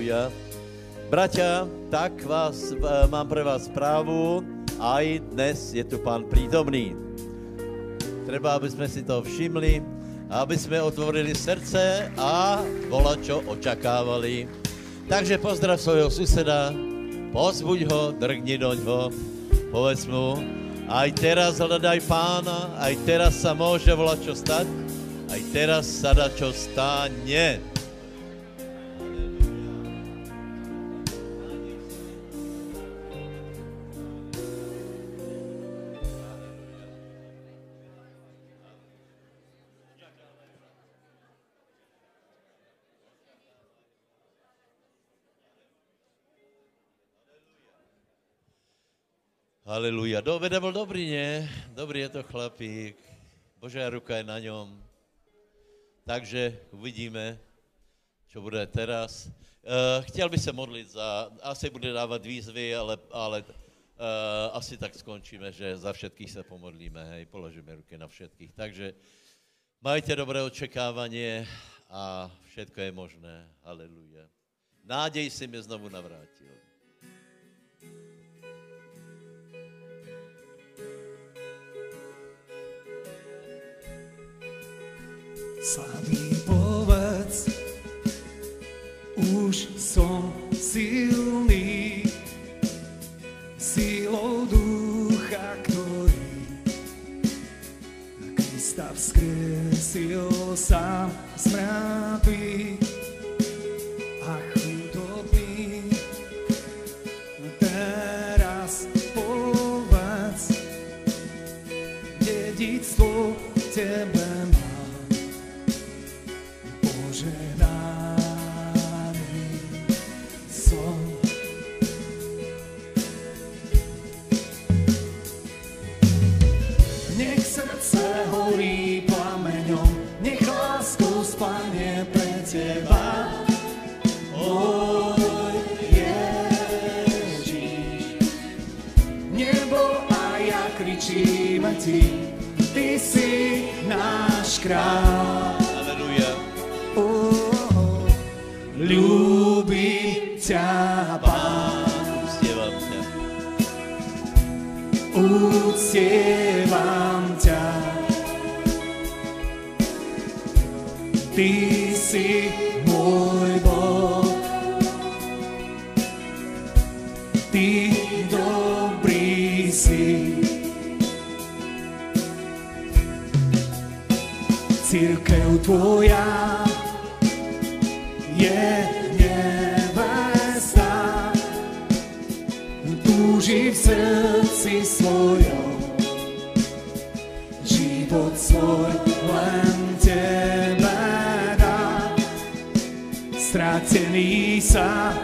Halelúja. Bratia, tak mám pre vás správu. Aj dnes je tu Pán prítomný. Treba, aby sme si to všimli, aby sme otvorili srdce a volačo očakávali. Takže pozdrav svojho suseda, pozbuď ho, drgni doňho, povedz mu, aj teraz hľadaj Pána, aj teraz sa môže volačo stať, aj teraz sa dá čo stane. Halelúja. Vede bol dobrý, nie? Dobrý je to chlapík. Božia ruka je na ňom. Takže uvidíme, čo bude teraz. Chtěl by se modlit za... Asi bude dávat výzvy, ale asi tak skončíme, že za všetkých se pomodlíme, hej, položíme ruky na všetkých. Takže majte dobré očekávanie a všetko je možné. Halelúja. Nádej si mi znovu navrátil. Slabý povedz, už som silný, silou ducha, ktorý Krista vzkriesil sám z mŕtvych a chudobný. Teraz povedz, dedičstvo tebe Ty si náš kráľ. Aleluja. Ľúbim ťa, Pán. Uctievam ťa. Uctievam ťa. Ty si môj Boh. Ty dobrý si. Cirkev tvoja je nevesta, túži v srdci svojom, život svoj len tebe dá. Stratený sa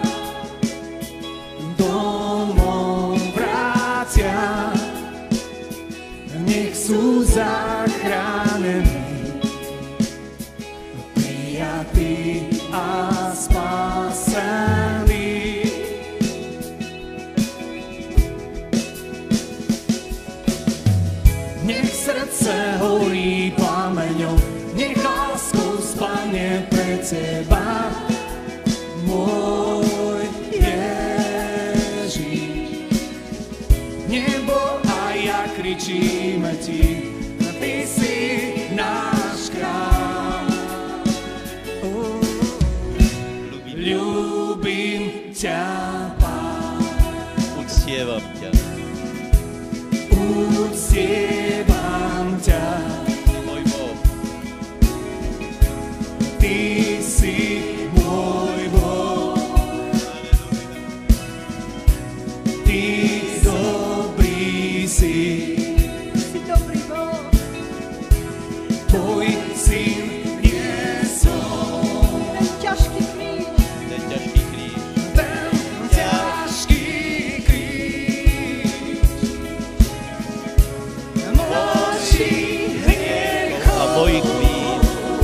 domov vrátia, nech sú zachránení a spasení. Nech srdce horí plameňom, nech láskou spane pre teba, môj Ježiš. Nebo a ja kričíme ti, ty si náš kráľ. Ľúbim ťa, Pán. Uctievam ťa. Uctievam ťa. Môj Boh. Ty si môj Boh. Ty dobrý si. Si dobrý Boh. Tvoj syn niesol. Ten ťažký kríž. Mojich vín.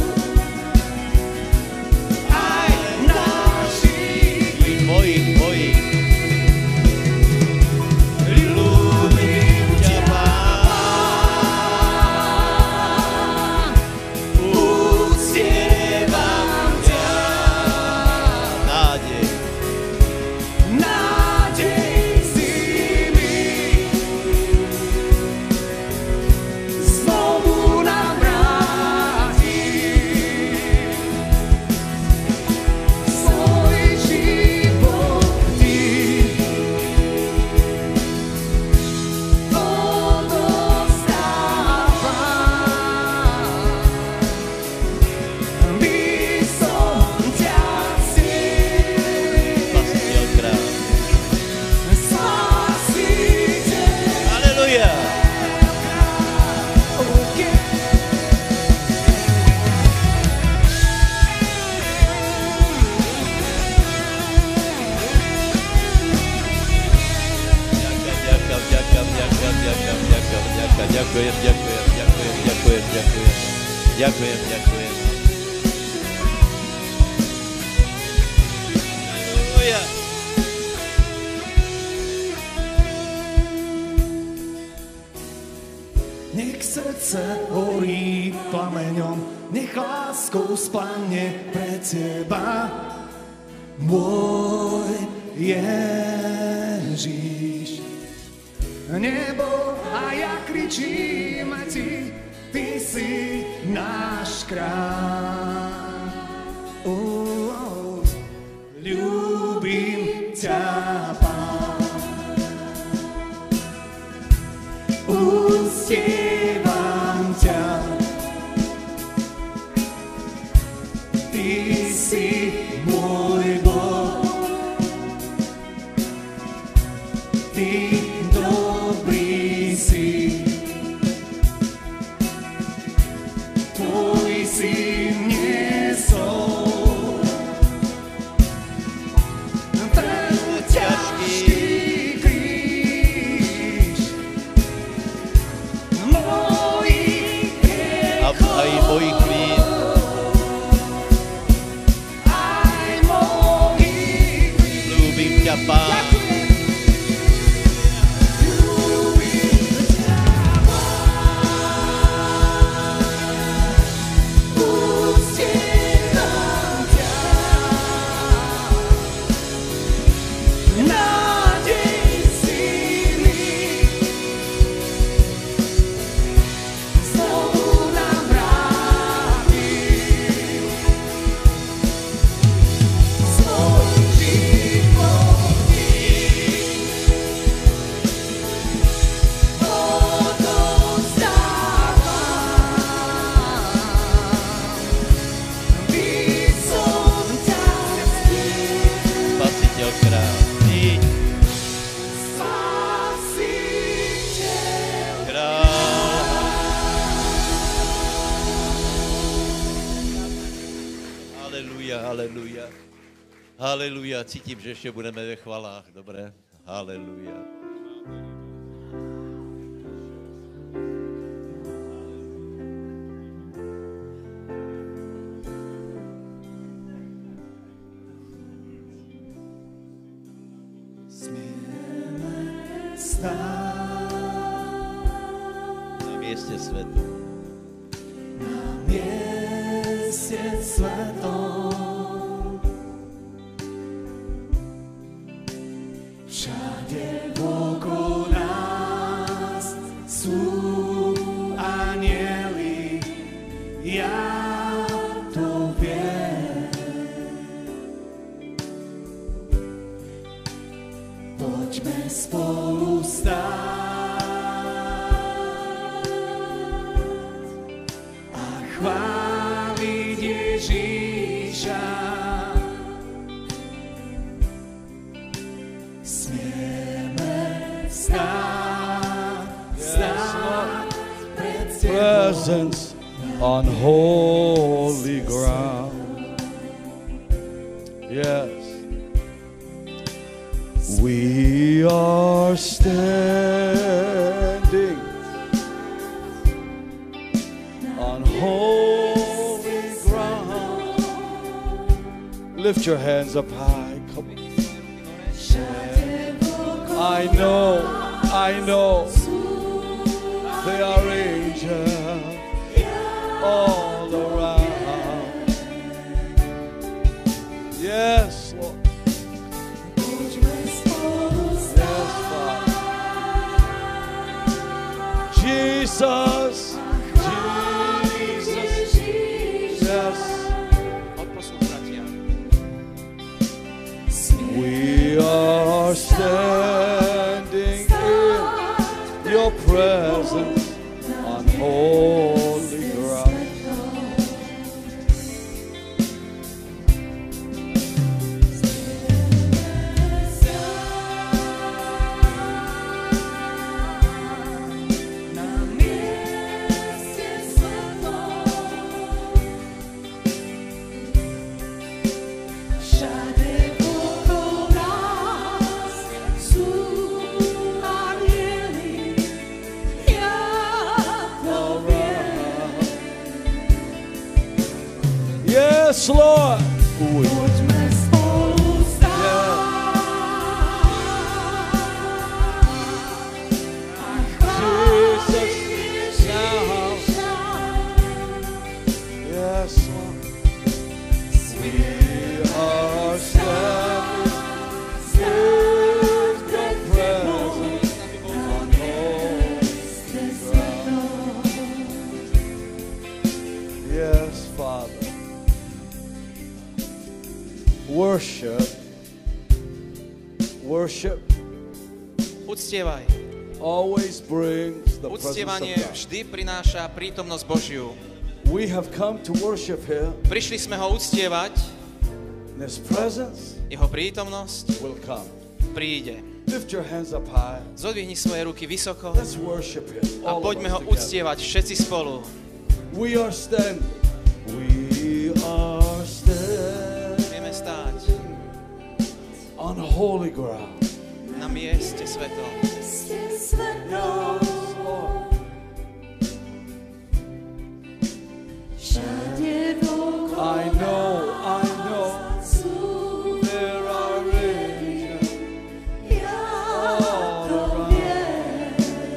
Aj našich vín. Mojich. Ľúbim ťa, Pán. Ďakujem. Halleluja. Nech srdce horí plameňom, nech láskou spláne pre teba, môj Ježiš. Nebo a ja kričím ti, ty si náš kráľ. Ľúbim ťa, Pán. Uctievam ťa, ty si môj Boh, ty dobrý si, tvoj syn niesol ten ťažký kríž mojich hriechov, Aj mojich vín. aj mojich vín. Ľúbim ťa, Pán. Haleluja, cítím, že ještě budeme ve chvalách, dobré? Haleluja. Smieme stáť Na mieste svetu. na mieste svetom. Všade okolo nás sú anjeli, ja to viem. Poďme spolu stáť a chváliť Ježíša. Presence on holy ground. Yes. We are standing on holy ground. Lift your hands up high. Come on. I know. They are angels all around. Yes, Lord. Yes, Father. Jesus. Yes. We are standing in your presence on holy ground. Yes, Lord. Poďme spolu stáť a chváliť Ježiša. Yes, Lord. We are standing in the presence on holy ground. Yes, Father. Worship Uctievaj. always brings the presence Uctievanie of God. vždy prináša prítomnosť Božiu. We have come to worship Him. Prišli sme ho uctievať, His presence jeho prítomnosť will come. príde. Lift your hands up high. Zodvihni svoje ruky vysoko Let's worship Him. a All of poďme ho us together. uctievať všetci spolu. We are standing. We are standing Vieme stáť on holy ground. na mieste svetom. Yes, Lord. Všade dookola I know sú there are angels ja all to around. viem.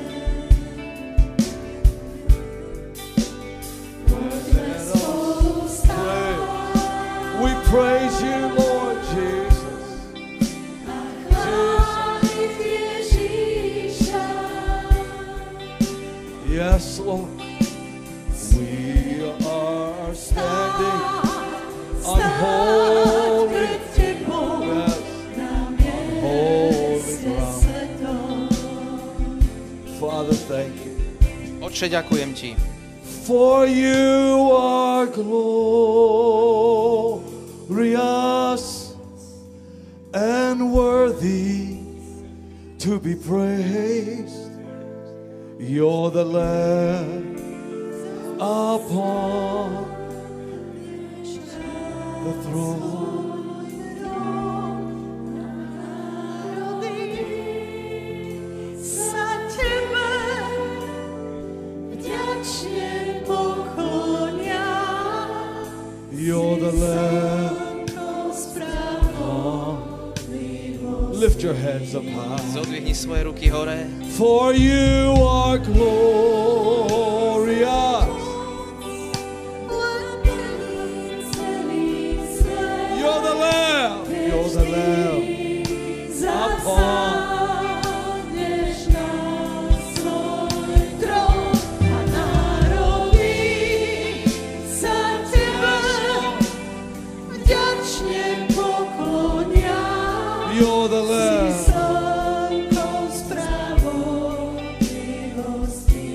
Poďme spolu stáť We praise you, Lord Jesus. a chváliť Ježiša. Yes, Lord. We are standing on holy pred Tebou yes, na holy mieste ground. svetom. Father, thank you. Otče, ďakujem ti. For you are glorious and worthy to be praised. You're the Lamb upon the throne. Za Tebe vďačne poklonia. You're the Lamb. Lift your hands up high. Zodvihni svoje ruky hore. For you are glorious. You're the Lamb. You're the Lamb. Zasadneš na svoj trón a národy sa Tebe vďačne poklonia. You're the Lamb. Slnkou spravodlivosti.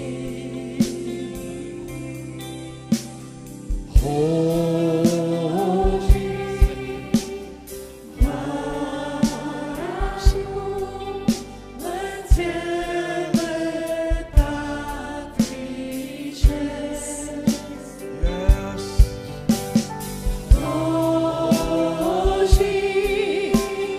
Holy. Váraš mu, len Tebe patrí česť. Yes. Boží,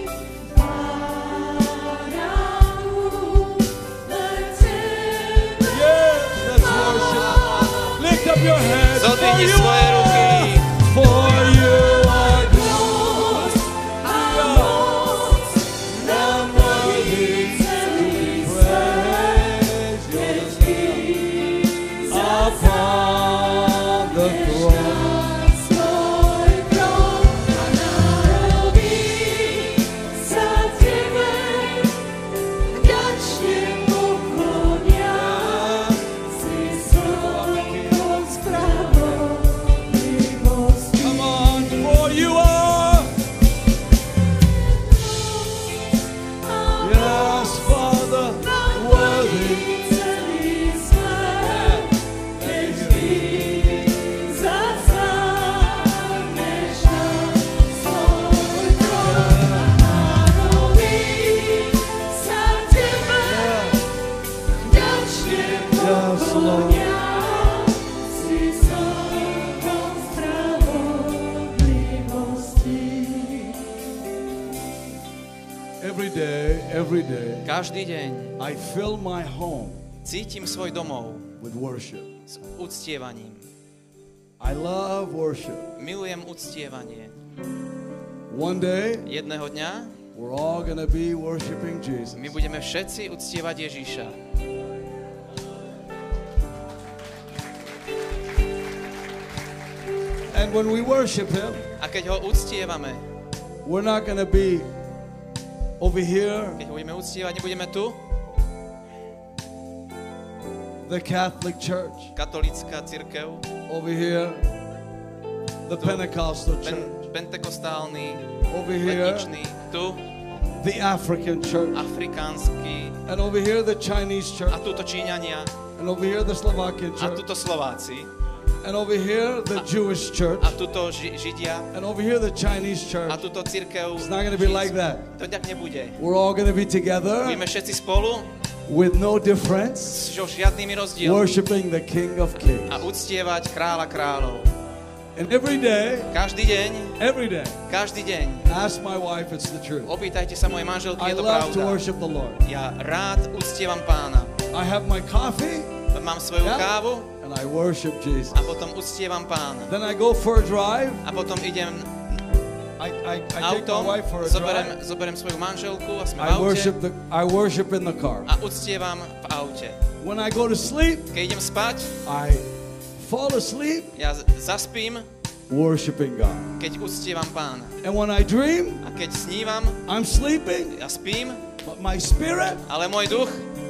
Pánu, len Tebe Yes. Let's worship. Lift up your hands. For Zodvihni you svoje ruky. For you are moc a moc na mojich celý svet. praised. You're the Lamb upon the throne. Svoj trón a národy sa Tebe vďačne poklonia. Si slnkou spravodlivosti. Come on, for you are. Yes, Father, worthy. Celý svet, keď Ty zasadneš na svoj trón a národy sa Tebe vďačne poklonia. Si slnkou spravodlivosti. Every day, Každý deň I fill my home cítim svoj domov with worship. s uctievaním. I love worship. Milujem uctievanie. One day, Jedného dňa we're all going to be worshiping Jesus. my budeme všetci uctievať Ježíša. And when we worship Him, A keď ho uctievame, we're not going to be over here, keď ho budeme uctievať, nebudeme tu, the Catholic Church, katolícka cirkev, over here, the Pentecostal Church, pentekostálny, over here, letničný, tu, the African Church, afrikánsky, and over here, the Chinese Church, a tuto Číňania, and over here, the Slovakian a Church, tuto Slováci, and over here, the Jewish Church, a tuto Židia, and over here, the Chinese Church. a tuto cirkev. It's not going to be like that. To tak nebude. We're all going to be together Budeme všetci spolu with no difference, so žiadnymi rozdielmi worshiping the King of Kings. a uctievať kráľa kráľov. And every day, Každý deň ask my wife, it's the truth. opýtajte sa mojej manželky, I je to love to pravda. worship the Lord. Ja rád uctievam Pána. I have my coffee Mám svoju Yeah. kávu and I worship Jesus. a potom uctievam Pána. Then I go for a drive. A potom idem I take my autom, wife for a drive. zoberiem svoju manželku a sme v I aute worship in the car. a uctievam v aute. When I go to sleep, Keď idem spať, I fall asleep ja zaspím, worshiping God. keď uctievam Pána. And when I dream, A keď snívam, I'm sleeping, ja spím, but my spirit. ale môj duch,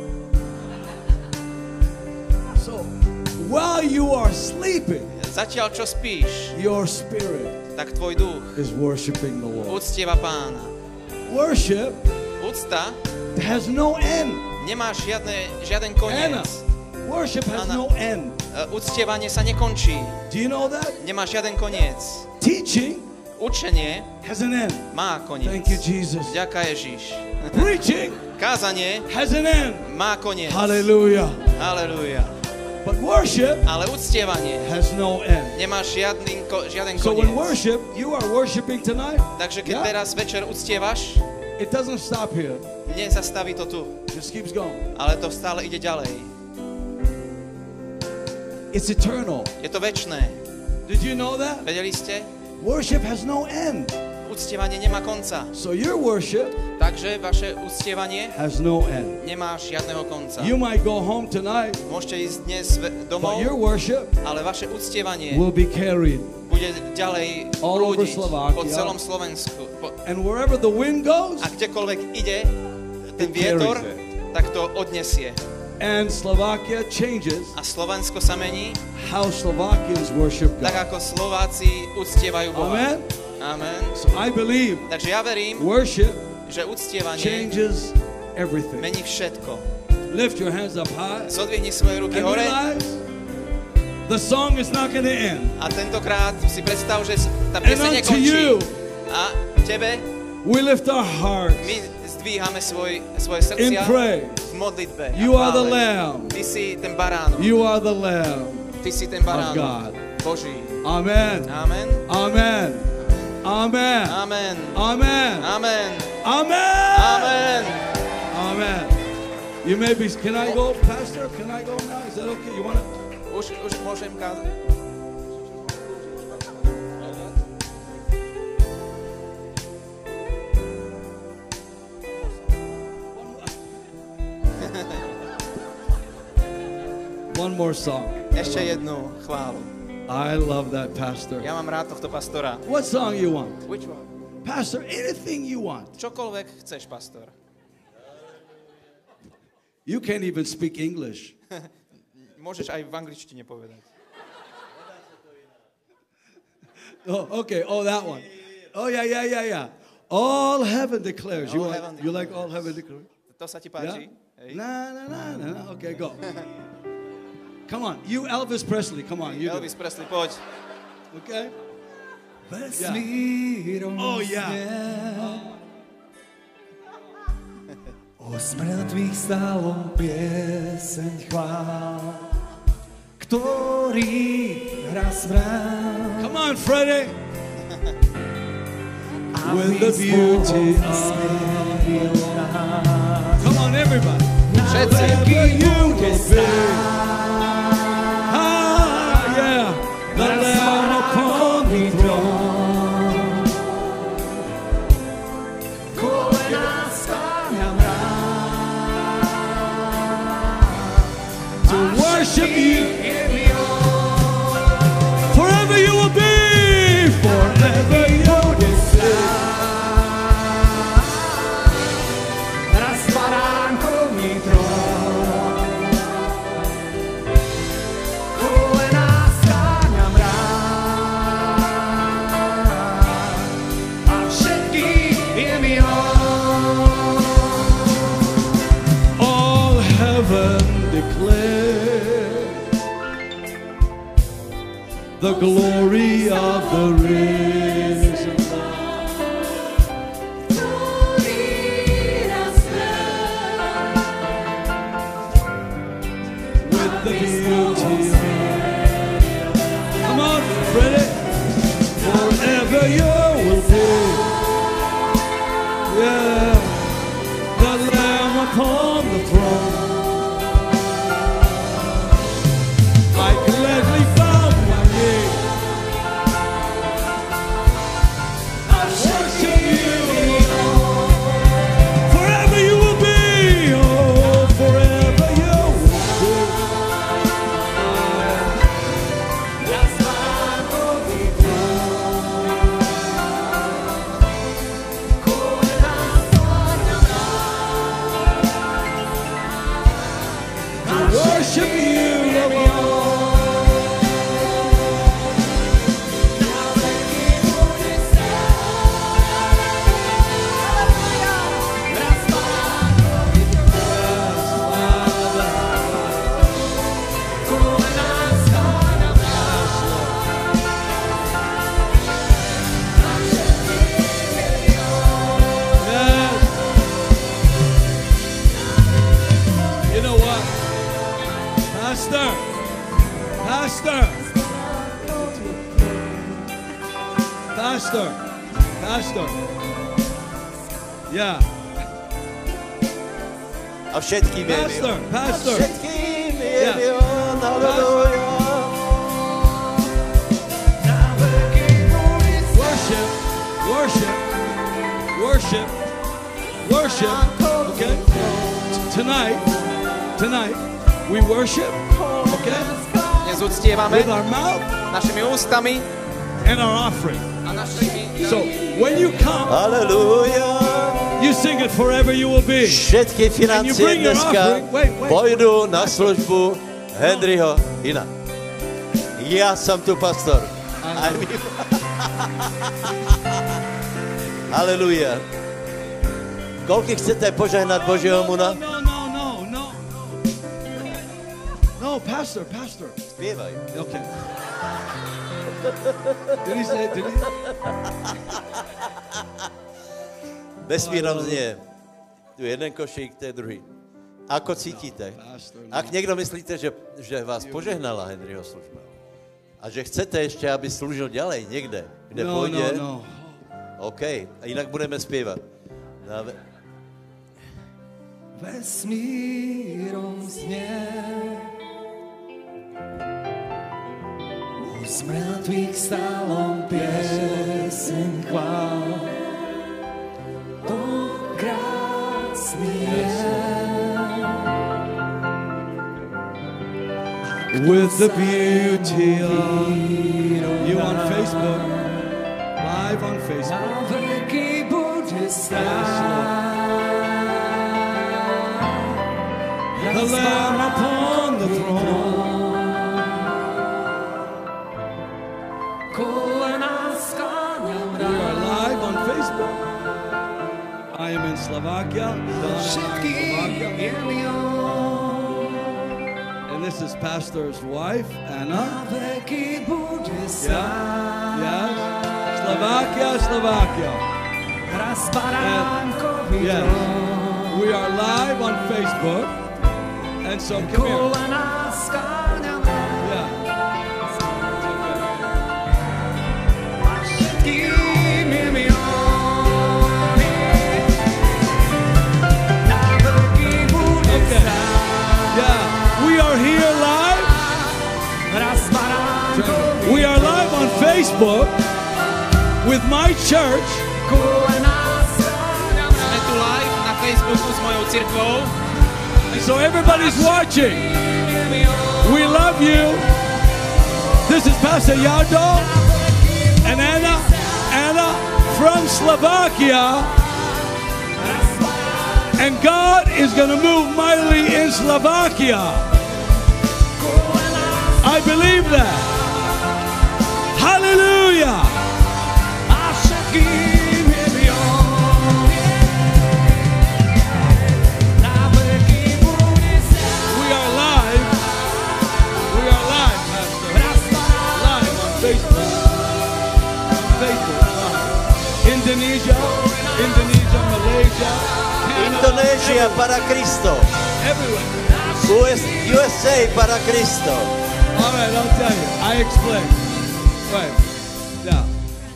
So while you are sleeping, zatiaľ čo spíš, your spirit tak tvoj duch is worshiping the Lord. uctieva Pána. Worship Úcta has no end. nemá žiaden Anna, koniec. worship has Anna. no end. Uctievanie sa nekončí. Do you know that? Nemá žiaden koniec. Teaching Učenie has an end. má koniec. Thank you, Jesus. Ďaká Ježiš. Preaching Kázanie has an end. má koniec. Hallelujah. Halelúja. But worship Ale uctievanie has no end. nemá žiaden So when koniec. worship, you are worshiping tonight, Takže keď Yeah. teraz večer uctievaš, it doesn't stop here. nezastaví to tu, Just keeps going. ale to stále ide ďalej. It's eternal. Je to večné. Did you know that? Vedeli ste? Worship has no end. Uctievanie nemá konca. So your worship Takže vaše uctievanie has no end. nemá žiadneho konca. You might go home tonight, Môžete ísť dnes domov, but your worship ale vaše uctievanie will be carried. bude ďalej All over prúdiť Slovakia. po celom Slovensku. And wherever the wind goes, A kdekoľvek ide ten It carries vietor, it. tak to odnesie. and Slovakia changes A Slovensko sa mení, how Slovakians worship tak God. ako Slováci uctievajú Boha. Amen? Amen. So I believe Takže ja verím, worship že uctievanie changes everything. mení všetko. Lift your hands up high Zodvihni svoje ruky and hore realize the song is not going to end. a tentokrát si predstav, že tá And pieseň unto nekončí. you, A tebe we lift our hearts my zdvíhame svoje in srdcia praise. v modlitbe. a You are the chvále. Lamb. Ty si ten baránok. You are the Lamb. Ty si ten God. baránok Boží. Amen. Amen. Amen. Amen. Amen. Amen. Amen. Amen. Amen. Amen. You may be, can I go, Pastor? Can I go now? Is that okay? You want to? Už môžem kázať? One more song. Ešte jednu chválu. I love that, Pastor. Ja mám rád tohto pastora. What song you want? Which one? Pastor, anything you want. Čokoľvek chceš, pastor. You can't even speak English. Môžeš aj v angličtine povedať. Oh, okay. Oh, that one. Oh, yeah. All heaven declares. All heaven You like all heaven declares? To sa ti Yeah? páči? Hej. Na. Okay, go. Come on. You, Elvis Presley. Come on. You do. Elvis Presley, poď. Okay? Vesmírom Oh, yeah. O smrtvých stálom pieseň chvál, ktorý hrá smrát. Come on, Freddie. With the beauty of... Come on, everybody. Všetci. Wherever you will be. Ah, yeah. The Lamb the glory of the risen with the beauty. Come on, Freddie. Forever you will be. Yeah, the Lamb upon the throne. I gladly bow my knee. I worship you. Forever you will be. Oh, forever you will be. Worship you, Lord. You know what? Pastor. Yeah. A všetkým je Pastor. Všetkým je Yeah. milión, haleluja. Worship. Okay? Tonight, we worship, okay? Dnes uctievame With our mouth našimi ústami and our offering. a našimi... So when you come, Haleluja. you sing it forever you will be. Všetky financie bring your dneska offering. Wait. pôjdu na službu Henryho Hina. Ja som tu pastor. Aj my. Haleluja. Koľko chcete požehnať Božieho muna? No, pastor. Spievaj. Okay. Did he say? Vesmírom znie. Tu jeden košík, to je druhý. Ako cítite? Ak niekto myslíte, že vás požehnala Henryho služba a že chcete ešte, aby slúžil ďalej niekde, kde pôjde, No. OK, a inak budeme spievať. Vesmírom znie z mŕtvych stálom pieseň chvál. To krásny je. With the beauty of you on Facebook, live on Facebook. Na veky bude stáť. The Lamb upon the throne. Kolená skláňam We are live on Facebook. I am in Slovakia. všetkým je milión. And this is Pastor's wife, Anna. Na veky bude stáť. Yes. Slovakia. Raz baránkový Yes. trón. We are live on Facebook. And so come here. Kolená skláňam Yeah. a všetkým je milióny. Na veky bude Okay. stáť. Yeah. We are here live. Raz baránkový We are live on Facebook with my church. kolená skláňam Sme tu live na Facebooku s mojou cirkvou. So everybody's watching. We love you. This is Pastor Jardo and Anna from Slovakia. And God is going to move mightily in Slovakia. I believe that. Hallelujah. a všetkým je milióny. Na veky bude stáť. We are live, Pastor. Raz Live on Indonesia, Malaysia, Canada, Indonésia para Kristo. everywhere. USA para Kristo. All right, I'll tell you. I explain. Right. Now,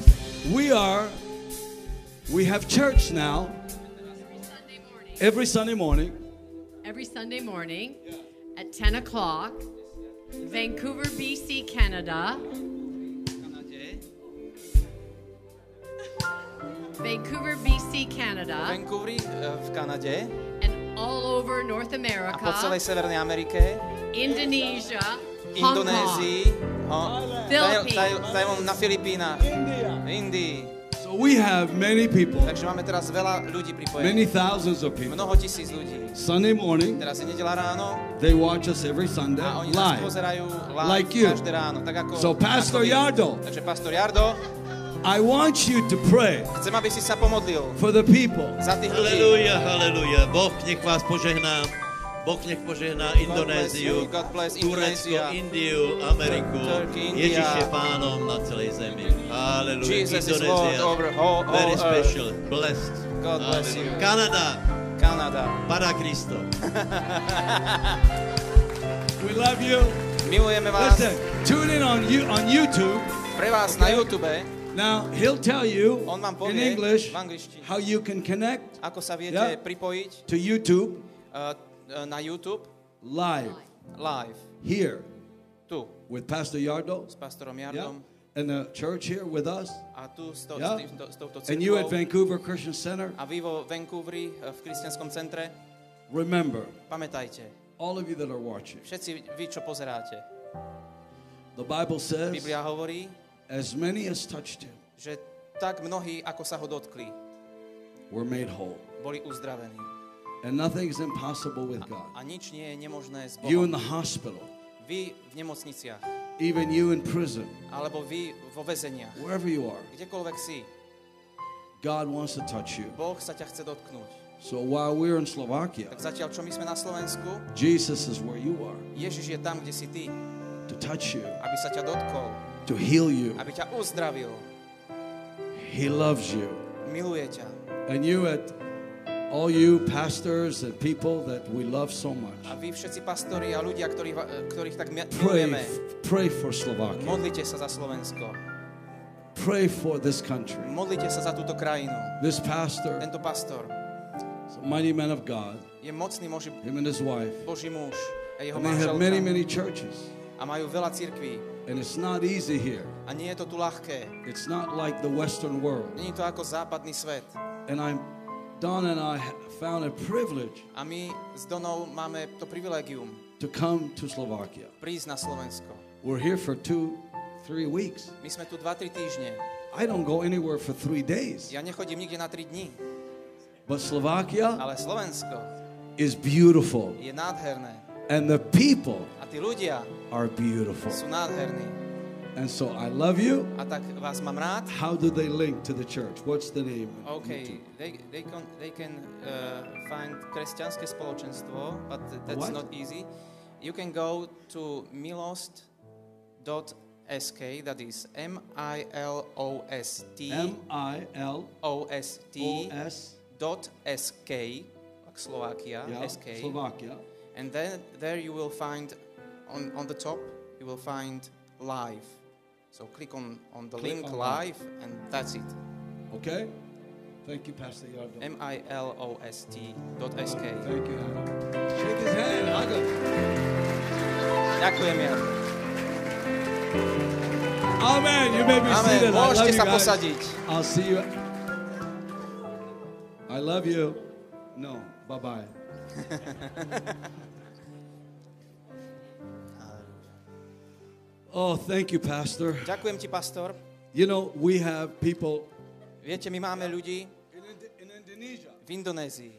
we have church now every Sunday morning. Every Sunday morning at 10 o'clock, Vancouver, BC, Canada. Vancouver, BC, Canada. Vancouveri v Kanade And all over North a po America. celej Severnej Amerike, Indonesia. Hong Kong. Indonézii, Tajvan na Filipínach, v Indii. So we have many people, Takže máme teraz veľa ľudí pripojených. many thousands of people. Mnoho tisíc ľudí. Sunday morning, Teraz je nedeľa ráno they watch us every Sunday a oni nás live. pozerajú live Like you. každé ráno. Tak ako, So, Pastor ako vy. Jardo. Takže Pastor Jardo, I want you to pray chcem, aby si sa pomodlil for the people. za tých ľudí. Halelúja, halelúja. Boh nech vás požehná. Boh nech požehná Indonéziu, God bless Turecko, Indonesia. Indiu, Ameriku. Turkey, India. Ježiš je pánom na celej zemi. Halelúja. Jesus is Lord over all Very earth. special, blessed. God bless you. Kanada, Kanada. para Kristo. We love you. Milujeme vás. Listen, tune in on YouTube. Pre vás na YouTube, Now, he'll tell you on vám in povie English v angličtine, how you can connect ako sa viete Yeah. pripojiť to YouTube na YouTube live live. here Tu with Pastor Yardo, s pastorom yeah, Jardom and the church here with us, a tu s Yeah. touto and you at cirkvou Vancouver Christian Center. a vy vo Vancouveri v kresťanskom centre. Remember, Pamätajte, all of you that are watching, všetci vy, čo pozeráte, the Bible says, Biblia hovorí, as many as touched him že tak mnohí, ako sa ho dotkli, were made whole. boli uzdravení. And nothing is impossible with God. A nič nie je nemožné s You in Bohom. the hospital, Vy v nemocniciach, even you in prison, alebo vy vo väzeniach, wherever you are, kdekoľvek si, God wants to touch you. Boh sa ťa chce dotknúť. So while we're in Slovakia, Tak zatiaľ, čo my sme na Slovensku, Jesus is where you are Ježiš je tam, kde si ty, to touch you, aby sa ťa dotkol, to heal you. aby ťa uzdravil. He loves you. Miluje ťa. And you all you pastors and people that we love so much, A vy všetci pastori a ľudia, ktorých tak milujeme, pray for Slovakia. modlite sa za Slovensko. Pray for this country. Modlite sa za túto krajinu. This pastor, Tento pastor is a mighty man of God, je mocný him and his wife. Boží muž a jeho And they have many, manželka many churches. a majú veľa cirkví. And it's not easy here. A nie je to tu ľahké. It's not like the Western world. Není to ako západný svet. And Don and I found a privilege A my s Donou máme to privilegium to come to Slovakia. prísť na Slovensko. We're here for 2-3 weeks. My sme tu 2-3 týždne. I don't go anywhere for 3 days. Ja nechodím nikde na 3 dní. But Slovakia Ale Slovensko is beautiful. je nádherné. And the people A tí ľudia are beautiful. sú nádherní. And so I love you. A tak vás mám rád. How do they link to the church? What's the name? OK, they can find kresťanské spoločenstvo, but that's What? not easy. You can go to milost.sk, that is MILOST MILOST. like Slovakia, Yeah, SK. Slovakia. And then there you will find, on the top, you will find live. So click on the Click link on live, and that's it. Okay? Thank you, Pastor Yardo. milost.sk. Thank you, Adam. Shake his hand. Hug him. Ďakujem, Jan. Amen. You may be Amen. seated. I love Môžete you sa guys. posadiť. I'll see you. I love you. No. Bye-bye. Oh, thank you, Pastor. Ďakujem ti, pastor. You know, we have people Viete, my máme ľudí in Indonesia. v Indonézii.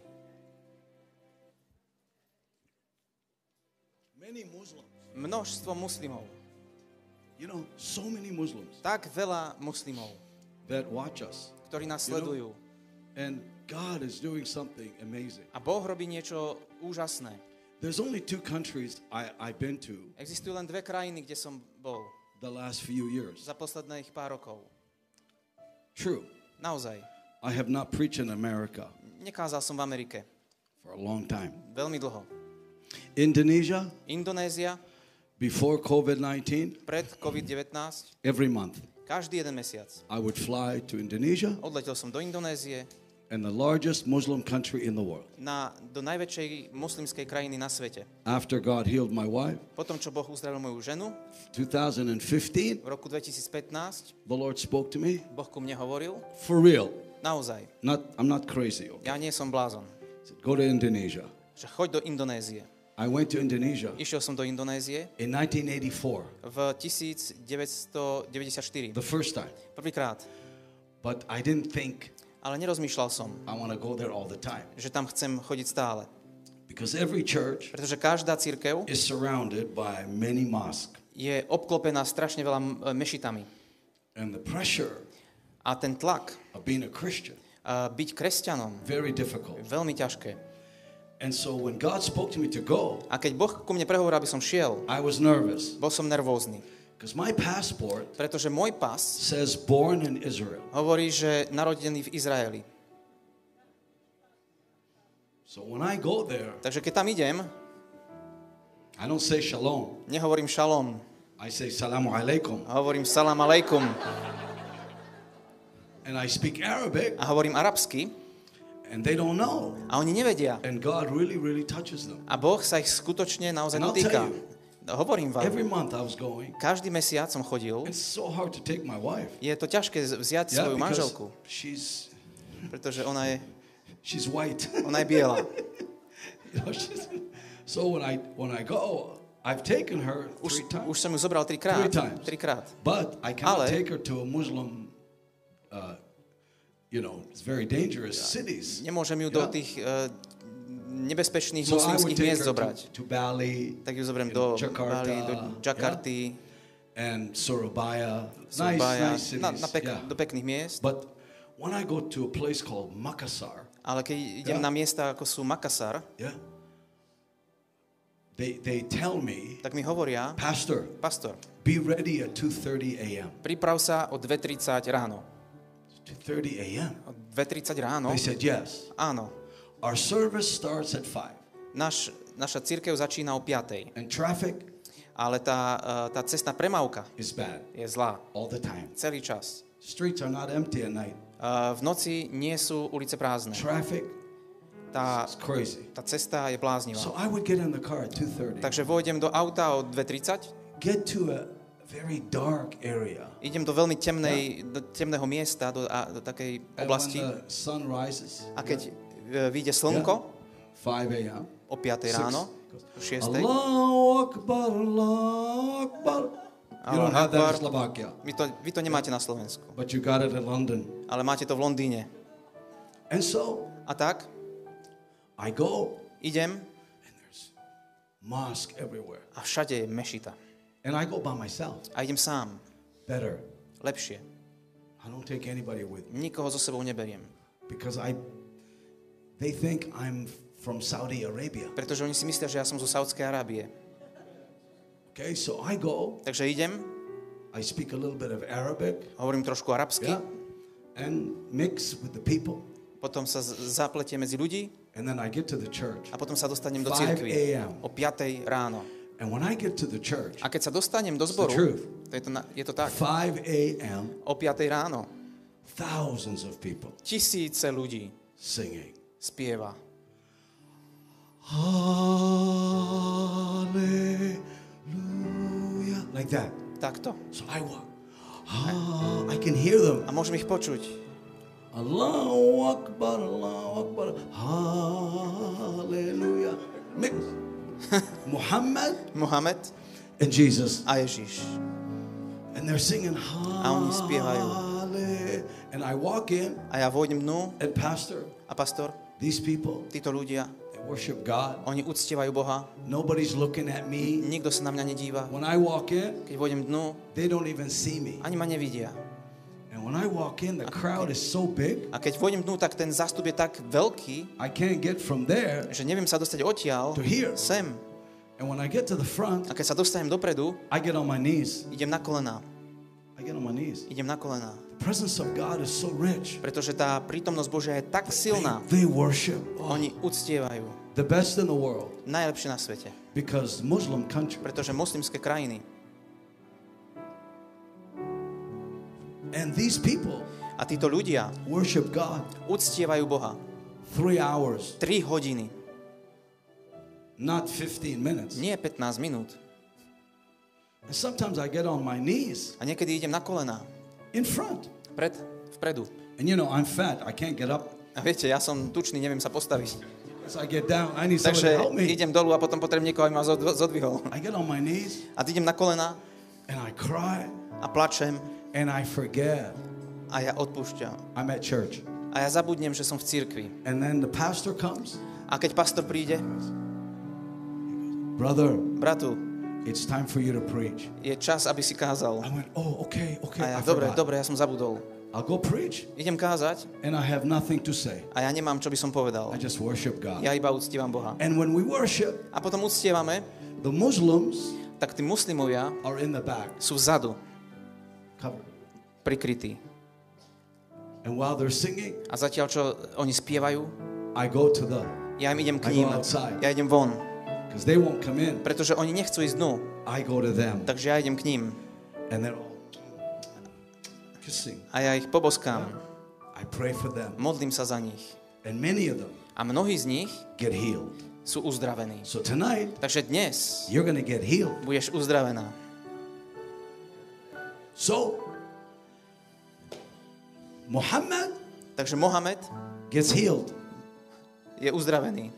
Many Muslims. Množstvo muslimov. You know, so many Muslims Tak veľa muslimov, that watch us. ktorí nás You know, sledujú. And God is doing something amazing. A Boh robí niečo úžasné. There's only 2 countries I've been to Existujú len 2 krajiny, kde som bol the last few years. za posledných pár rokov. True. Naozaj. I have not preached in America Nekázal som v Amerike. for a long time. Veľmi dlho. Indonesia, Indonézia, before COVID-19, pred COVID-19, every month každý jeden mesiac. I would fly to Indonesia, Odletel som do Indonézie, and the largest Muslim country in the world. do najväčšej moslimskej krajiny na svete. After God healed my wife, Potom, čo Boh uzdravil moju ženu, 2015, v roku 2015, the Lord spoke to me Boh ku mne hovoril, for real. naozaj, I'm not crazy. Okay? ja nie som blázon, He said, go to Indonesia. že choď do Indonézie. I went to Indonesia Išiel som do Indonézie in 1984, v 1994. the first time. Prvýkrát. But I didn't think Ale nerozmýšľal som, I want to go there all the time. že tam chcem chodiť stále. Because every church Pretože každá cirkev is surrounded by many mosques. je obklopená strašne veľa mešitami. And the pressure A ten tlak of being a Christian, byť kresťanom very difficult. je veľmi ťažké. And so when God spoke to me to go, A keď Boh ku mne prehovoril, aby som šiel, I was nervous. bol som nervózny. Because my passport Pretože môj pas says born in Israel. hovorí, že narodený v Izraeli. So when I go there, Takže keď tam idem, I don't say shalom. nehovorím šalom, I say salamu alaikum. hovorím salam alejkum And I speak Arabic, a hovorím arabsky and they don't know. a oni nevedia. And God really, really touches them. A Boh sa ich skutočne naozaj And I'll dotýka. tell you, Hovorím every vám, month I was going. každý mesiac som chodil, It's so hard to take my wife. je to ťažké vziať Yeah, svoju because manželku, pretože ona she's white. je biela. You know, so when I go, I've taken her Už 3 times. som ju zobral trikrát. Three times. Trikrát. But I cannot Ale- take her to a Muslim, it's very dangerous cities. Nemôžem ju do Yeah. tých nebezpečných So I would moslimských take miest her zobrať. to Bali, Tak ju zoberiem in do Jakarta, Bali, do Jakarty, and Surabaya. Surabaya, Nice cities. Yeah. do pekných miest. But when I go to a place called Makassar, Ale keď idem Yeah. na miesta, ako sú Makassar, yeah, they tell me, tak mi hovoria, Pastor, pastor, be ready at 2:30 a.m. priprav sa o 2:30 ráno. 2:30 a.m. O 2:30 ráno? They said yes. Áno. Our service starts at 5, Naša cirkev začína o 5:00, and traffic ale tá cestná premávka is bad je zlá. all the time. Celý čas. Streets are not empty at night. V noci nie sú ulice prázdne. Traffic Tá is crazy. cesta je bláznivá. So I would get in the car at 2:30, Takže vojdem do auta o 2:30, get to a very dark area. idem do veľmi do temného miesta, do takej And oblasti. when the sun rises, A keď vyjde slnko 5 a.m., o 5:00 ráno, o 6:00, Allahu Akbar, Allahu Akbar. You don't have that in Slovakia, vy to nemáte na Slovensku, but you got it in London. ale máte to v Londýne. And so A tak I go, idem and there's mosque everywhere. a všade je mešita. And I go by myself. A idem sám. Better. Lepšie. I don't take anybody with me Nikoho so sebou neberiem. because they think I'm from Saudi Arabia. Pretože oni si myslia, že ja som zo Saudskej Arábie. Okay, so I go, Takže idem, I speak a little bit of Arabic, hovorím trošku arabsky, yeah, and mix with the people. potom sa zapletiem medzi ľudí And then I get to the church. a potom sa dostanem do 5 cirkvi a.m. o 5:00 ráno. And when I get to the church, A keď sa dostanem do the zboru, truth. je to tak, 5 a.m., o 5:00 ráno thousands of people tisíce ľudí singing. spieva. Hallelujah. Like that. Takto. So I walk. I can hear them. A môžem ich počuť. Allahu Akbar, Allahu Akbar. Hallelujah. Mix. Muhammad Mohamed and Jesus. a Ježiš. And they're singing A oni spievajú. Hallelujah. And I walk in, A ja vôjdem dnu and Pastor, a pastor, these people, títo ľudia, they worship God. oni uctievajú Boha, Nobody's looking at me. nikto sa na mňa nedíva. When I walk in, Keď vôjdem dnu, they don't even see me. ani ma nevidia. And when I walk in, the crowd is so big, A keď vôjdem dnu, tak ten zástup je tak veľký, I can't get from there že neviem sa dostať odtiaľ to here. sem. And when I get to the front, A keď sa dostanem dopredu, I get on my knees. idem na kolená. I I get on my knees. idem na kolená. The presence of God is so rich. Pretože tá prítomnosť Božia je tak silná. They worship. Oh, Oni uctievajú. the best in the world. Najlepšie na svete. Because Muslim country. Pretože moslimské krajiny. And these people A títo ľudia worship God uctievajú Boha. 3 hours, 3 hodiny. not 15 minutes. Nie 15 minút. And sometimes I get on my knees A niekedy idem na kolená. in front. Vpredu. And you know, I'm fat. I can't get up. A viete, ja som tučný, neviem sa postaviť. So I get down. I need somebody Takže to help me. idem dolu a potom potrebujem niekoho, aby ma zodvihol. I get on my knees A idem na kolená and I cry a plačem and I forget a ja odpúšťam. I'm at church. A ja zabudnem, že som v cirkvi. And then the pastor comes. A keď pastor príde, Brother, bratu, it's time for you to preach. je čas, aby si kázal. I went, oh, okay. A ja, I dobre, forgot. ja som zabudol. I'll go preach Idem kázať and I have nothing to say. a ja nemám, čo by som povedal. I just worship God. Ja iba uctievam Boha. And when we worship, A potom uctievame, the Muslims tak tí muslimovia are in the back, sú vzadu, covered. prikrytí. And while they're singing, A zatiaľ, čo oni spievajú, I go to the, ja im idem k I ním. go outside. Ja idem von, because they won't come in. pretože oni nechcú ísť dnu. I go to them. Takže ja idem k ním And they're all kissing. a ja ich poboskám. I pray for them. Modlím sa za nich. And many of them A mnohí z nich get healed. sú uzdravení. So tonight, Takže dnes you're going to get healed. budeš uzdravená. So, Muhammad Takže Mohamed gets healed. je uzdravený.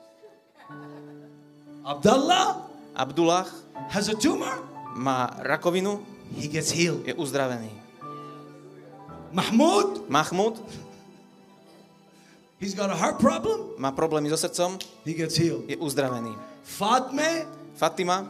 Abdullah Abdullah has a tumor. má rakovinu, He gets healed. je uzdravený. Mahmoud, Mahmud he's got a heart problem. má problémy so srdcom, He gets healed. je uzdravený. Fatme Fatima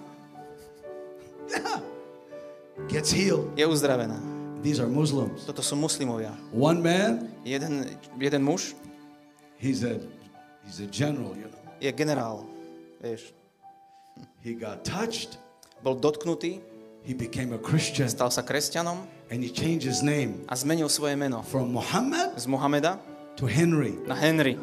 gets healed. je uzdravená. These are Muslims. Toto sú muslimovia. One man, Jeden muž he's a general, you know. je generál. Vieš, He got touched. bol dotknutý, He became a Christian stal sa kresťanom and he changed his name a zmenil svoje meno from Muhammad z Mohameda to Henry. na Henry.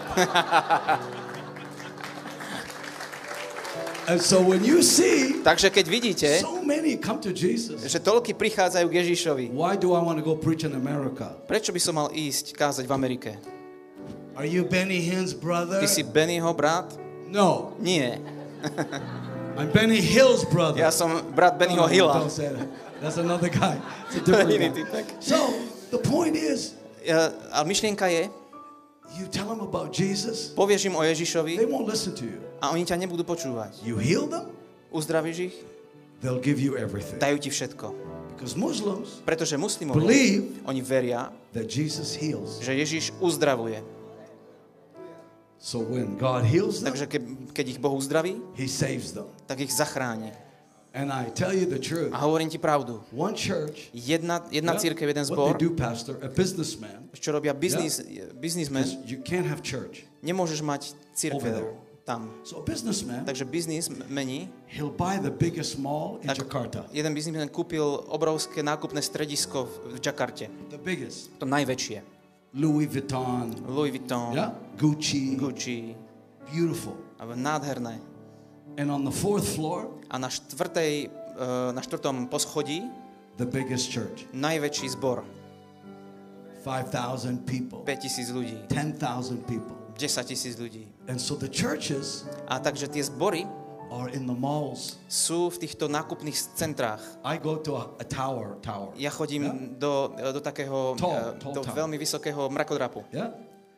And so when you see Takže keď vidíte, so many come to Jesus, že toľky prichádzajú k Ježišovi, why do I want to go preach in America? prečo by som mal ísť kázať v Amerike? Are you Benny Hinn's brother? Ty si Bennyho brat? No, Nie. I'm Benny Hill's brother. Ja som brat Bennyho Hilla. Don't say that. That's another guy. It's a different Iný guy. typek. So the point is, A myšlienka je, you tell them about Jesus, povieš im o they Ježišovi won't listen to you. a oni ťa nebudú počúvať. You heal them, Uzdravíš ich, they'll give you everything. dajú ti všetko. Because Muslims Pretože muslimovia, believe oni veria, that Jesus heals. že Ježiš uzdravuje. So when God heals them, Takže keď ich Boh uzdraví, He saves them. tak ich zachráni. And I tell you the truth. A hovorím ti pravdu. One church, Jedna cirkev, jeden what zbor, they do, pastor, a businessman, čo robia biznismen, you can't have church nemôžeš mať over cirkev there. tam. So a businessman, Takže biznismeni, he'll buy the biggest mall in tak Jakarta. jeden biznismen kúpil obrovské nákupné stredisko v Jakarte. The biggest. To najväčšie. Louis Vuitton, Louis Vuitton, yeah, Gucci, Gucci, beautiful. nádherné. And on the 4th floor, A na štvrtom poschodí the biggest church. najväčší zbor. 5,000 people, 5,000 ľudí, 10,000 people. 10,000 ľudí. And so the churches A takže tie zbory are in the malls. sú v týchto nákupných centrách. I go to a tower. Ja chodím Yeah? do takého, Tall do tower. veľmi vysokého mrakodrapu. Yeah?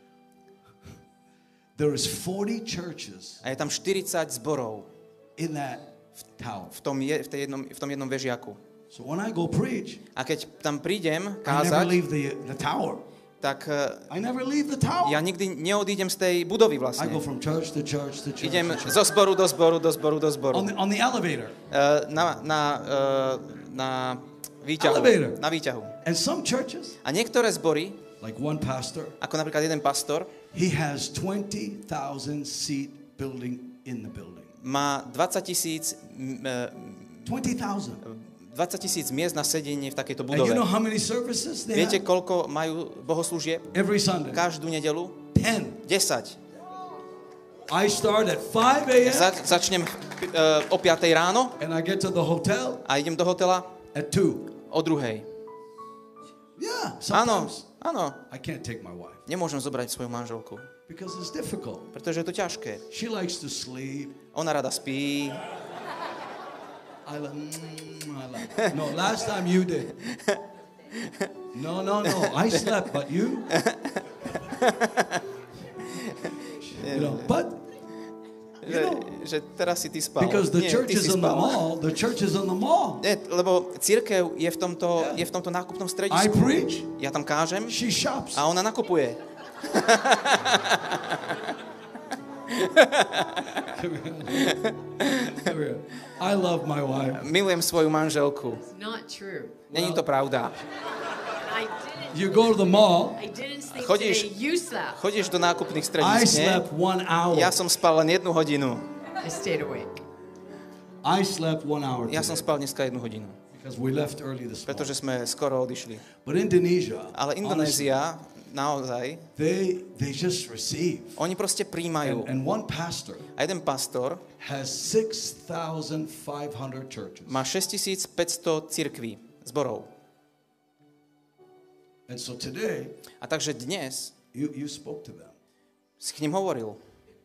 There is 40 churches A je tam 40 zborov in that tower. v tom jednom vežiaku. So when I go preach, A keď tam prídem I never kázať, leave the tower. tak I never leave the tower. ja nikdy neodídem z tej budovy I vlastne. go from church to church to church. Idem to church. zo zboru do zboru, do zboru, do zboru. On the elevator. Na výťahu. Elevator. Na výťahu. And some churches, A niektoré zbory, like one pastor, ako napríklad jeden pastor, he has 20,000 seat building in the building. má 20,000 20,000. 20,000 miest na sedenie v takejto And budove. you know how many services they Viete, have? koľko majú bohoslúžieb? Every Sunday. Každú nedelu? 10. 10. I start at 5 a.m. Začnem o 5 ráno and I get to the hotel a idem do hotela at 2. o 2. Yeah, Áno, sometimes áno. I can't take my wife Nemôžem zobrať svoju manželku, because it's difficult. pretože je to ťažké. She likes to sleep. Ona rada spí. I like. No, last time you did. No. I slept, but you. You know, but Že teraz si ty spal. because the Nie, church ty is si in the spal. mall, the church is in the mall. Nie, lebo cirkev je v tomto nákupnom I stredisku. preach, Ja tam kážem she shops. a ona nakupuje. Come here. I love my wife. Milujem svoju manželku. It's not true. Není to pravda. You go to the mall. I didn't sleep Chodíš- today. You slept. Chodíš do nákupných I stredisk, nie? slept 1 hour. Ja som spal len 1 hodinu. I stayed awake. I slept 1 hour Ja som today spal dneska 1 hodinu, because we left early this morning. pretože sme skoro odišli. But Indonesia, Ale honestly, Indonézia, naozaj, they just receive. oni proste príjmajú. And one pastor A jeden pastor has 6,500 churches. má 6500 cirkví, zborov. And so today, A takže dnes you spoke to them. si k nim hovoril.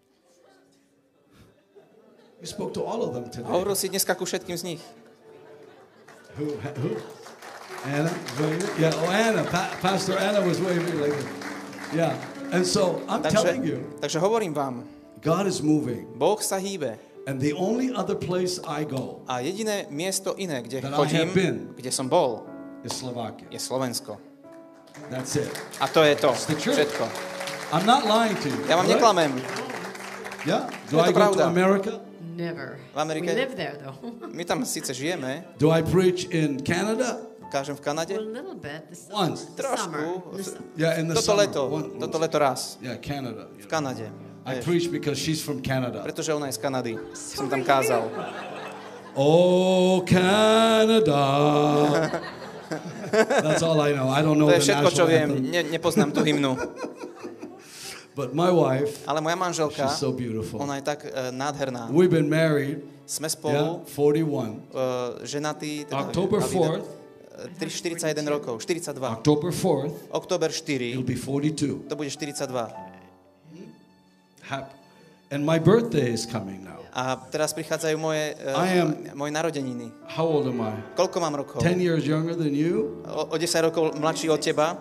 You spoke to all of them today. Hovoril si dneska ku všetkým z nich. Who? Anna? Waving? Yeah, Anna. Pastor Anna was waving like this. Yeah. And so I'm telling you, Takže hovorím vám, God is moving. Boh sa hýbe. And the only other place I go A jediné miesto iné, kde That I chodím, have been. kde som bol, is Slovakia. je Slovensko. That's it. A to je to. the truth. Všetko. I'm not lying to you. Ja vám right? neklamem. Yeah. Je Do to I go pravda. to America? Never. V Amerike? We live there though. My tam síce žijeme, Do I preach in Canada? kážem v Kanade, a little bit. This Once. summer. trošku. Yeah, in the Toto summer. leto, toto leto raz. Yeah, Canada. V Kanade. I Vieš, preach because she's from Canada. pretože ona je z Kanady. Som tam kázal. Oh, Canada. That's all I know. I don't know To je the všetko, čo national viem. anthem. Nepoznám tú hymnu. But my wife, Ale moja manželka, she's so beautiful. ona je tak nádherná. We've been married, Sme yeah, spolu 41. ženatí, October 4th, 41 rokov, 42. October 4th, Október it'll 4, be 42. to bude 42. And my birthday is coming now. A teraz prichádzajú moje narodeniny. How old am I? Koľko mám rokov? 10 years younger than you? O 10 rokov mladší od teba.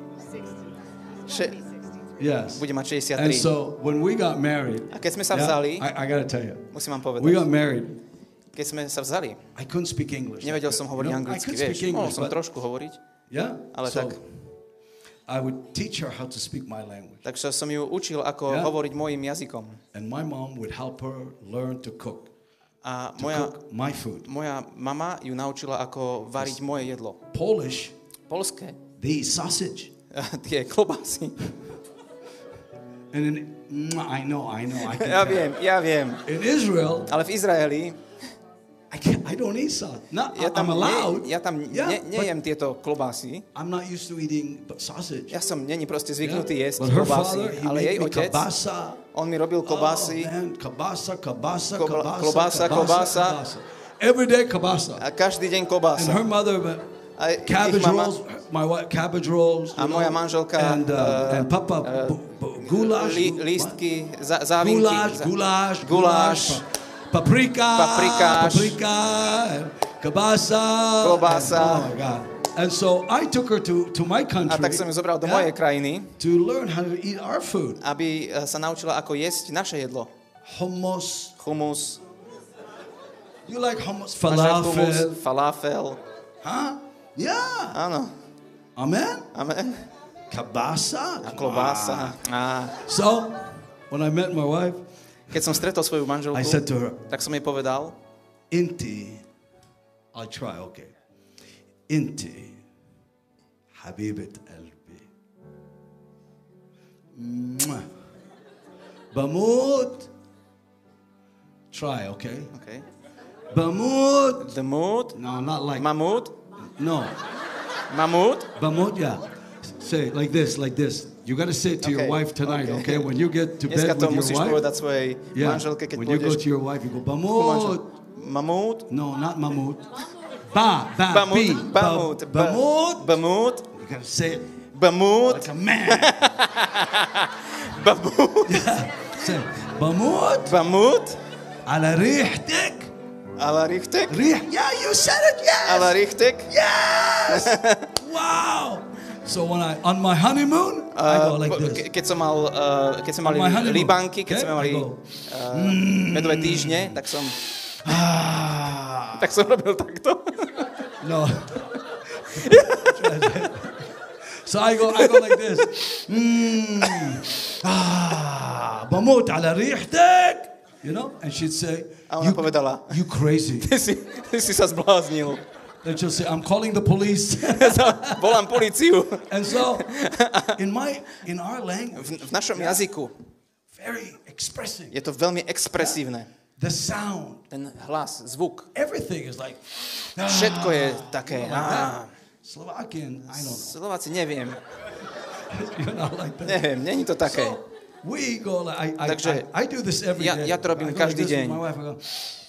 Yes. Bude mať And 63. so when we got married, A keď sme sa vzali, I got to tell you, musím vám we got povedať, married. keď sme sa vzali, I couldn't speak English. nevedel som hovoriť I anglicky, could speak vieš. Mohol English, som but trošku hovoriť, yeah. ale So tak. I would teach her how to speak my language, Takže som ju učil, ako Yeah. hovoriť mojim jazykom. and my mom would help her learn to cook, A to cook my food. moja mama ju naučila, ako variť moje jedlo. Polish, Polské. they eat sausage, Tie klobásy. and in, I know, I can Ja viem. In Israel, Ale v Izraeli I don't eat sausage. Not, ja tam, I'm allowed. ja tam Yeah, nejem tieto klobásy. I'm not used to eating sausage. Ja som není proste zvyknutý Yeah. jesť But her klobásy, father, he ale made jej me otec, kielbasa. on mi robil klobásy Oh, man, kielbasa. Klobása. Every day kielbasa. a každý deň And klobása. her mother, A ich cabbage mama, rolls, my wife, cabbage rolls. A moja manželka, and papa, goulash. lístky, závinky. Goulash. Paprika. And kielbasa. Klobása. Oh my God. And so I took her to my country. A tak som ju zobral do mojej krajiny, to learn how to eat our food. aby sa naučila, ako jesť naše jedlo. Hummus. Humus, You like hummus? máš rád humus, Falafel. falafel. Huh? Yeah. Áno. Amen. Amen. Kielbasa. A klobása. A So, when I met my wife, keď som stretol svoju manželku, I said to her, tak som jej povedal, Inti, I'll try, okay. Inti, Habibat Albi. Bamut. Try, okay? okay. Bamut. The mood. No, not like. Mamut. No. Mamut. Bamut, yeah. Say it like this, like this. You got to say it to your Okay, wife tonight, okay. okay? When you get to Dneska bed to with musíš your povedať wife. svojej Yeah. manželke, keď When you go pôjdeš to your wife, you go, ku manžel- Bamut. Mamut. No, not mamut. Ba, Bamut. B. Bamut. Bamut. Bamut. You got to say it Bamut. like a man. Bamut. Say, Bamut. Bamut. على ريحتك. Ala richtek. Yeah, you said it, yes. Ala richtek. Yes. Wow. So when on my honeymoon, I go like this. Keď som mali On my honeymoon. Libanky, keď Okay, sme mali I go. medové týždne, tak som Ah. robil takto. No. So I go like this. بموت على ريحتك. You know? And she'd say, A ona povedala, you crazy. ty si sa zbláznil. Then she'll say, I'm calling the police. Volám políciu. And so, in our language, V našom jazyku very expressive. je to veľmi expresívne. The sound, Ten hlas, zvuk. everything is like, Všetko je také. Slovakian, I don't know. Slováci neviem. You're not like that. Neviem, není to také. So, we go like, Takže I do this every day. ja to robím I go like každý this with deň. My wife, I go,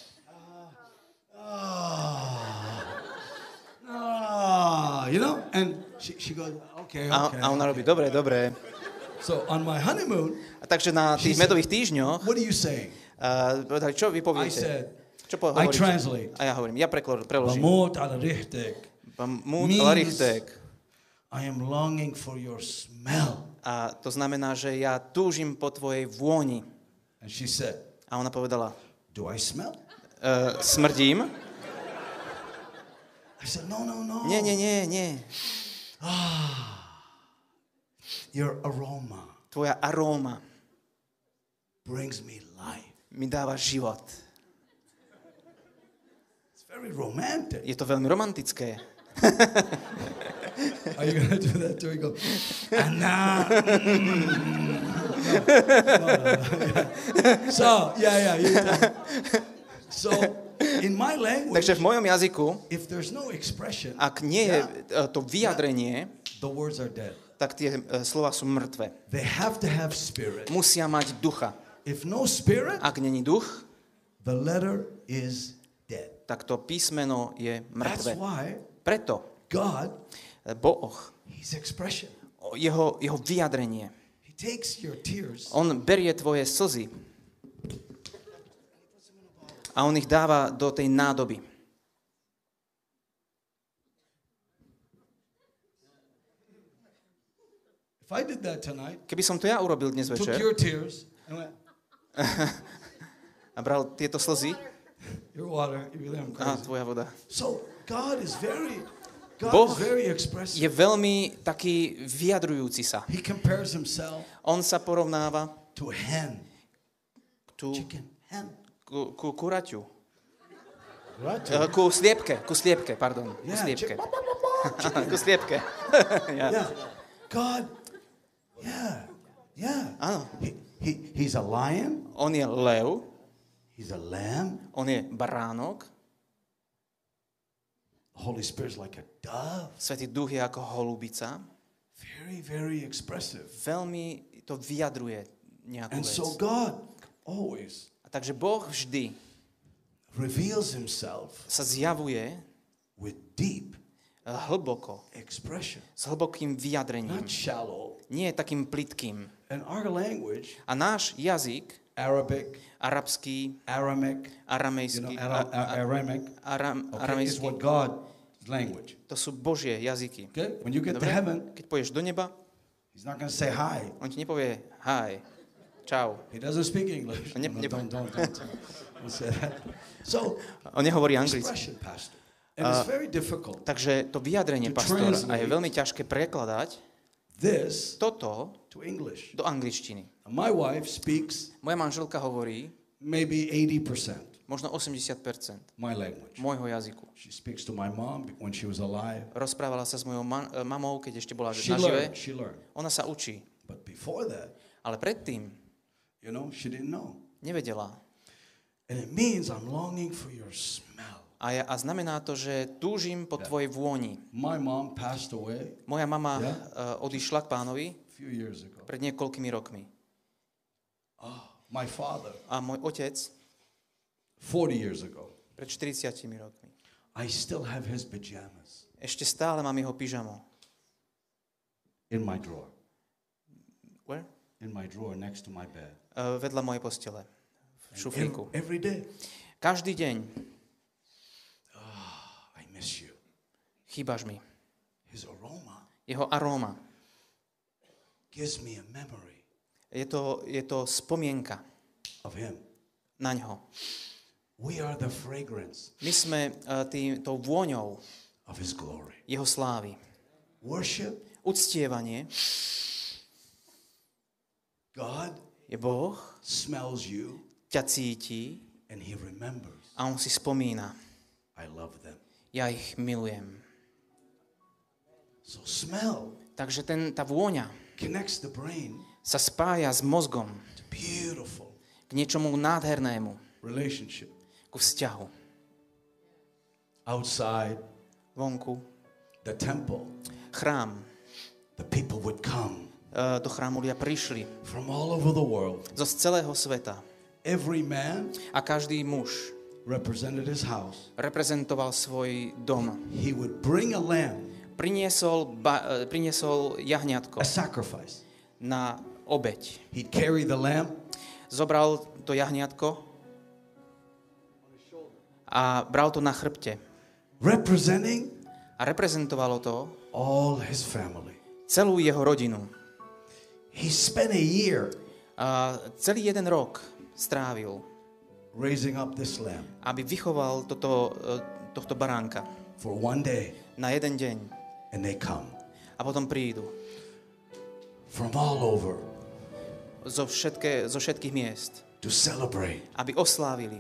you know? And she goes, okay. A ona robí, dobre. So on my honeymoon, A takže na tých medových týždňoch what are you saying? povedali, čo vy I poviete? said, Čo I hovoríte? translate. A ja hovorím, ja preložím. بموت على ريحتك. Bamut means- ala richtek. I am longing for your smell. A to znamená, že ja túžim po tvojej vôni. And she said, A ona povedala, do I smell? Smrdím? I said, no. Nie. Your aroma Tvoja aróma brings me life. mi dáva život. It's very romantic. Je to veľmi romantické. Are you going to do that too? You go, Anna. No. So, yeah. So, in my language, Takže v mojom jazyku, if there's no expression, ak nie je to vyjadrenie, the words are dead. tak tie slova sú mŕtve. They have to have spirit. Musia mať ducha. If no spirit, Ak není duch, the letter is dead. tak to písmeno je That's mŕtve. why Preto God, Boh, His expression. jeho vyjadrenie, He takes your tears on berie tvoje slzy a on ich dáva do tej nádoby. If I did that tonight, Keby som to ja urobil dnes took večer your tears and went, a bral tieto slzy, your water, you'd be there, I'm a crazy. tvoja voda, So God is Boh very expressive. je veľmi taký vyjadrujúci sa. He compares himself On sa porovnáva to a hen, tu chicken, hen. ku kuraťu. Right? Ku sliepke, pardon. Ku Yeah, sliepke. chicken. Ku sliepke. Yeah. God, yeah. Áno. He's a lion. On je lev, He's a lamb. on je baránok, Holy Spirit's like a dove. Svätý Duch je ako holubica. Very expressive. Veľmi to vyjadruje nejakú And vec. so God always A takže Boh vždy reveals himself sa zjavuje with deep hlboko, expression, s hlbokým vyjadrením. not shallow. Nie je takým plytkým. And our language, A náš jazyk, Arabic, arabský, Aramaic, aramejský, Aramaic, okay, is aramejský, what God's language. to sú Božie jazyky. Okay? When you get to Dobre? heaven, Keď pôjdeš do neba, he's not going to say hi. on ti nepovie hi, čau. He doesn't speak English. Ne- No, ne- don't say that. So, On nehovorí anglicky. expression, Pastor. And it's very difficult. Takže to vyjadrenie, To pastor, a je translate. veľmi ťažké prekladať This toto to English. do angličtiny. My wife speaks Moja manželka hovorí maybe 80% možno 80% my language. môjho jazyku. She speaks to my mom when she was alive. Rozprávala sa s mojou mamou, keď ešte bola She nažive. learned. Ona sa učí. But before that, Ale predtým she didn't know. nevedela. And it means I'm longing for your smell. A znamená to, že túžim po tvojej vôni. My mom passed away Moja mama odišla k Pánovi a few years ago. pred niekoľkými rokmi. My father, A môj otec 40 years ago. pred 40 rokmi. I still have his pajamas Ešte stále mám jeho pyžamo. in my drawer. Where? In my drawer next to my bed. Vedľa mojej postele. V šuflíku. Every day. Každý deň I miss you. chýbaš mi. His aroma Jeho aróma. gives me a memory Je to spomienka of him. na ňo. We are the fragrance My sme tou vôňou of his glory. jeho slávy. Worship Uctievanie God je Boh, smells you ťa cíti and he remembers. a on si spomína. I love them. Ja ich milujem. So smell Takže tá vôňa connects the brain sa spája s mozgom to beautiful k niečomu nádhernému, relationship. ku vzťahu. Outside Vonku, the temple, chrám. the people would come Do chrámu ľudia prišli from all over the world. zo celého sveta. Every man A každý muž represented his house. reprezentoval svoj dom. He would bring a lamb, Priniesol jahňatko a sacrifice. na obeť. He'd carry the lamb Zobral to jahňatko a bral to na chrbte. representing A reprezentovalo to all his family. celú jeho rodinu. He spent a year A celý jeden rok strávil, raising up this lamb aby vychoval tohto baránka for one day, na jeden deň. and they come A potom prídu from all over zo všetkých miest, to celebrate. aby oslávili,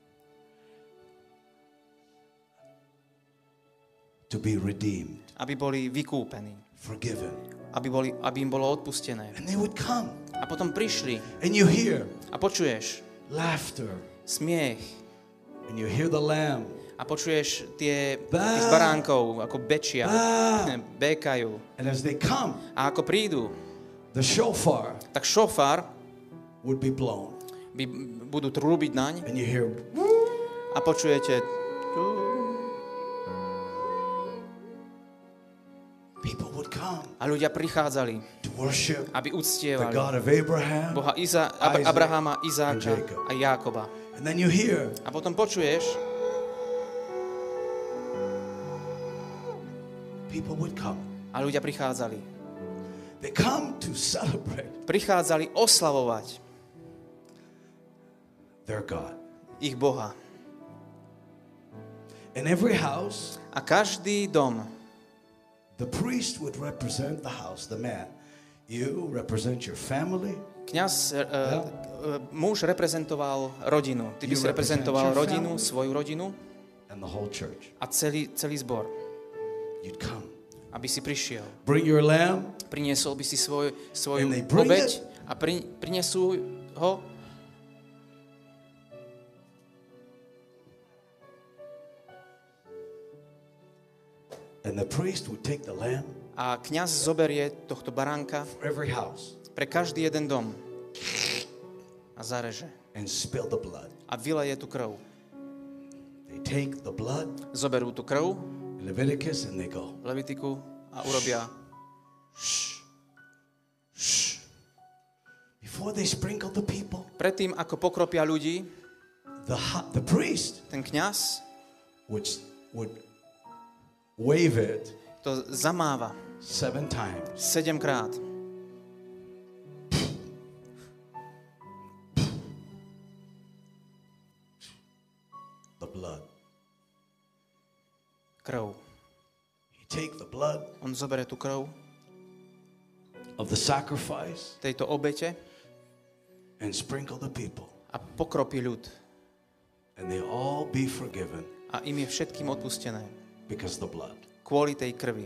To be redeemed, aby boli vykúpení, forgiven. aby im bolo odpustené. And they would come, A potom prišli and you hear a počuješ laughter, smiech and you hear the lamb. a počuješ tých Bá. baránkov, ako bečia, Bá. békajú. And as they come, A ako prídu, the shofar tak šofár would be blown, budú trúbiť naň and you hear, a počujete, people would come a ľudia prichádzali, to worship aby the uctievali God of Abraham. Boha Isaac Abrahama, and Izáka Jacob. a Jákoba. And then you hear, A potom počuješ, people would come. a ľudia prichádzali. They come to celebrate Prichádzali oslavovať their God. ich Boha. In every house, A každý dom, the priest would represent the house, the man. You represent your family. muž reprezentoval rodinu. Ty by You si reprezentoval represent your rodinu, family. svoju rodinu And the whole church. a celý zbor. You'd come. Aby si prišiel. Bring your lamb. Priniesol by si svoju And they bring obeť it. a prinesú ho. And the priest would take the lamb A kňaz zoberie tohto baránka for every house pre každý jeden dom a zareže and spill the blood. a vyleje tú krv. They take the blood Zoberú tú krv in Leviticus and they go. Levitiku a urobia. Before they sprinkle the people, Predtým, ako pokropia ľudí, the priest ten kňaz would wave it to zamáva 7 times. 7-krát. The blood. Krv. You take the blood On zoberie tú krv of the sacrifice tejto obete and sprinkle the people, a pokropí ľud. and they all be forgiven A im je všetkým odpustené because of the blood. kvôli tej krvi.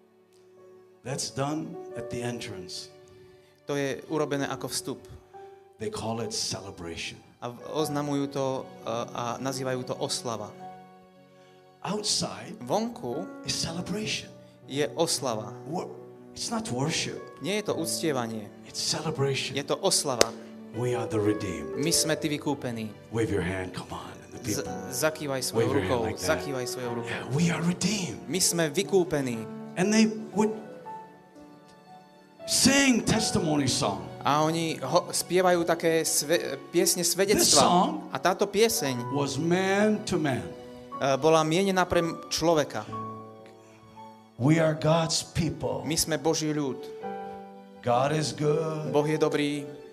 That's done at the entrance. To je urobené ako vstup. They call it celebration. A oznamujú to a nazývajú to oslava. Outside Vonku is celebration. je oslava. It's not worship. Nie je to uctievanie. It's celebration. Je to oslava. We are the redeemed. My sme tí vykúpení. Wave your hand, come on. And the people. Zakývaj svojou Wave your rukou. hand like that. Zakývaj svojou rukou. Yeah, we are redeemed. My sme vykúpení. And they would sing testimony song. A oni spievajú také piesne This svedectva. song A táto pieseň was man to man. bola mienená pre človeka. We are God's people. My sme Boží ľud. God is good. Boh je dobrý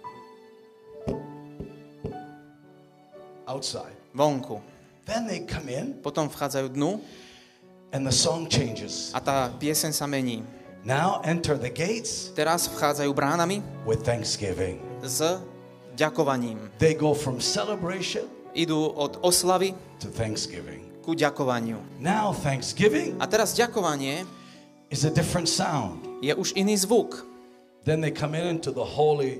Outside. vonku. Then they come in Potom vchádzajú dnu and the song changes. a tá pieseň sa mení. Now enter the gates Teraz vchádzajú bránami with thanksgiving. s ďakovaním. They go from celebration Idú od oslavy to thanksgiving. ku ďakovaniu. Now thanksgiving A teraz ďakovanie is a different sound. je už iný zvuk. Then they come into the holy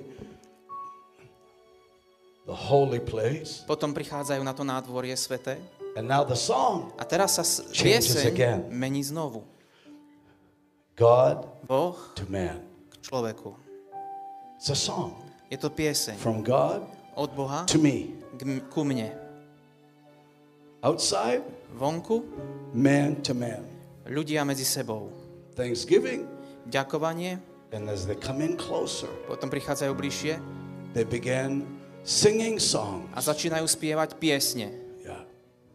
place. Potom prichádzajú na to nádvorie svete. And now the song, A teraz sa Changes again. pieseň mení znovu. God Boh to man. k človeku. It's a song Je to pieseň from God od Boha to me. ku mne. Outside, Vonku man to man. ľudia medzi sebou. Thanksgiving, Ďakovanie, and as they come in closer, potom prichádzajú bližšie they begin singing songs. a začínajú spievať piesne. Yeah.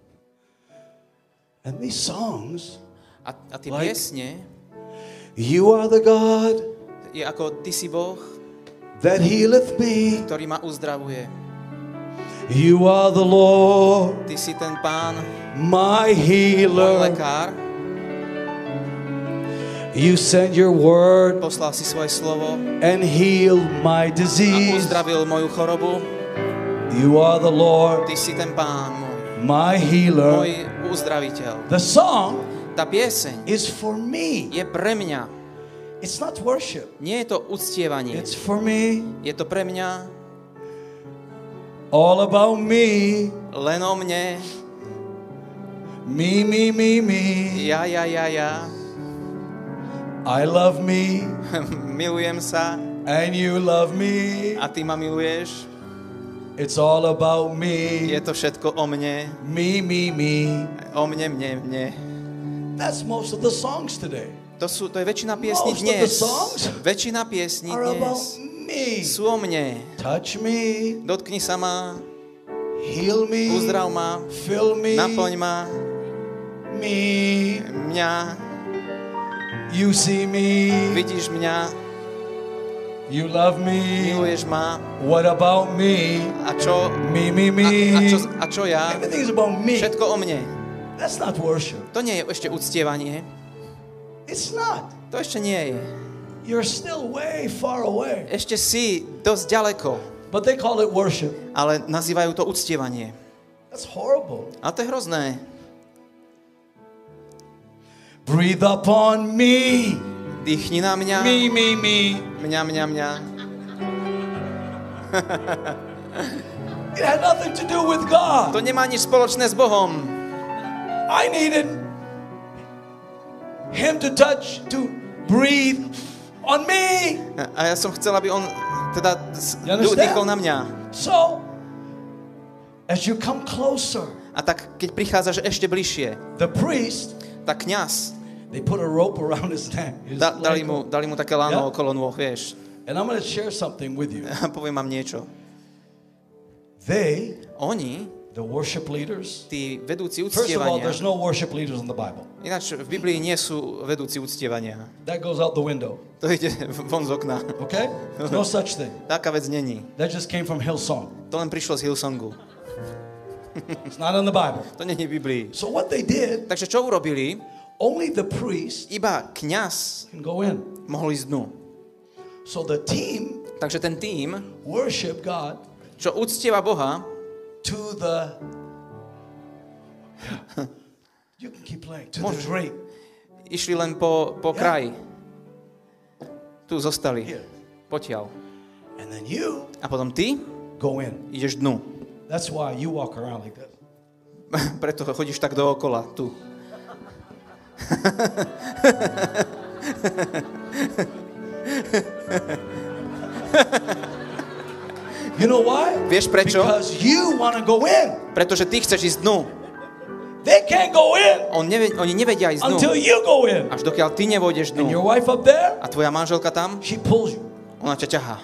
And these songs, A tie Like- piesne you are the God je ako ty si Boh, that healeth me. ktorý ma uzdravuje. You are the Lord, Ty si ten Pán, my môj healer. lekár. You sent your word Poslal si svoje slovo and healed my a disease. uzdravil moju chorobu. You are the Lord, Ty si ten Pán môj, my healer. môj uzdraviteľ. The song Tá pieseň is for me. je pre mňa. It's not worship. Nie je to uctievanie. It's for me. Je to pre mňa All about me. len o mne. Me, me, me, me. Ja. I love me Milujem sa and you love me. a ty ma miluješ. It's all about Je me. to všetko o mne. Me, me, me. O mne. That's most of the songs today. To je väčšina piesní Most of the dnes. songs Väčšina piesní Are about dnes me. sú o mne. Touch me, Dotkni sa ma, heal me, uzdrav ma, fill me, naplň ma, me. mňa, You see me, vidíš mňa, you love me. miluješ ma. What about me? A čo? Me, me, me. A čo ja? Everything's about me. Všetko o mne. That's not worship. To nie je ešte uctievanie. It's not. To ešte nie je. You're still way far away. Ešte si dosť ďaleko, But they call it worship. ale nazývajú to uctievanie. That's horrible. A to je hrozné. Breathe upon me. Dýchni na mňa. Me, me, me. Mňa. It had nothing to do with God. To nemá nič spoločné s Bohom. I needed him to touch, to breathe on me. A ja som chcel, aby on teda You understand? dýchol na mňa. So, as you come closer, A tak, keď prichádzaš ešte bližšie, the priest, tak kňaz, they put a rope around his neck. His dali leg. mu také lano Yeah. okolo nôh, vieš. And I'm going to share something with you. A poviem vám niečo. Oni, The worship leaders. tí vedúci First of all, uctievania, there's no worship leaders in the Bible. ináč v Biblii nie sú vedúci uctievania. That goes out the window. To ide von z okna. Okay? There's no such thing. Taká vec není. That just came from Hillsong. To len prišlo z Hillsongu. It's not in the Bible. To není v Biblii. So what they did, Takže čo urobili? only the priest Iba kňaz can go in. mohol ísť dnu. So the team Takže ten tím, worship God čo uctieva Boha, to the you can keep playing to the Môžeš. drape. išli len po kraji. Tu zostali. Here. Potiaľ. And then you A potom ty go in. Ideš dnu. That's why you walk around like this. Preto chodíš tak dookola, tu. You know why? Vieš prečo? Because you want to go in. Pretože ty chceš ísť dnu. They can't go in Oni nevedia ísť dnu. until you go in. Až dokiaľ ty nevôjdeš And your dnu. wife up there, A tvoja manželka tam, she pulls you. ona ťa ťahá.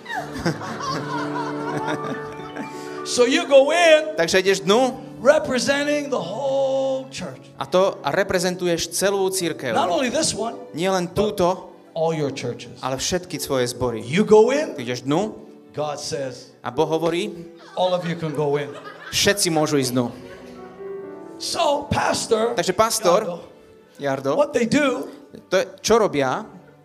So you go in Takže ideš dnu representing the whole church. a reprezentuješ celú cirkev. Not only this one, Nie len túto, all your churches. ale všetky svoje zbory. You go in, Ty ideš dnu God says, a Boh hovorí, all of you can go in. všetci môžu ísť dnu. So, pastor, Takže pastor, Jardo, what they do, čo robia?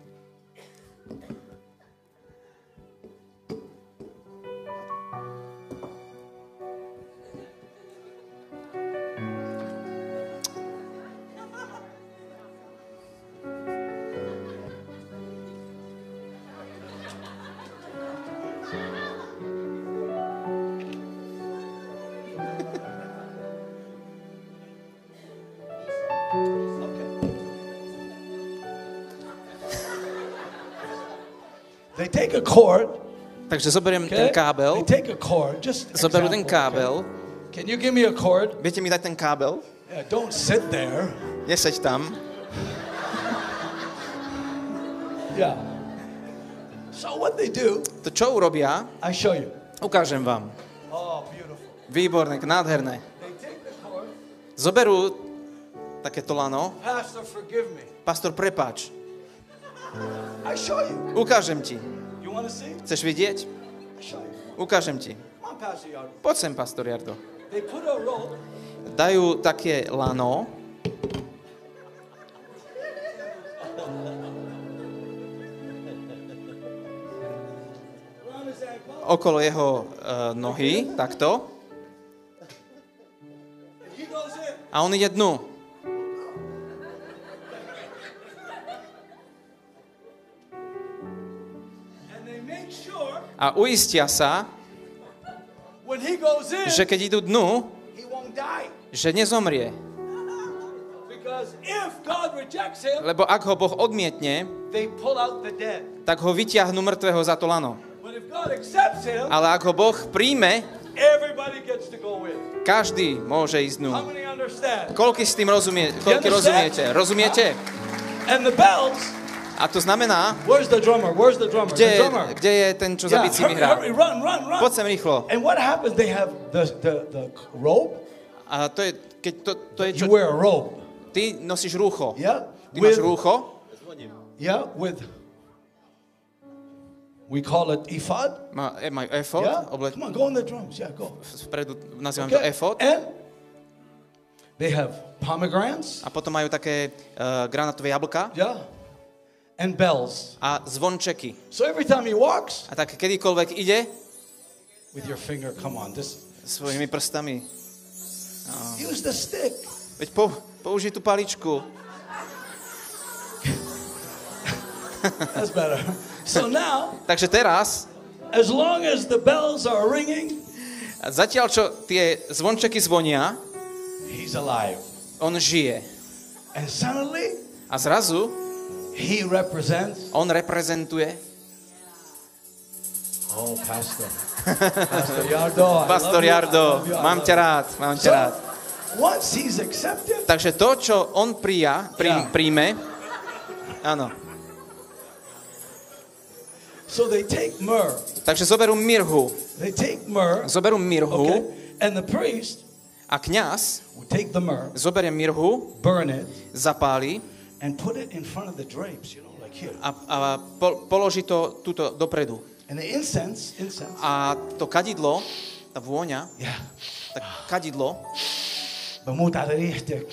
they take a cord, Takže zoberiem okay? ten kábel, They take a cord, just zoberú ten example, kábel. okay? Can you give me a cord? Viete mi dať ten kábel? Yeah, don't sit there. Neseď tam. Yeah. So what they do, To čo urobia? I show you. Ukážem vám. Oh, beautiful. Výborné, nádherné. They take the cord. Zoberú takéto lano. Pastor, forgive me. Pastor, prepáč. I show you. Ukážem ti. You want to see? Chceš vidieť? I show you. Ukážem ti. Come on, Pastor Yardo. Poď sem, pastor Jardo. They put a rope. Dajú také lano around his ankle. okolo jeho nohy, takto. He goes in. A on ide dnu. And they make sure A uistia sa, when he goes in, že keď idú dnu, he won't die. že nezomrie. Because if God rejects him, Lebo ak ho Boh odmietne, they pull out the dead. tak ho vyťahnú mŕtvého za to lano. But if God accepts him, Ale ak ho Boh príjme, everybody gets to go in. každý môže ísť dnu. How many understand? Koľko s tým koľko rozumiete? Rozumiete? And the bells, A to znamená, where's the drummer? Where's the drummer? The drummer. kde je ten, čo za Yeah, bicími hurry, hrá? hurry, run, run, run. Poď sem rýchlo. And what happens? They have the robe. A to je, keď to je čo... You wear a robe. Ty nosíš rúcho. Yeah. Ty máš rúcho, Yeah, with, we call it ephod. majú efod, Yeah. Come on, go on the drums. Yeah, go. vpredu nazývam to efod. And they have pomegranates. A potom majú také granátové jablka Yeah. And bells. a zvončeky. So every time he walks, A tak kedykoľvek ide with your finger, come on, this. svojimi prstami, Use the stick. veď použij tú paličku. That's better. So now, Takže teraz, as long as the bells are ringing, zatiaľ čo tie zvončeky zvonia, he's alive. on žije. And suddenly, A zrazu he represents. on reprezentuje Oh, Pastor. Pastor Yardo. I Pastor love you, I Jardo, love you, I mám love ťa you. rád, mám ťa So, rád. once he's accepted, Takže to, čo on Yeah. príjme, áno. so they take myrrh. Takže zoberú mirhu. They take myrrh. Zoberú mirhu Okay. And the priest a kňaz will take the myrrh, zoberie mirhu, burn it, zapáli and put it in front of the drapes, you know, like here. a položí to túto dopredu. And the incense. A to kadidlo, tá vôňa, Yeah. tak kadidlo, بموت على ريحتك.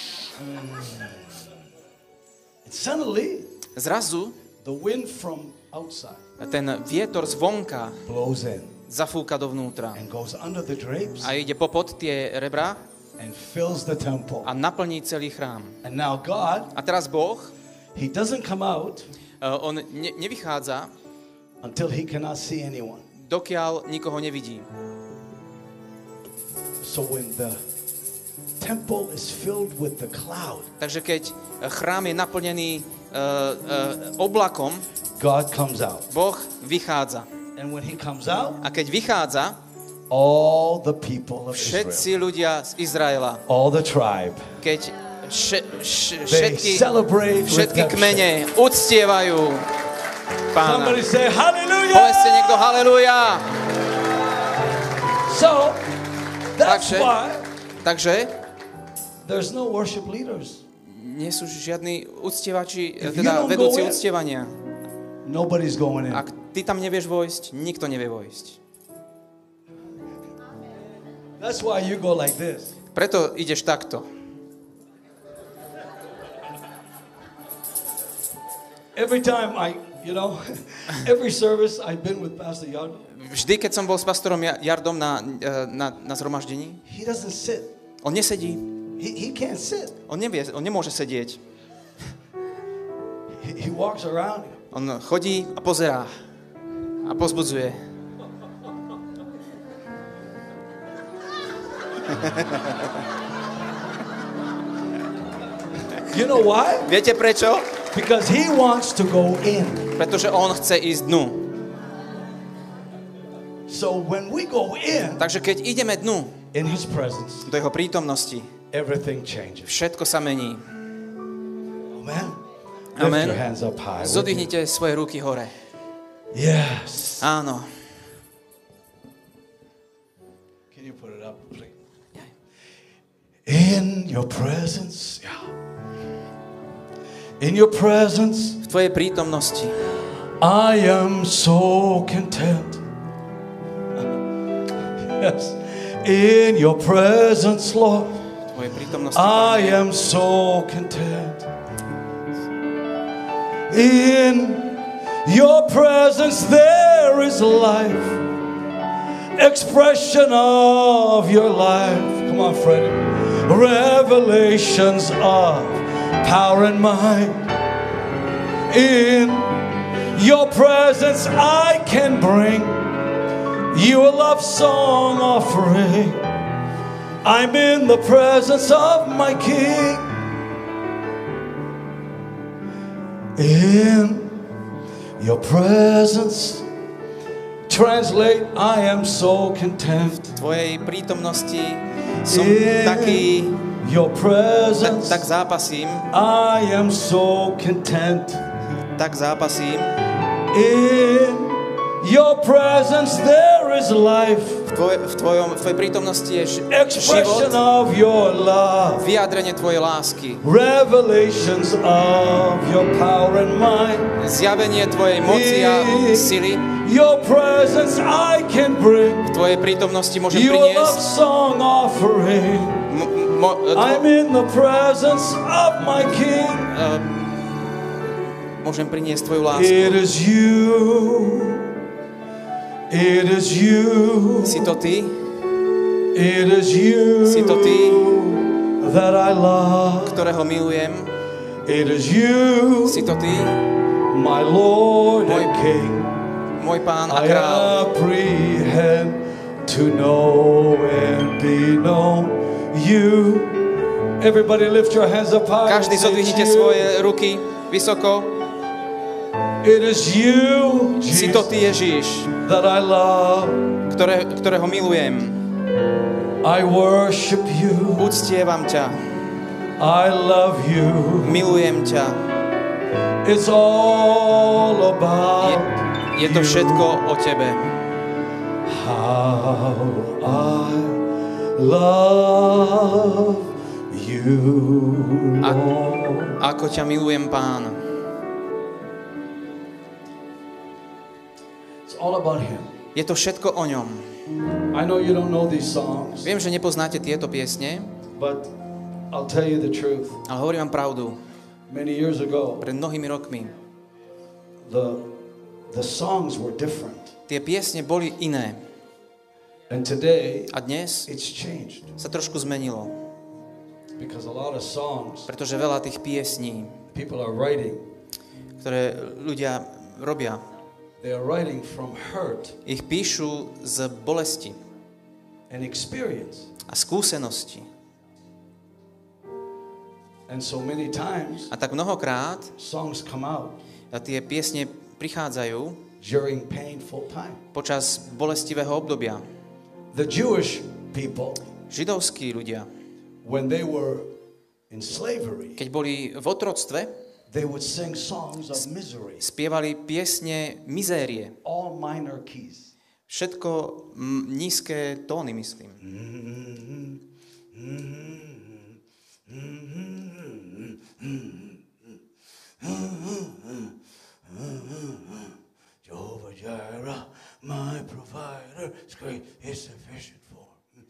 And suddenly, zrazu the wind from outside ten vietor zvonka blows in zafúka dovnútra and goes under the drapes a ide popod tie rebra and fills the temple. a naplní celý chrám. And now God, A teraz Boh, he doesn't come out on nevychádza, until he cannot see anyone. dokiaľ nikoho nevidí. So when the temple is filled with the cloud, Takže keď chrám je naplnený oblakom, God comes out. Boh vychádza. And when he comes out, A keď vychádza, all the people of všetci Israel, ľudia z Izraela, all the tribe, keď they celebrate with všetky them. kmene uctievajú Pána. Somebody say hallelujah. Povedzte niekto haleluja. So that's Takže there's no worship leaders. nie sú žiadni uctievači, If you teda don't vedúci go in, uctievania. Nobody's going in. Ak ty tam nevieš vojsť, nikto nevie vojsť. That's why you go like this. Preto ideš takto. Every time every service I've been with Pastor Yardom, Vždy, keď som bol s pastorom Jardom na zhromaždení, he doesn't sit. on nesedí. He can't sit. On nemôže sedieť. He walks around. On chodí a pozerá a pozbudzuje. You know why? Viete prečo? Because he wants to go in. Pretože on chce ísť dnu. So when we go in Takže keď ideme dnu in his presence, do jeho prítomnosti, everything changes. všetko sa mení. Amen. Amen. Lift your hands up high. would you? Zodvihnite svoje ruky hore. Yes. Áno. Can you put it up, please? In your presence, yeah. In your presence, V tvojej prítomnosti I am so content. Yes. In your presence, Lord, v tvojej prítomnosti, I Pane, am so content. In your presence there is life, expression of your life. Come on, Freddie. Revelations of power and might. In your presence I can bring you a love song offering. I'm in the presence of my King. In your presence, translate, I am so content. v tvojej prítomnosti som In taký, your presence, tak zápasím, I am so content. tak zápasím. In your presence there is life, V tvojej prítomnosti je expression život, of your love, vyjadrenie tvojej lásky, revelations of your power and might. zjavenie tvojej moci a sily. Your presence I can bring V tvojej prítomnosti môžem you a love priniesť song offering. I'm in the presence of my King. môžem priniesť tvoju It lásku. is you. It is you. Si to ty, It is you Si to ty, that I love. ktorého milujem. It is you, Si to ty, my Lord and King. môj pán a I kráľ. apprehend to know and be known. You. Everybody lift your hands up high. Každý zodvihnite It's you. svoje ruky vysoko. It is you, Si to Jesus, ty, Ježíš, that I love. ktorého milujem. I worship you. Uctievam ťa, I love you. milujem ťa. It's all about Je to všetko o tebe. how I love you, Lord. Ako ťa milujem, Pán. It's all about Him. Je to všetko o ňom. I know you don't know these songs, Viem, že nepoznáte tieto piesne, but I'll tell you the truth. ale hovorím vám pravdu. Many years ago, Pred mnohými rokmi the songs were different. tie piesne boli iné. And today, A dnes it's changed. sa trošku zmenilo, Because a lot of songs pretože veľa tých piesní, people are writing, ktoré ľudia robia, They are writing from hurt Ich píšu z bolesti and experience. a skúsenosti. And so many times, A tak mnohokrát songs come out tie piesne prichádzajú during painful time. počas bolestivého obdobia. The Jewish people, Židovskí ľudia, when they were in slavery, keď boli v otroctve, they would sing songs of misery, spievali piesne mizérie. all minor keys. Všetko nízke tóny, myslím. Jehovah Jireh, my provider, is great, is sufficient for.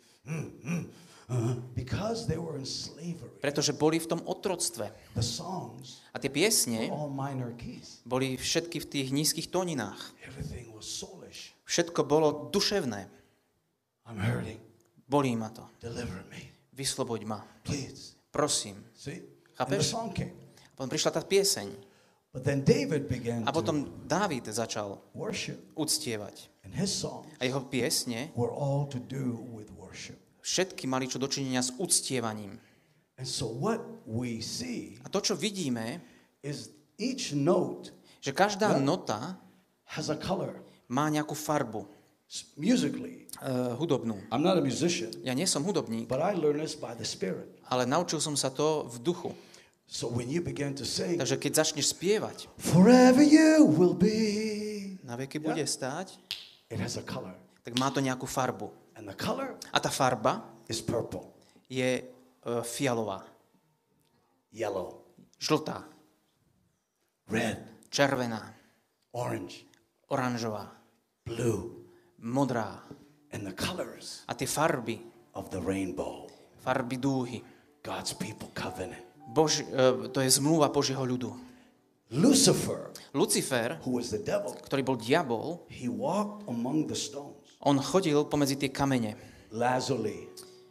Because they were in slavery, Pretože boli v tom otroctve. the songs A tie were piesne all minor keys. boli všetky v tých nízkych tóninách. Everything was soulish. Všetko bolo duševné. I'm hurting. Bolí ma to. Deliver me, Vysloboď ma. please. Prosím. See? And the Chápeš? song came. Potom prišla tá pieseň. But then David began A to potom Dávid začal worship. uctievať. And his songs A jeho piesne were all to do with worship. všetky mali čo dočinenia s uctievaním. And so what we see A to, čo vidíme, is each note že každá nota has a color má nejakú farbu musically. hudobnú. I'm not a musician, Ja nie som hudobník, but I learned this by the Spirit. ale naučil som sa to v duchu. So when you begin to sing, Takže keď začneš spievať, forever you will be, na veky bude stáť, it has a color. tak má to nejakú farbu. And the color A tá farba is purple, je fialová, yellow, žltá, red, červená, orange, oranžová, blue, modrá. and the colors A tie farby, of the rainbow, farby dúhy, God's people covenant. to je zmluva Božieho ľudu. Lucifer, Lucifer, who was the devil, ktorý bol diabol, he walked among the stones. on chodil pomedzi tie kamene. Lazuli.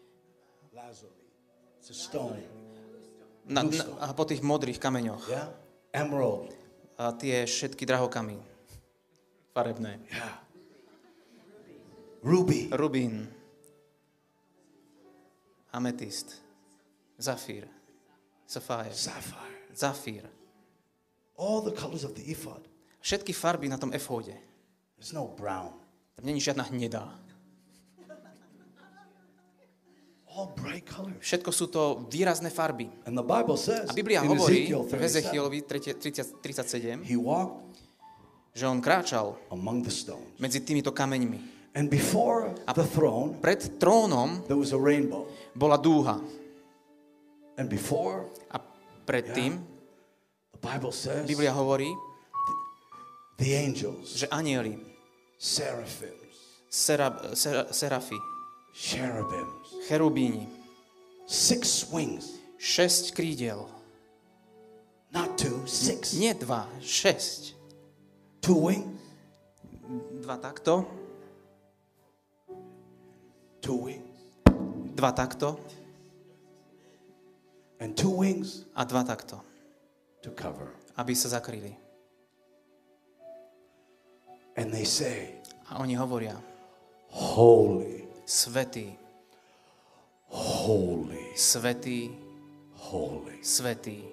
It's a stone. A po tých modrých kameňoch. Yeah? Emerald. A tie všetky drahokamy. Farebné. Yeah. Ruby. Rubín. Ametist. Zafír. Safáje. Sapphire. Zafír. All the colors of the ephod. Všetky farby na tom efóde. There's no brown. Tam není žiadna hnedá. All bright colors. Všetko sú to výrazné farby. And the Bible says A Biblia in hovorí Ezekiel v 37, Ezechielovi 37, he walked že on kráčal among the stones. medzi týmito kameňmi. And before the throne, Pred trónom there was a rainbow. bola dúha. And before, A predtým the Bible says, Biblia hovorí, the angels, že anjeli, seraphims, serafy, cherubims, cherubíni, 6 wings, 6 krídel. not 2, 6. Nie 2, 6. 2 wings, 2 takto, 2 wings, 2 takto and 2 wings a 2 takto, to cover. aby sa zakryli. And they say, A oni hovoria, holy, svätý, holy, svätý, holy. svätý.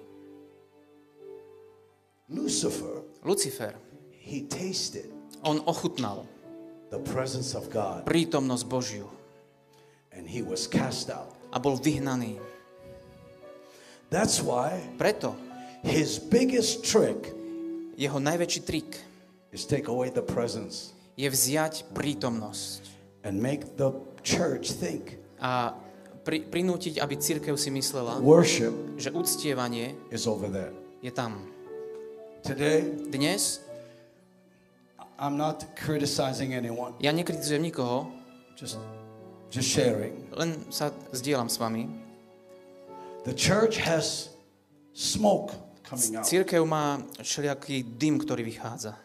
Lucifer, Lucifer, he tasted on ochutnal the presence of God prítomnosť Božiu and he was cast out. a bol vyhnaný. That's why Preto his biggest trick jeho najväčší trik is take away the presence je vziať prítomnosť and make the church think a prinútiť, aby cirkev si myslela, worship že uctievanie is over there. je tam. Today, Dnes I'm not criticizing anyone, ja nekritizujem nikoho, just sharing. len sa zdieľam s vami. The church has smoke coming out, Cirkev má všelijaký dym, ktorý vychádza,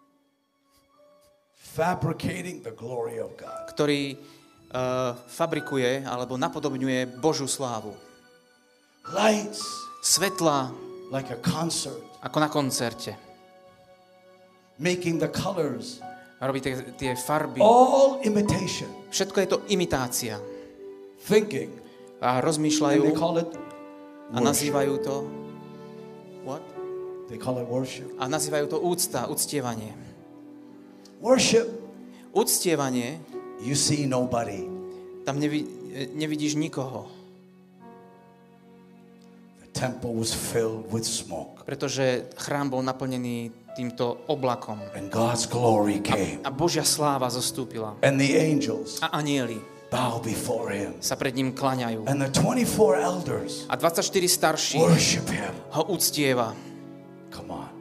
fabricating the glory of God. ktorý fabrikuje alebo napodobňuje Božiu slávu. Lights Svetla like a concert, ako na koncerte. making the colors, A robí tie farby. all imitation, Všetko je to imitácia. thinking, A and rozmýšľajú they call it a worship. nazývajú to... What? They call it worship. A nazývajú to úcta, uctievanie. Worship, Uctievanie, you see nobody. tam nevidíš nikoho, The temple was filled with smoke, pretože chrám bol naplnený týmto oblakom. and God's glory came, A Božia sláva zostúpila. and the angels A anjeli bow before him, sa pred ním klaňajú. and the 24 elders A 24 starší worship him. ho uctieva. Come on.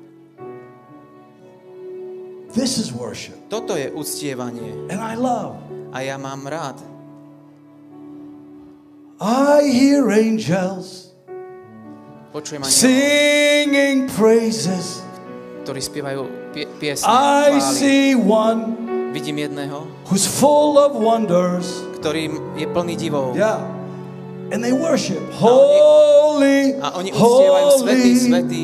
This is worship, Toto je uctievanie. and I love. A ja mám rád. I hear angels Počujem anielov, singing praises. ktorí spievajú piesne. I chvály. see one Vidím jedného, who's full of wonders. ktorý je plný divov. Yeah. And they worship. Holy, A oni uctievajú svätý, holy, svätý,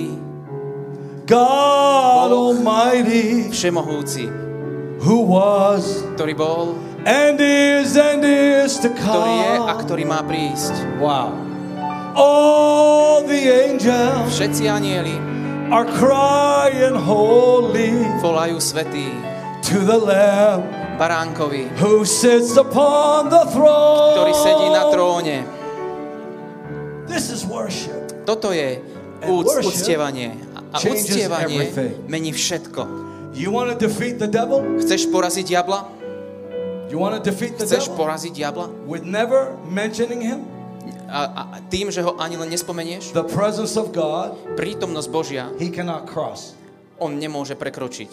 God Boh. Almighty, všemohúci, who was ktorý bol, and is to ktorý je a come. ktorý má prísť. Wow. All the angels Všetci anieli are crying holy volajú svätý to the Lamb baránkovi, who sits upon the throne. ktorý sedí na tróne. This is worship. Toto je worship uctievanie. A changes uctievanie everything. mení všetko. You want to defeat the devil? Chceš poraziť diabla? You want to defeat the Chceš devil poraziť diabla? with never mentioning him? A tým, že ho ani len nespomenieš? The presence of God, Prítomnosť Božia he cannot cross. on nemôže prekročiť.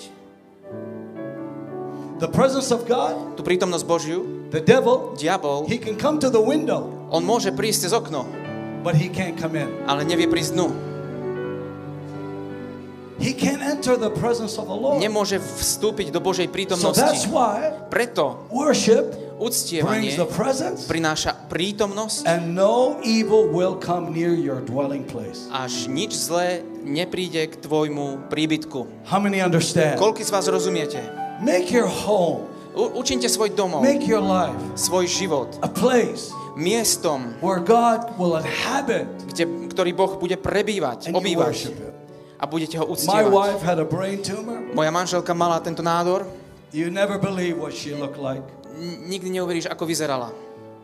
The presence of God, Tú prítomnosť Božiu the devil, diabol, he can come to the window, on môže prísť cez okno, but he can't come in. ale nevie prísť dnu. He can't enter the presence of the Lord. Nemôže vstúpiť do Božej So that's prítomnosti. why Preto worship uctievanie brings the presence, prináša prítomnosť, and no evil will come near your dwelling place. až nič zlé nepríde k tvojmu príbytku. How many understand? Koľko z vás rozumiete? Make your home, Učinte svoj domov, make your life svoj život a place miestom, where God will inhabit ktorý Boh bude prebývať, and you obývať worship Him. a budete ho My uctievať. wife had a brain tumor. Moja manželka mala tento nádor. You never believe what she looked like. Nikdy neuveríš, ako vyzerala.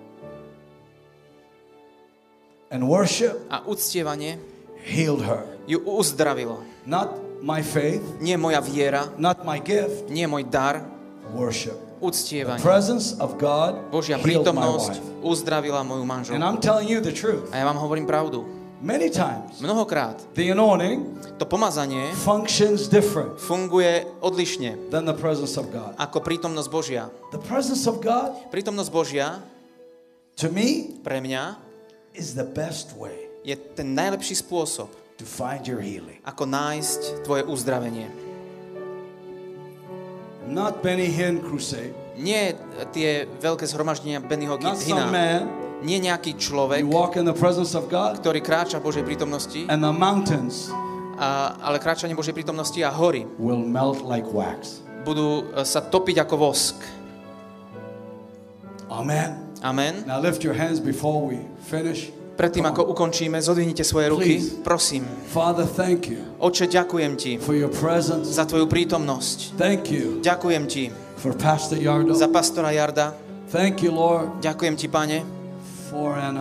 And worship A uctievanie healed her. ju uzdravilo. Not my faith, Nie moja viera, not my gift, nie môj dar, worship. The uctievanie. presence of God Božia healed my prítomnosť wife. uzdravila moju And manželku. I'm telling you the truth. A ja vám hovorím pravdu. Many times, Mnohokrát the anointing to pomazanie functions different funguje odlišne than the presence of God. ako prítomnosť Božia. The presence of God, Prítomnosť Božia to me, pre mňa is the best way je ten najlepší spôsob, to find your healing. ako nájsť tvoje uzdravenie. Not Benny Hinn crusade. Nie tie veľké zhromaždenia Bennyho Not some Hinna, man. nie nejaký človek, You walk in the presence of God, ktorý kráča v Božej prítomnosti, and the mountains ale kráčanie Božej prítomnosti a hory will melt like wax. budú sa topiť ako vosk. Amen. Amen. Now lift your hands before we finish. Predtým, Come on. ako ukončíme, zodvihnite svoje ruky. Please. Prosím. Father, thank you Oče, ďakujem Ti for your presence. za Tvoju prítomnosť. Thank you Ďakujem Ti for Pastor Yardo. za pastora Jarda. Thank you, Lord, Ďakujem Ti, Pane, for Anna.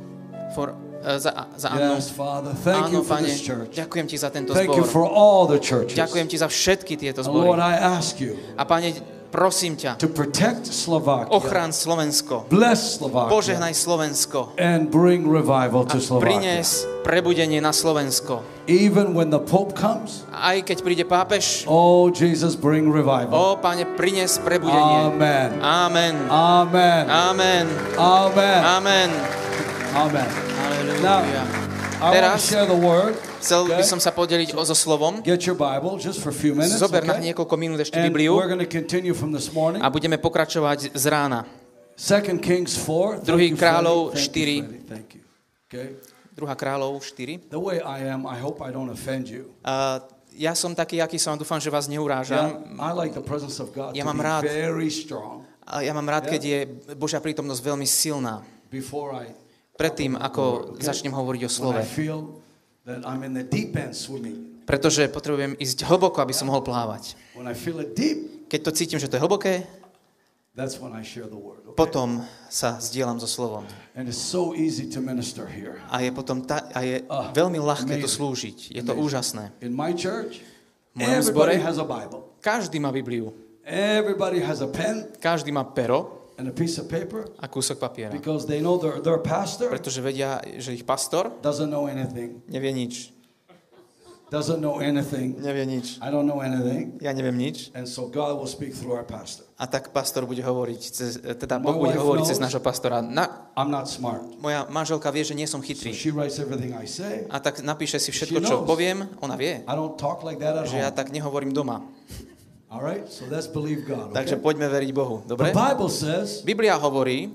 za Annu. Yes, Father. Thank Áno, you for Pane, this church. ďakujem Ti za tento Thank you zbor. for all the churches. Ďakujem Ti za všetky tieto And Lord, zbory. I ask you A Pane, prosím ťa, to protect Slovakia. ochraň Slovensko. Bless Slovakia. Požehnaj Slovensko. And bring revival A to Slovakia. prinies prebudenie na Slovensko. Even when the Pope comes, Aj keď príde pápež, oh Jesus, bring revival. Pane, prinies prebudenie. Amen. Amen. Amen. Amen. Amen. Amen. Amen. Halelúja. I want to Teraz share the word. chcel by Okay? som sa podeliť so slovom. Get your Bible just for a few minutes. Zober na Okay? niekoľko minút ešte And Bibliu we're going to continue from this morning. a budeme pokračovať z rána. 2 Kings 4. Druhý Thank you, kráľov Freddie. 4. Thank you, Freddie. Thank you. Okay. 2. kráľov 4. The way I am, I hope I don't offend you. Ja som taký, aký som, dúfam, že vás neurážam. I like the presence of God Ja to mám be rád. very strong A ja mám rád, keď je Božia prítomnosť veľmi silná. before I Predtým, ako začnem hovoriť o when slove. I feel that I'm in the deep end swimming. Pretože potrebujem ísť hlboko, aby som mohol plávať. When I feel it deep, Keď to cítim, že to je hlboké, that's when I share the word. Okay? potom sa zdieľam so slovom. And it's so easy to minister here. A je potom veľmi ľahké to amazing. slúžiť. Je to úžasné. In my church, V mojom zbore everybody has a Bible. každý má Bibliu. Everybody has a pen Každý má pero and a piece of paper a kúsok papiera. because they know their pastor Pretože vedia, že ich pastor doesn't know anything. nevie nič. Doesn't know anything. Nevie nič. I don't know anything. Ja neviem nič. And so God will speak through our pastor. A tak pastor bude hovoriť, teda My Boh bude wife hovoriť knows- cez nášho pastora. I'm not smart. Moja manželka vie, že nie som So chytrý. she writes everything I say. A tak napíše si všetko, She čo knows. poviem. Ona vie, I don't talk like that at že ja home. tak nehovorím doma. All right? So let's believe God. Okay? Takže poďme veriť Bohu. Dobre? The Bible says, Biblia hovorí,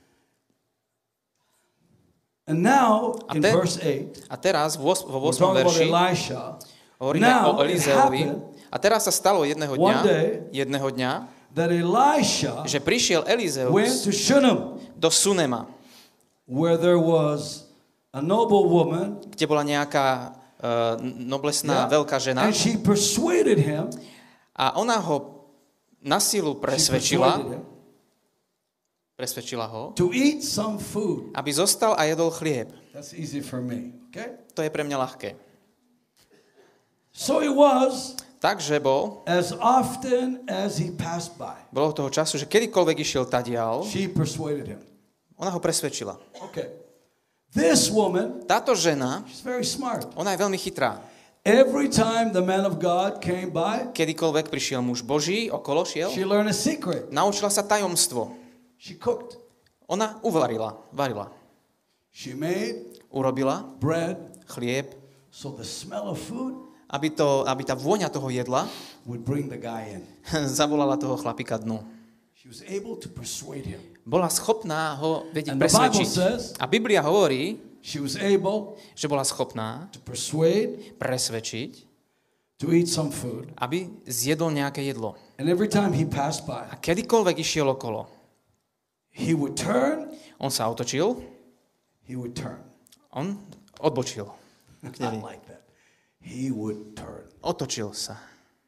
and now A in te- verse 8, a teraz vo we're 8. talking about verši Elisha. hovoríme Now o it Elizeovi. happened A teraz sa stalo jedného one day dňa, that Elisha že prišiel went Elizeus to Shunem, do Sunema, where there was a noble woman, kde bola nejaká noblesná yeah, veľká žena and she persuaded him. a ona ho na silu She presvedčila, persuaded him presvedčila ho, to eat some food. aby zostal a jedol chlieb. That's easy for me. Okay? To je pre mňa ľahké. So it was Takže as often as he passed by. bolo toho času, že kedykoľvek išiel tadiaľ, She persuaded him. ona ho presvedčila. Okay. This woman, Táto žena, she's very smart. ona je veľmi chytrá. Every time the man of God came by, Kedykoľvek prišiel muž Boží, okolo šiel, she learned a secret. naučila sa tajomstvo. She cooked. Ona varila. She made Urobila bread, chlieb, so the smell of food aby tá vôňa toho jedla would bring the guy in. zavolala toho chlapika dnu. She was able to persuade him. Bola schopná ho vedieť And the Bible presvedčiť. says A Biblia hovorí, she was able že bola schopná to persuade presvedčiť, to eat some food. aby zjedol nejaké jedlo. And every time he passed by, A kedykoľvek išiel okolo, he would turn, on sa otočil, he would turn. on odbočil. K I nej. like that. He would turn. Otočil sa.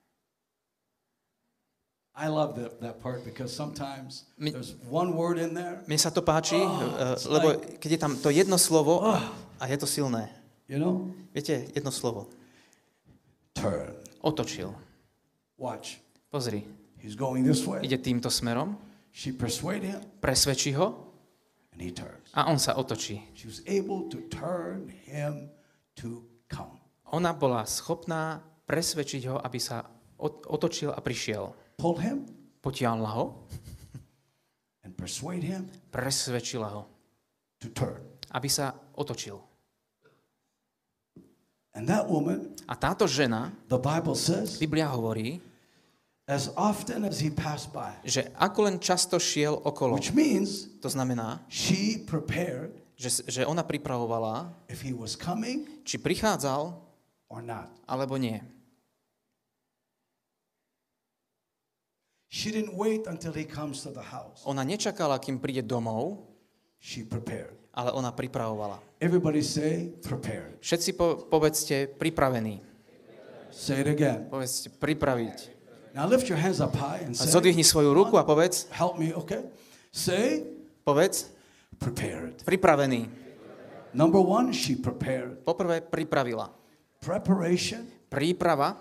I love that part because sometimes Mi- there's one word in there, Mne sa to páči, it's lebo like- keď je tam to jedno slovo a je to silné. you know? Viete, jedno slovo. Turn. Otočil. Watch. Pozri, He's going this way. ide týmto smerom, She persuaded him, presvedčí ho and he turns. a on sa otočí. She was able to turn him to come. Ona bola schopná presvedčiť ho, aby sa otočil a prišiel. Pull him Potiahla ho, and persuade him presvedčila ho, to turn. aby sa otočil. And that woman, A táto žena, the Bible says, Biblia hovorí, as often as he passed by, že ako len často šiel okolo, which means to znamená, she prepared že ona pripravovala, if he was coming či prichádzal, or not. alebo nie. She didn't wait until he comes to the house. Ona nečakala, kým príde domov, She prepared. ale ona pripravovala. Everybody say prepared. Všetci povedzte pripravení. Say it again. Povedzte pripraviť. Now lift your hands up high and A say, zodvihni svoju ruku a povedz, help me, okay? Say povedz, prepared. pripravený. Number one, she prepared. Poprvé pripravila. Preparation, Príprava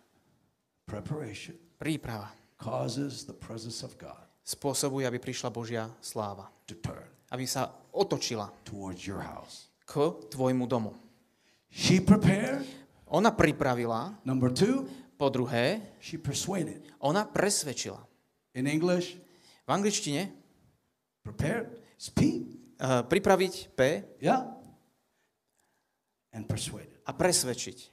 príprava causes the presence of God spôsobuje, aby prišla Božia sláva. to turn Aby sa otočila towards your house. k tvojmu domu. She prepared. Ona pripravila, Number two, po druhé, she persuaded. ona presvedčila. In English, V angličtine prepared is P, pripraviť P yeah? And persuaded. a presvedčiť.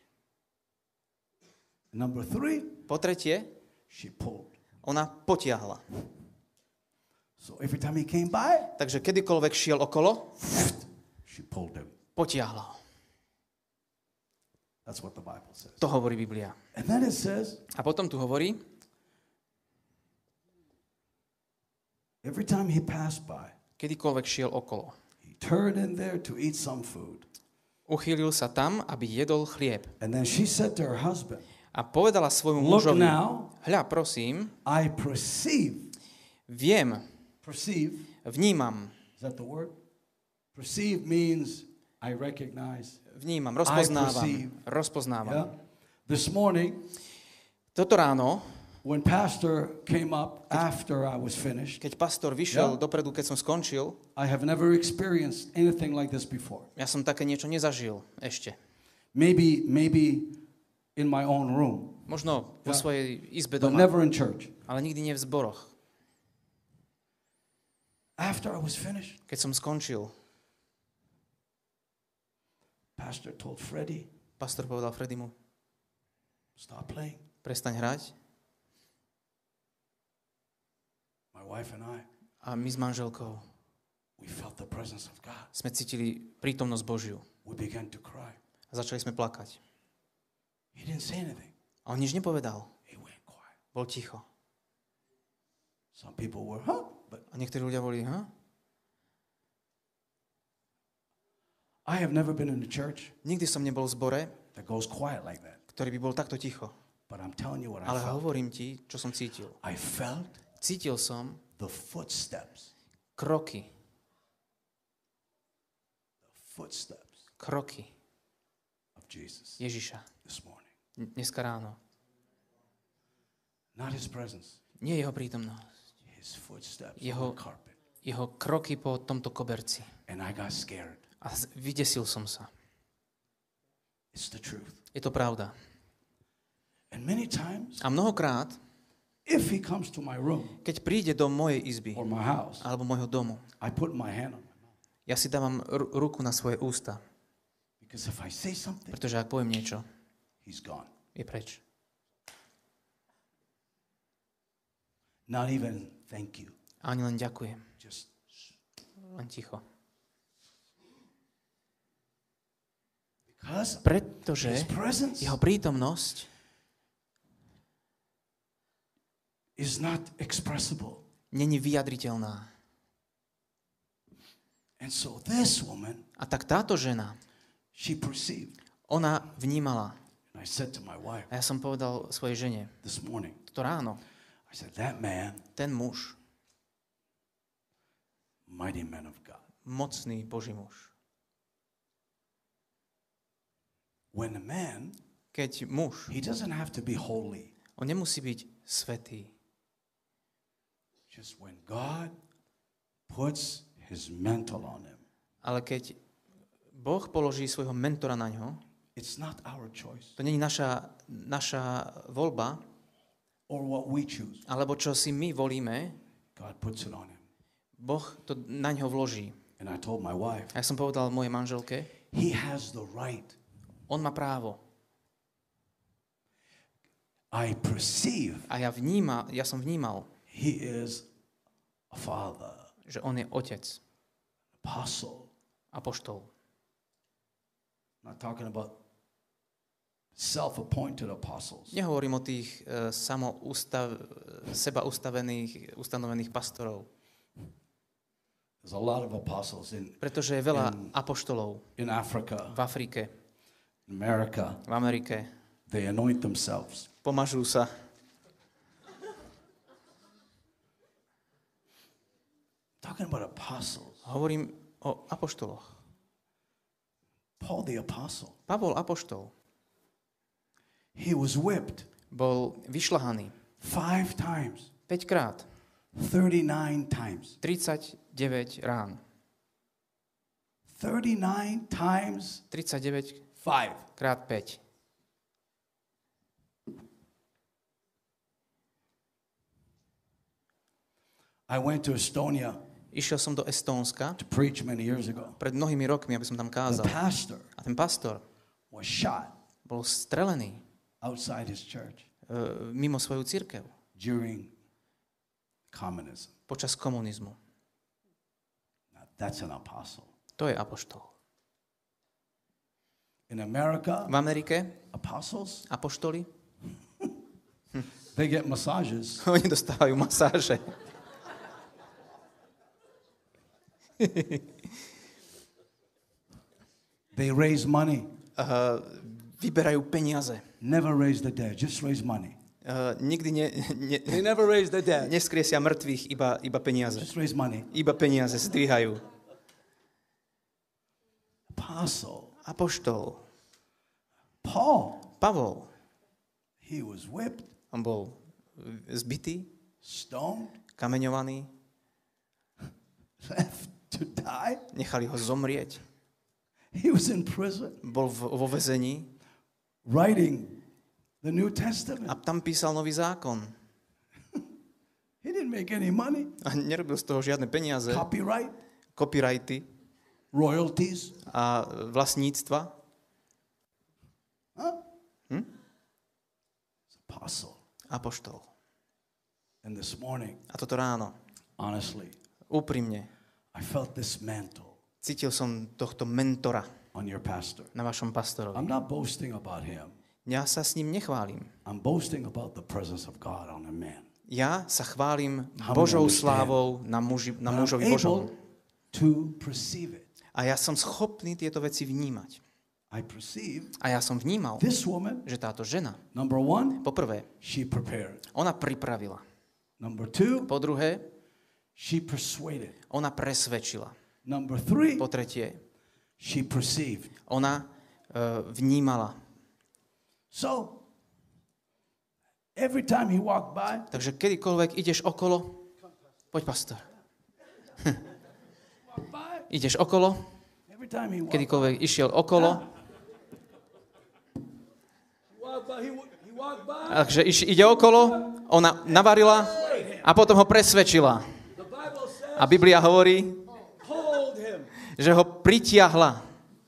Number three, Po tretie, she pulled. ona potiahla. So every time he came by, Takže kedykoľvek šiel okolo, she pulled him. potiahla ho. That's what the Bible says. To hovorí Biblia. And then it says, A potom tu hovorí, every time he passed by, kedykoľvek šiel okolo. he turned in there to eat some food. Uchýlil sa tam, aby jedol chlieb. And then she said to her husband, A povedala svojmu look mužovi, now, hľa, prosím, I perceive, vnímam, is that the word? Perceive means I recognize. vnímam, perceive. rozpoznávam. Yeah? This morning, Toto ráno, when pastor came up after I was finished, keď pastor vyšiel Yeah. dopredu, keď som skončil, I have never experienced anything like this before. ja som také niečo nezažil ešte. Maybe in my own room, Možno vo Yeah. svojej izbe but doma, never in church. ale nikdy nie v zboroch. After I was finished, Keď som skončil, pastor told Freddie, pastor povedal Fredimu, stop playing. prestaň hrať. My wife and I, A my s manželkou we felt the presence of God. sme cítili prítomnosť Božiu. We began to cry. A začali sme plakať. He didn't say anything. A on nič nepovedal. He went quiet. Bol ticho. Some people were, huh? But A niektorí ľudia boli, I have never been in a church Nikdy som nebol v zbore, that goes quiet like that. ktorý by bol takto ticho. But I'm telling you what I Ale felt. hovorím ti, čo som cítil. I felt Cítil som the footsteps. kroky kroky Of Jesus Ježiša this morning. dneska ráno. Not his presence. Nie jeho prítomnosť. His footsteps Jeho- on the carpet. Jeho kroky po tomto koberci. And I got scared. A vydesil som sa. It's the truth. Je to pravda. And many times, A mnohokrát, if he comes to my room keď príde do mojej izby or my house, alebo môjho domu, I put my hand on my mouth. ja si dávam ruku na svoje ústa. Because if I say something, Pretože ak poviem niečo, he's gone. je preč. Not even thank you. A ani len ďakujem. Just Len ticho. because Pretože his presence jeho prítomnosť is not expressible. není vyjadriteľná. And so this woman, A tak táto žena, she perceived. ona vnímala. And I said to my wife A ja som povedal svojej žene, this morning, toto ráno, I said, that man, ten muž, mighty man of God. mocný Boží muž. When a man, Keď muž, he doesn't have to be holy. on nemusí byť svätý. Just when God puts his mantle on him, Ale keď Boh položí svojho mentora na ňo, it's not our choice to nie je naša voľba, or what we choose. alebo čo si my volíme, God puts it on him. Boh to na ňo vloží. And I told my wife, A ja som povedal mojej manželke, he has the right. on má právo. I perceive A ja som vnímal, he is a father, že on je otec, apostle. apoštol. I'm not talking about self-appointed apostles. Nehovorím o tých seba ustanovených pastorov, There's a lot of apostles pretože je veľa apoštolov in Africa, v Afrike, in America. v Amerike. They anoint themselves. Pomažú sa. Talking about apostles. Hovorím o apoštoloch. Paul the apostle. Pavol apoštol He was whipped bol vyšľahaný 5 times, 5 krát, 39 times. 39 rán. 39 times 39 5. krát 5. I went to Estonia Išiel som do Estónska to preach many years ago. pred mnohými rokmi, aby som tam The kázal. pastor A ten pastor was shot bol strelený outside his church mimo svoju cirkev during communism. počas komunizmu. Now, that's an apostle. To je apoštol. In America, V Amerike apostles, apoštoli, they get massages. oni dostávajú masáže. They raise money. Vyberajú peniaze. Never raise the dead, just raise money. Nikdy They never raise the dead, neskriesia mŕtvych, iba peniaze. just raise money. Iba peniaze zdvíhajú. Apostle Apoštol Paul, Pavol, he was whipped, on bol zbitý, stoned, kameňovaný, left to die. nechali ho zomrieť. He was in prison Bol vo väzení writing the New a Testament. tam písal nový zákon. He didn't make any money, A nerobil z toho žiadne peniaze, copyright, copyrighty royalties. a vlastníctva. Huh? It's apostle. Apoštol. And this morning, A toto ráno, honestly, úprimne, I felt this mantle cítil som tohto mentora on your pastor. na vašom pastorovi. I'm not boasting about him. Ja sa s ním nechválim. I'm boasting about the presence of God on a man. Ja sa chválim How Božou we understand. slávou na And I'm mužovi Božom. able to perceive it. A ja som schopný tieto veci vnímať. I perceive A ja som vnímal, this woman, že táto žena, number one, poprvé, she prepared. ona pripravila. Number two, Po druhé, she persuaded. ona presvedčila. Number three, Po tretie, she perceived. ona vnímala. So, every time he walked by, Takže kedykoľvek ideš okolo, poď pastor. Ideš okolo, every time he walked kedykoľvek išiel okolo, he walked by, takže ide okolo, ona navarila a potom ho presvedčila. A Biblia hovorí, hold him. že ho pritiahla,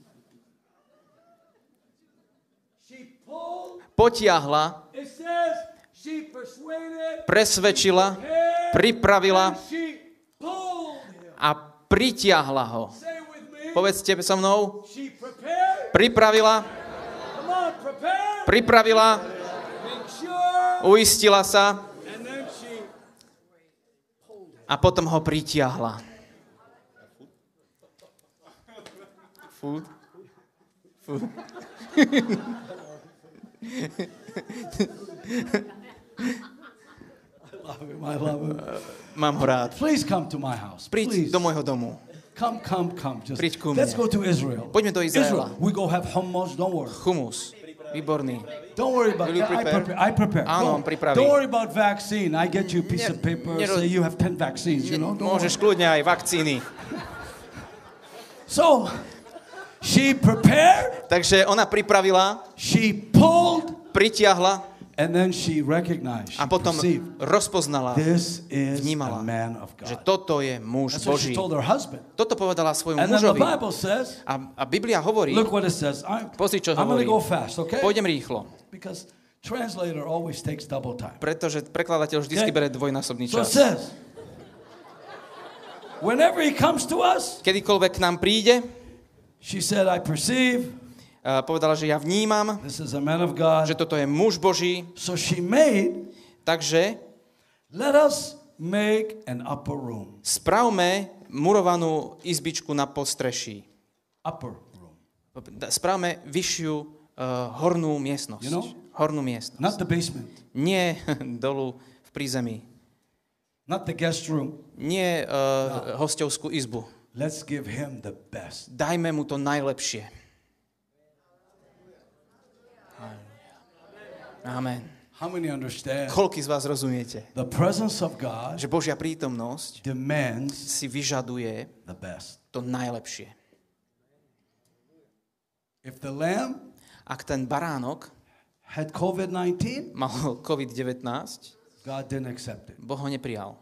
She pulled, potiahla, it says, she persuaded, presvedčila, pripravila she pulled him. a pritiahla ho. Say with me, Povedzte so mnou, she prepared, pripravila, come on, prepare, pripravila, make sure, uistila sa and then she a potom ho pritiahla. Food? Food. I love him. Mám ho rád. Please come to my house. Príď Please. do môjho domu. Come. Just Príď ku let's mne. go to Israel. Poďme do Izraela. We go have hummus. Don't worry. Humus. Výborný. Don't worry about Will you that. prepare? I prepare. Áno, on pripraví. Don't worry about vaccine. I get you a piece of paper. nero- Say you have 10 vaccines. You know. Don't Môžeš worry. kľudne aj vakcíny. So she prepared. Takže ona pripravila, She pulled, pritiahla and then she recognized. She a potom perceived. rozpoznala, This is vnímala, a man of že God. toto je muž That's what she Boží. told her husband. Toto povedala svojmu And then the mužovi. Bible says, A Biblia hovorí, look what it says. pozri, čo I'm going to hovorí. go fast, okay? Pôjdem rýchlo, Because translator always takes double time. pretože prekladateľ vždy bere dvojnásobný So it čas. says, whenever he comes to us, Kedykoľvek k nám príde, she said, I perceive povedala, že ja vnímam, this is a man of God. že toto je muž Boží, So she made, takže let us make an upper room. spravme murovanú izbičku na podstreší. Upper room. Spravme vyššiu hornú miestnosť. You know? Hornú miestnosť. Not the basement. Nie dolu v prízemí. Not the guest room. Nie hostovskú izbu. Let's give him the best. Dajme mu to najlepšie. Amen. How many understand? Koľký z vás rozumiete, The presence of God že Božia prítomnosť demands si vyžaduje the best. to najlepšie. If the lamb Ak ten baránok had COVID-19, mal COVID-19, God didn't accept it. Boh ho neprijal.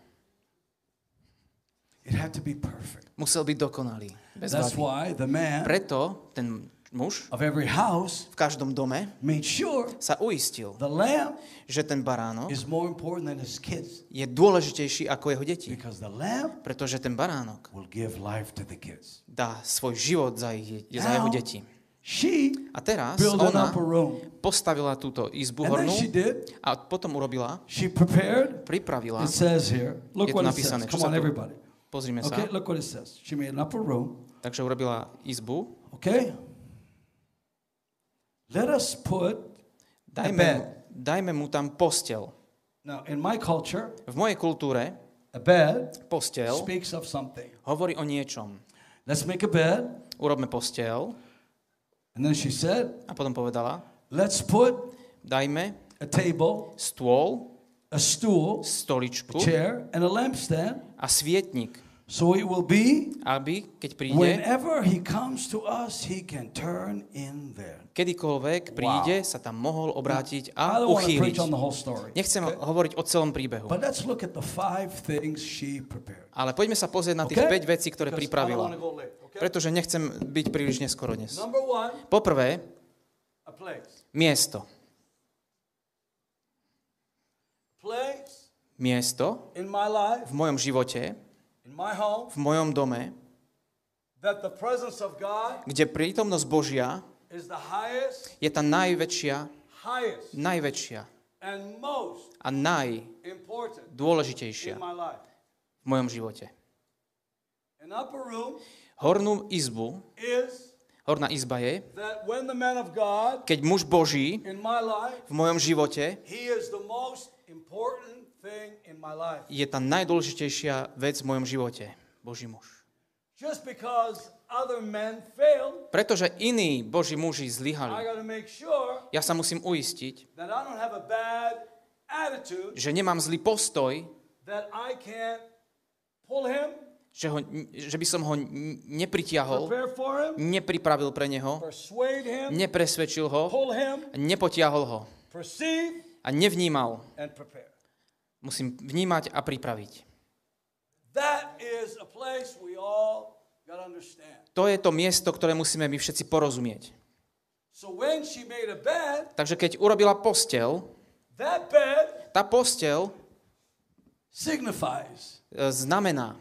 It had to be perfect. Musel byť dokonalý. Bez That's vady. why the man Preto ten muž of every house v každom dome made sure sa uistil, the lamb že ten baránok is more important than his kids, je dôležitejší ako jeho deti. because the lamb Pretože ten baránok will give life to the kids. dá svoj život za jeho deti. She A teraz built an ona upper room. postavila túto izbu And then hornú she did. a potom urobila, She prepared. pripravila, It says here. Look Je tu what it napísané, says. čo Come sa on, tu- everybody. pozrime sa, Okay, look what it says. She made an upper room. takže urobila izbu, Okay. Let us put a bed. dajme mu tam posteľ. Now, in my culture, V mojej kultúre a bed posteľ speaks of something. hovorí o niečom. Let's make a bed. Urobme posteľ And then she said, a potom povedala, let's put dajme a table, stôl, a stool, a stoličku chair, and a lampstand. a svietnik, So it will be aby, keď príde, whenever he comes to us, he can turn in there. kedykoľvek príde, sa tam mohol obrátiť I a don't want to uchýliť. preach on the whole story. Nechcem hovoriť o celom príbehu, But let's look at the 5 things she prepared. ale poďme sa pozrieť na tých Okay? 5 vecí, ktoré Because I don't pripravila. want to go late, okay? Pretože nechcem byť príliš neskoro dnes. Number 1, Poprvé, a place. miesto. Place Miesto in my life, v mojom živote, in my home, v mojom dome, that the presence of God kde prítomnosť Božia is the highest, je tá najväčšia and most a important najdôležitejšia in my life. v mojom živote. An upper room Hornú izbu, is horná izba je, that when the man of God keď muž Boží in my life, v mojom živote he is the most important thing in my life. je tá najdôležitejšia vec v mojom živote. Boží muž. Just because other men failed, Pretože iní Boží muži I zlyhali, got to make sure ja sa musím uistiť, that I don't have a bad attitude, že nemám zlý postoj, that I can't pull him, že by som ho nepritiahol, prepare for him, nepripravil pre neho, persuade him, nepresvedčil ho, pull him, nepotiahol ho perceive, a nevnímal. and prepare. Musím vnímať a pripraviť. That is a place we all got to understand. To je to miesto, ktoré musíme my všetci porozumieť. So when she made a bed, Takže keď urobila posteľ, that bed tá posteľ signifies znamená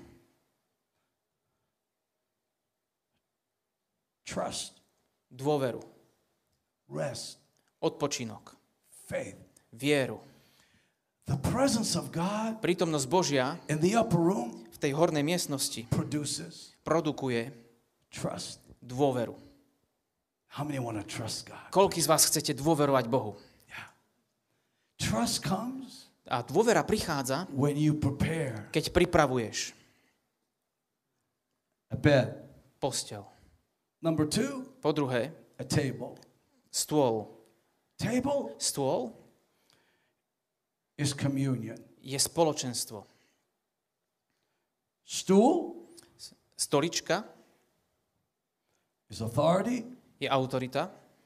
trust, dôveru, rest, odpočinok, faith. vieru. The presence of God Prítomnosť Božia in the upper room v tej hornej miestnosti produces produkuje trust. dôveru. How many want to trust God? Koľký z vás chcete dôverovať Bohu? Yeah. Trust comes A dôvera prichádza, when you prepare keď pripravuješ a bed. posteľ. Number 2, Po druhé, a table. stôl. Table Stôl is communion. je spoločenstvo. Stool Stolička is authority, je autorita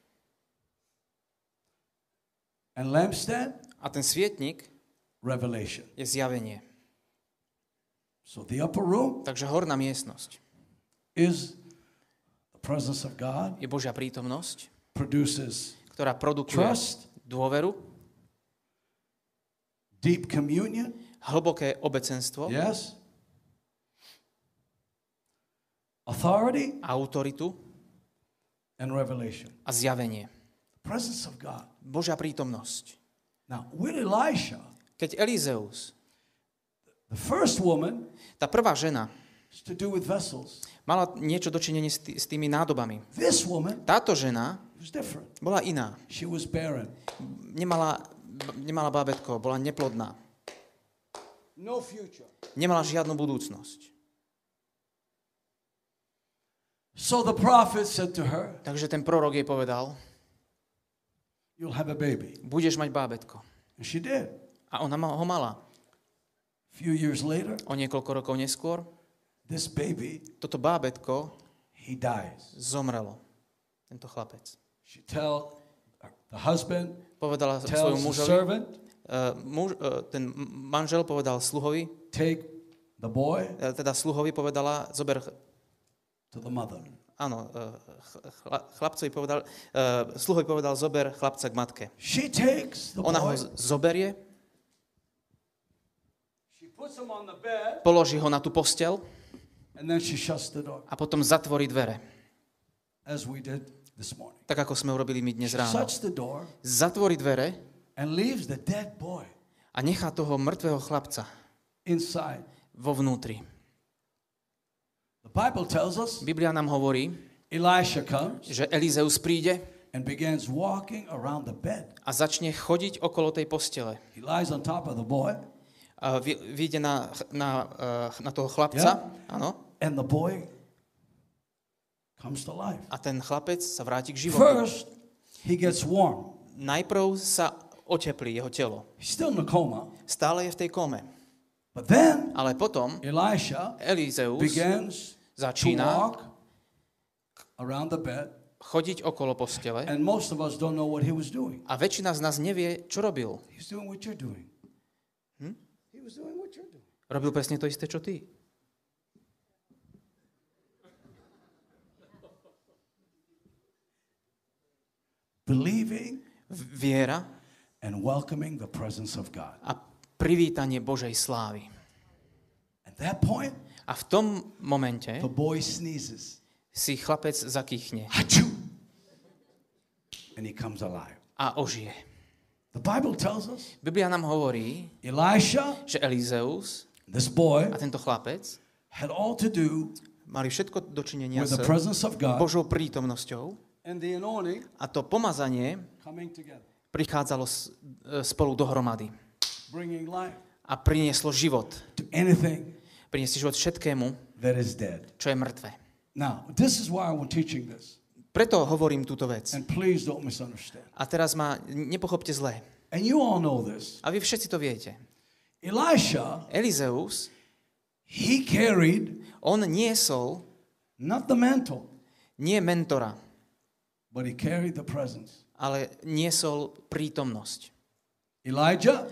and lampstand, a ten svietnik revelation. je zjavenie. So the upper room Takže horná miestnosť is the presence of God, je Božia prítomnosť, produces ktorá produkuje trust, dôveru, deep communion, hlboké obecenstvo, yes, authority, autoritu and revelation. a zjavenie. The presence of God. Božia prítomnosť. Now, with Elisha, Keď Elizeus, the first woman, tá prvá žena, is to do with vessels. mala niečo dočinenie s tými nádobami. This woman Táto žena was different. bola iná. She was barren. Nemala bábätko, bola neplodná. No future. Nemala žiadnu budúcnosť. So the prophet said to her, Takže ten prorok jej povedal, you'll have a baby. budeš mať bábätko. And she did. A ona ho mala. A few years later, O niekoľko rokov neskôr this baby, toto bábätko he dies. zomrelo. Tento chlapec. She tell the husband, Povedala tells svojmu the mužovi, servant, ten manžel povedal sluhovi, take the boy teda sluhovi povedala, zober, to the mother. áno, chlapcovi povedal, sluhovi povedal, zober chlapca k matke. She takes the Ona ho boy, zoberie, she puts him on the bed, položí ho na tú posteľ and then she shuts the door, a potom zatvorí dvere. as we did. this morning. Tak ako sme urobili my dnes ráno. Shuts the door Zatvorí dvere and leaves the dead boy a nechá toho mŕtvého chlapca inside. vo vnútri. The Bible tells us Biblia nám hovorí, Elisha comes že Elizeus príde and begins walking around the bed. a začne chodiť okolo tej postele. He lies on top of the boy, A vyjde na toho chlapca, áno, and the boy comes to life. a ten chlapec sa vráti k životu. First, he gets warm. Najprv sa oteplí jeho telo. He's still in a coma. Stále je v tej kome. But then, Ale potom Elisha Elizeus begins to začína walk around the bed, chodiť okolo postele and most of us don't know what he was doing. a väčšina z nás nevie, čo robil. He's doing what you're doing. He was doing what you're doing. Robil presne to isté, čo ty. Believing Viera and welcoming the presence of God. a privítanie Božej slávy. At that point, A v tom momente the boy sneezes. si chlapec zakýchne Achoo! And he comes alive. a ožije. The Bible tells us Biblia nám hovorí, Elisha, že Elizeus this boy, a tento chlapec had all to do mali všetko dočinenia with s the presence of God Božou prítomnosťou and the anointing a to pomazanie coming together, prichádzalo spolu dohromady bringing life a prinieslo život. to anything Prinieslo život všetkému, that is dead. čo je mŕtve. Now, this is why I'm teaching this. Preto hovorím túto vec. And please don't misunderstand. A teraz ma nepochopte zle. And you all know this. A vy všetci to viete. Elisha, Elizeus, he carried on niesol not the mantle, nie mentora, but he carried the presence. ale niesol prítomnosť. Elijah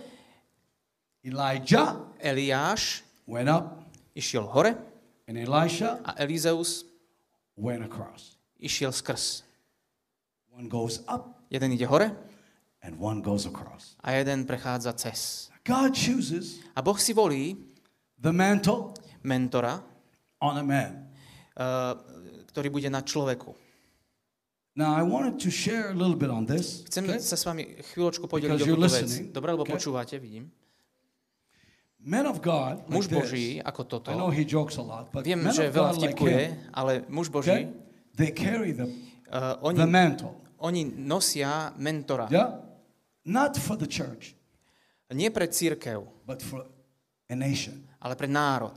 Eliáš went up, išiel hore and Elisha a Elizeus went across. išiel skrz. One goes up Jeden ide hore and one goes across. a jeden prechádza cez. God chooses A Boh si volí the mantle mentora, on a man. ktorý bude na človeku. Now, I wanted to share a little bit on this. Chcem Okay? sa s vami chvíľočku podeliť Because o you're túto vec. listening. Dobre, lebo Okay. počúvate, vidím. Men of God, Muž like Boží, this, ako toto, I know he jokes a lot, but viem, men že of veľa God like vtipkuje, him, ale muž Boží, okay, they carry the oni, mantle. oni nosia mentora. Yeah? Not for the church, Nie pre cirkev, but for a nation. ale pre národ.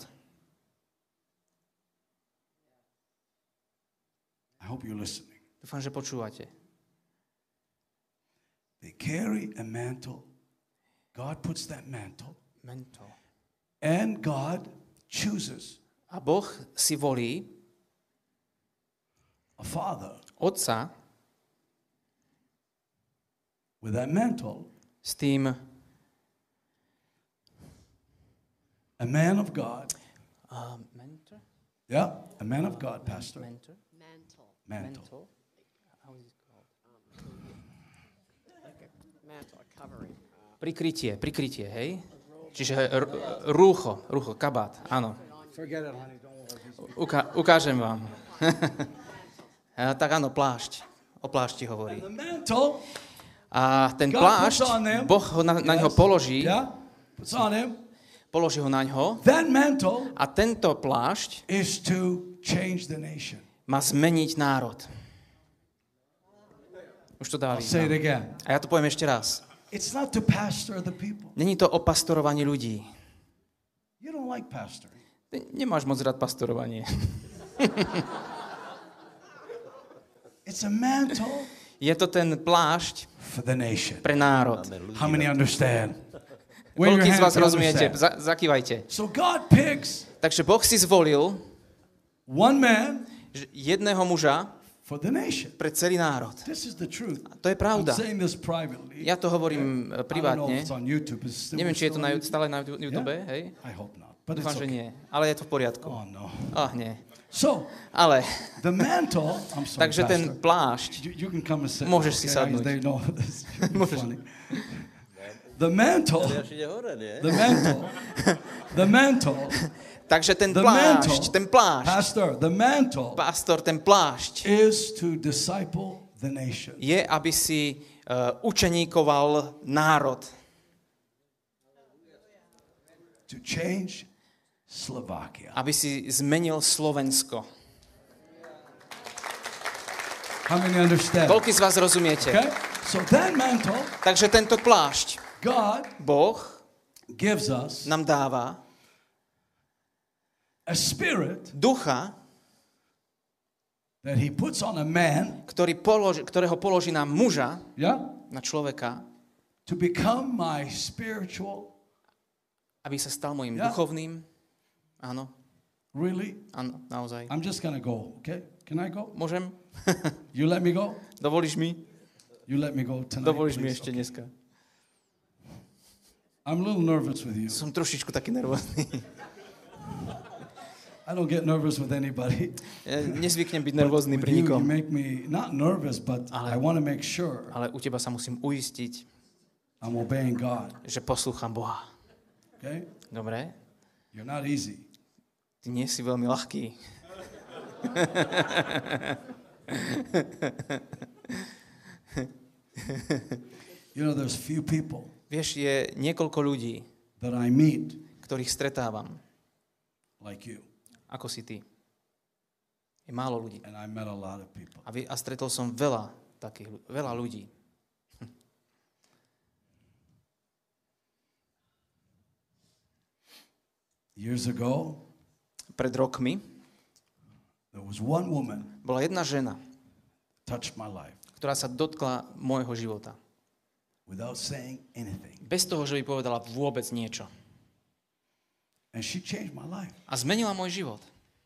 I hope you're listening. Dúfam, že počúvate. They carry a mantle. God puts that mantle, Mentor. and God chooses A Boh si volí a father otca with that mantle, s tým a man of God. mentor? Yeah, a man of God, pastor. Mentor? Mantle. Mantle. How is it called? Like a mantle, a covering. Prikrytie, hej? Čiže rúcho, kabát, áno. Forget it, honey. Don't worry. Ukážem vám. Tak áno, plášť. O plášti hovorí. The mantle, A ten God plášť, puts on them. Boh ho na ňo položí, yeah, puts on him. položí ho na ňo That mantle a tento plášť is to change the nation. má zmeniť národ. Už to dá I'll say it význam. again. A ja to poviem ešte raz. It's not to pastor the people. Není to o pastorovaní ľudí. You don't like pastoring. Ty nemáš moc rád pastorovanie. It's a mantle Je to ten plášť for the nation. pre národ. How many understand? Wave your Koľký z hand vás if you rozumiete? understand. Zakývajte. So God picks Takže Boh si zvolil one man jedného muža for the nation. pre celý národ. This is the truth. To je I'm pravda. saying this privately. Ja to hovorím I don't know if privátne. it's on YouTube. Neviem, či je to stále na YouTube, hej? I hope not. But it's Dúfam, že okay. nie. Ale je to v poriadku. Oh no. Nie. So Ale, the mantle. I'm sorry, takže ten Pastor. plášť, You can come and sit. Môžeš si okay? sadnúť. They know this. Môžeš. Funny. The mantle, Eliáš ide hore, nie? the mantle, Takže ten The plášť, pastor, the mantle pastor, ten plášť is to disciple the nation. je, aby si učeníkoval národ. To change Slovakia. Aby si zmenil Slovensko. How many understand? Koľký z vás rozumiete? Okay? So that mantle, Takže tento plášť God Boh gives us nám dáva a spirit ducha, that he puts on a man, ktorého položí na muža, yeah, na človeka, to become my spiritual, aby sa stal môjim Yeah. duchovným. Áno, really? áno, naozaj. I'm just going to go, okay? Can I go? Môžem? You let me go? Dovolíš mi? You let me go tonight, Dovolíš mi please. ešte Okay. dneska. I'm a little nervous with you. Som trošičku taký nervózny. I don't get nervous with anybody. Ja nezvyknem byť nervózny With pri you, you nikom. make me not nervous, but Ale- I want to make sure Ale u teba sa musím uistiť, I'm obeying God. že poslúcham Boha. Okay? Dobre? You're not easy. Ty nie si veľmi ľahký. You know, there's few people Vieš, je niekoľko ľudí, that I meet ktorých stretávam, like you, ako si ty. Je málo ľudí. and I met a lot of people. A stretol som veľa ľudí. Years ago, Pred rokmi there was one woman bola jedna žena, touched my life ktorá sa dotkla môjho života. without saying anything, Bez toho, že by povedala vôbec niečo. and she changed my life. A zmenila môj život.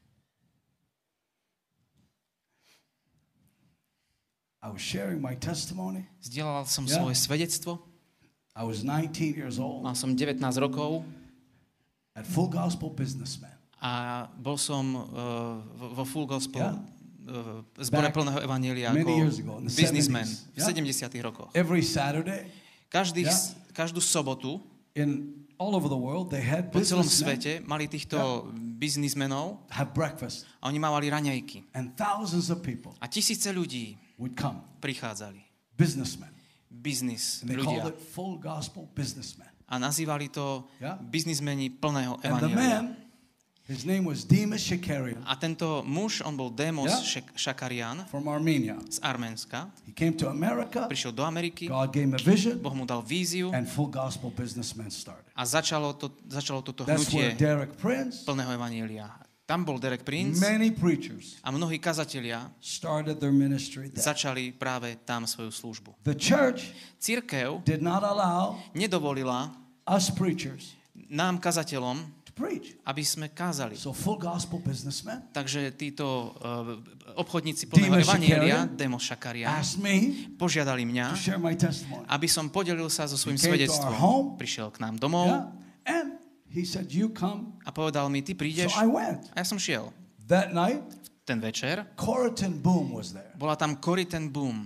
I was sharing my testimony. Zdieľal som Yeah. svoje svedectvo. I was 19 years old Mal som 19 rokov at Full Gospel Businessman. a bol som vo Full Gospel Yeah. zbore Back plného evanjelia many ako years ago, in the businessman 70s. v Yeah. 70. rokoch. Every Saturday, Yeah. Každú sobotu in all over the world, they had po celom businessmen svete mali týchto biznismenov have breakfast, a oni mávali raňajky. and thousands of people A tisíce ľudí would come, prichádzali. businessmen, Biznis and they called ľudia. it Full Gospel Businessmen. A nazývali to Yeah. biznismeni plného And the evanjelia. man, his name was Demas Shakarian A tento muž, on bol Démos Yeah. Šakarian from Armenia. z Arménska. He came to America, Prišiel do Ameriky, God gave him a vision, Boh mu dal víziu and Full Gospel Businessmen started. a začalo toto That's where hnutie Derek Prince, plného evanjelia. Tam bol Derek Prince many preachers a mnohí kazatelia started their ministry there. začali práve tam svoju službu. The church Cirkev did not allow nedovolila us preachers nám, kazateľom, to preach. aby sme kázali. So Full Gospel Businessmen Takže títo obchodníci plného Demas evanjelia, Shakarian Démos Šakarian, asked me požiadali to mňa, share my testimony. aby som podelil sa so svojím He came to our svedectvom. home. Prišiel k nám domov Yeah. And he said, you come. a povedal mi, ty So prídeš. I went. A ja som šiel. That night, Ten večer Corrigan Boom was there. bola tam Corrie ten Boom.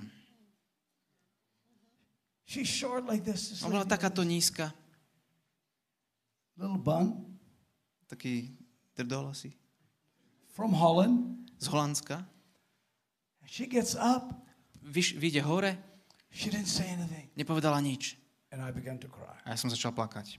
She's short like this. Just Ona bola like takáto nízka, little bun taký drdol asi, from Holland. z Holandska. She gets up. Vyjde hore, She didn't say anything. nepovedala nič. And I began to cry. A ja som začal plakať.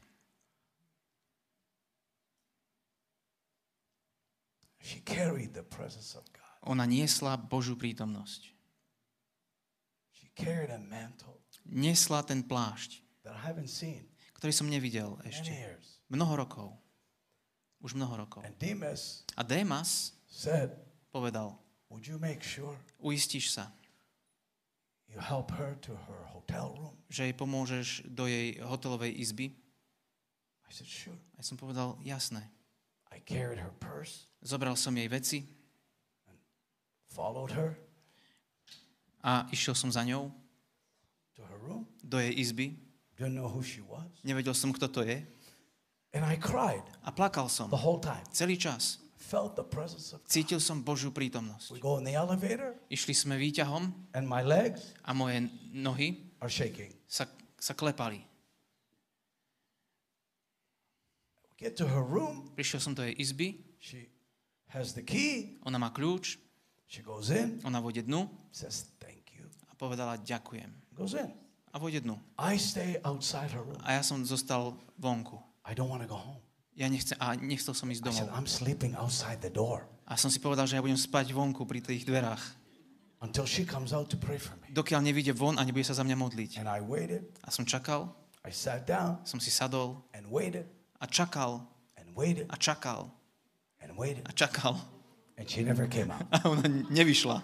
She carried the presence of God. Ona niesla Božiu prítomnosť. She carried a mantle Niesla ten plášť, that I haven't seen ktorý som nevidel in ešte. years. Mnoho rokov. Už mnoho rokov. And Demas A Démas said, povedal, would you make sure uistíš sa, you help her to her hotel room? že jej pomôžeš do jej hotelovej izby? I said, sure. A ja som povedal, jasné. I carried her purse, Zobral som jej veci followed her a išiel som za ňou to her room. do jej izby. Didn't know who she was. Nevedel som, kto to je. And I cried A plakal som. the whole time. Celý čas. Felt the presence of God. Cítil som Božiu prítomnosť. We go in the elevator Išli sme výťahom and my legs a moje nohy are shaking. sa klepali. Get to her room. Prišiel som do jej izby, She has the key. ona má kľúč, She goes in. ona vôjde dnu Says thank you. a povedala ďakujem. Goes in. A vôjde dnu. I stay outside her room. A ja som zostal vonku. I don't want to go home. Ja nechcel som ísť I said, domov. I'm sleeping outside the door A som si povedal, že ja budem spať vonku pri tých dverách. until she comes out to pray for me. Dokiaľ nevyjde von a nebude sa za mňa modliť. And I waited. A som čakal, I sat down som si sadol and waited a čakal and waited a čakal and waited. a čakal. And she never came out. A ona nevyšla.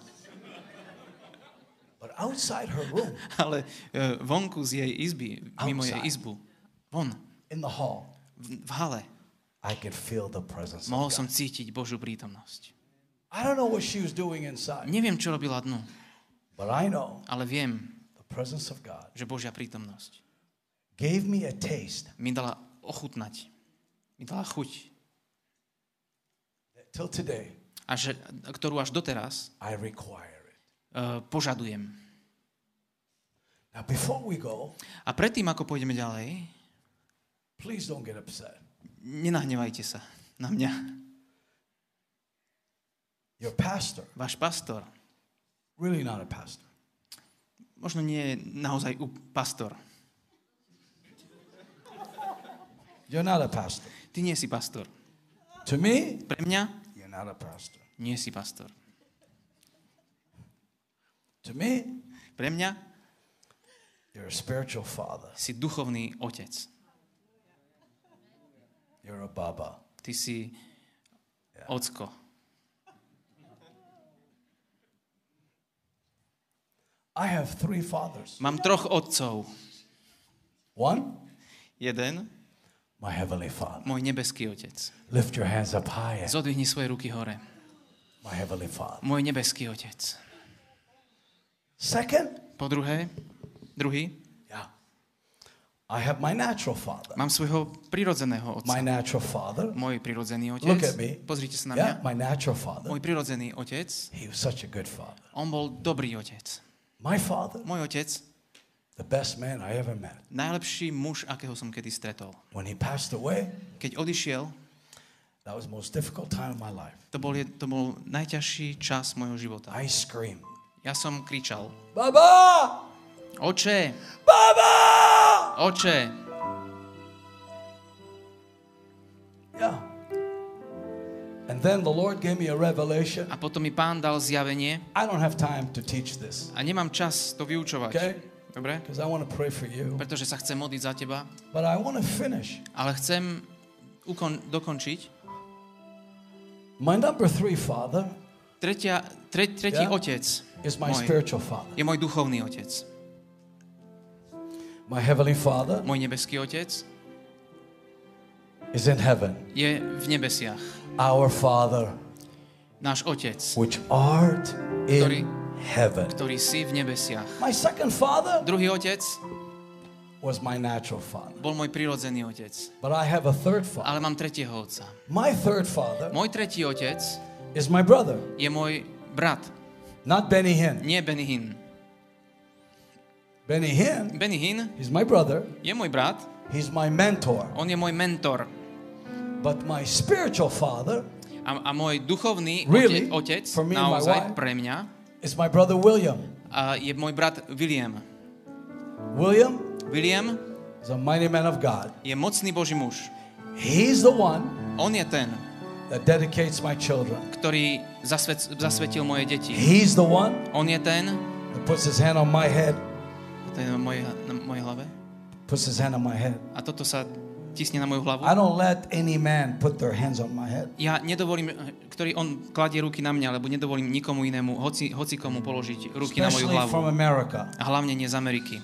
But outside her room, Ale vonku z jej izby, mimo jej Outside. izbu, von, in the hall, v hale, I could feel the presence mohol of som God. cítiť Božiu prítomnosť. I don't know what she was doing inside, Neviem, čo robila dnu, but I know ale viem, the presence of God že Božia prítomnosť gave me a taste mi dala ochutnať, mi dala chuť, that till today a ktorú až doteraz I require it. požadujem. Now, before we go, A predtým, ako pôjdeme ďalej, please don't get upset. nenahnevajte sa na mňa. Your pastor, Váš pastor, really not a pastor. možno nie je naozaj pastor. You're not a pastor. Ty nie si pastor. To me, Pre mňa you're not a pastor. nie si pastor. To me, Pre mňa you're a spiritual father. si duchovný otec. You're a baba. Ty si ocko. I have 3 fathers. Mám 3 otcov. One, Jeden, my heavenly Father. môj nebeský otec. Lift your hands up high. Zodvihni svoje ruky hore. My heavenly Father. Môj nebeský otec. Second, Po druhý, yeah, I have my natural father. mám svojho prirodzeného My otca. natural father. Môj prirodzený Look otec. at me. Pozrite sa na Yeah, mňa. my natural father. Môj prirodzený otec, He was such a good father. on bol dobrý otec. My father, Môj otec, the best man I ever met. najlepší muž, akého som kedy stretol. When he passed away, Keď odišiel, that was the most difficult time of my life. to bol najťažší čas môjho života. I screamed, Ja som kričal, Baba! oče, Baba! oče. Yeah. And then the Lord gave me a revelation. A potom mi Pán dal zjavenie I don't have time to teach this, a nemám čas to vyučovať. okay? Dobre? Because I want to pray for you. Pretože sa chcem modliť za teba, But I want to finish. ale chcem dokončiť. My number 3 father Tretí Yeah. otec is my môj, spiritual father. je môj duchovný otec. My heavenly Father Môj nebeský otec is in heaven. je v nebesiach. Our Father, Náš otec, which art in heaven. ktorý si v nebesiach. My second father Druhý otec was my natural father. bol môj prirodzený otec. But I have a third father. Ale mám tretieho otca. My third father Môj tretí otec is my brother, je môj brat, not Benny Hinn. nie Benny Hinn. Benny Hinn, Benny Hinn he's my brother. je môj brat, He's my mentor. on je môj mentor. But my spiritual father A môj duchovný Really? otec, For me and my naozaj wife? pre mňa, is my brother William. je môj brat William. William William is a mighty man of God. je mocný Boží muž. He's the one On je ten, that dedicates my children. ktorý zasvetil moje deti. He's the one On je ten, that puts his hand on my head, to je na mojej hlave, puts his hand on my head. a toto sa tisne na moju hlavu. I don't let any man put their hands on my head. Ja nedovolím, ktorý on kladie ruky na mňa, lebo nedovolím nikomu inému, hoci komu položiť ruky na moju Especially hlavu. from America A hlavne nie z Ameriky,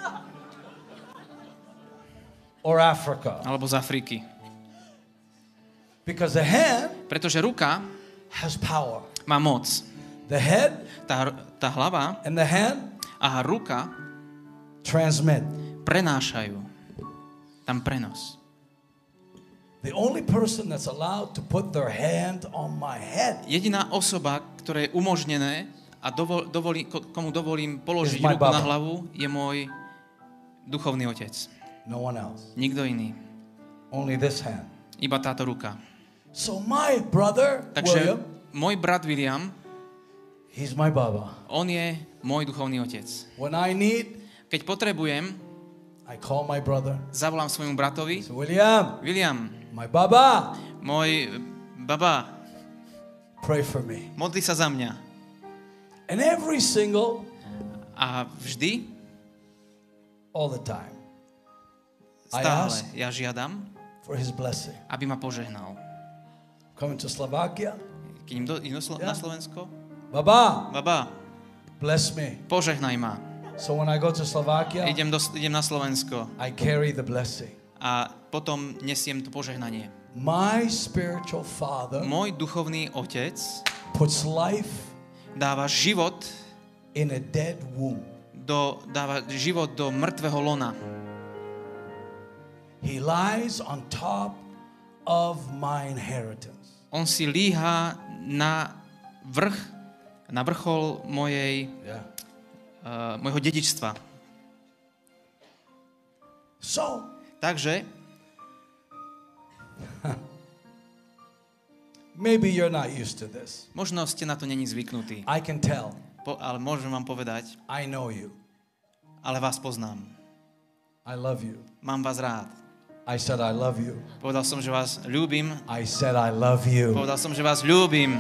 or Africa. alebo z Afriky. Because the hand Pretože ruka has power. má moc. The head Tá hlava and the hand a ruka transmit. prenášajú. Tam prenos. The only person that's allowed to put their hand on my head Jediná osoba, ktoré je umožnené a komu dovolím položiť Is my ruku na Baba. hlavu, je môj duchovný otec. no one else. Nikto iný. Only this hand. Iba táto ruka. So my brother, Takže William, môj brat William, he's my Baba. on je môj duchovný otec. When I need, Keď potrebujem, I call my brother. zavolám svojmu bratovi. So William, William, my Baba, môj baba, pray for me. modli sa za mňa. And every single, A vždy, all the time, I stále ask ja žiadam, for his blessing. aby ma požehnal. Coming to Slovakia, Keď idem na Slovensko, Baba, baba, bless me. požehnaj ma. So when I go to Slovakia, Idem na Slovensko I carry the blessing. a potom nesiem to požehnanie. My spiritual father Môj duchovný otec puts life dáva život in a dead womb. dáva život do mŕtvého lona. He lies on top of my inheritance. On si líha na vrchol Yeah. môjho dedičstva. So, Takže maybe you're not used to this. možno ste na to není zvyknutí, I can tell. ale môžem vám povedať, I know you. ale vás poznám. I love you. Mám vás rád. I said I love you. Povedal som, že vás ľúbim. I said I love you. Povedal som, že vás ľúbim.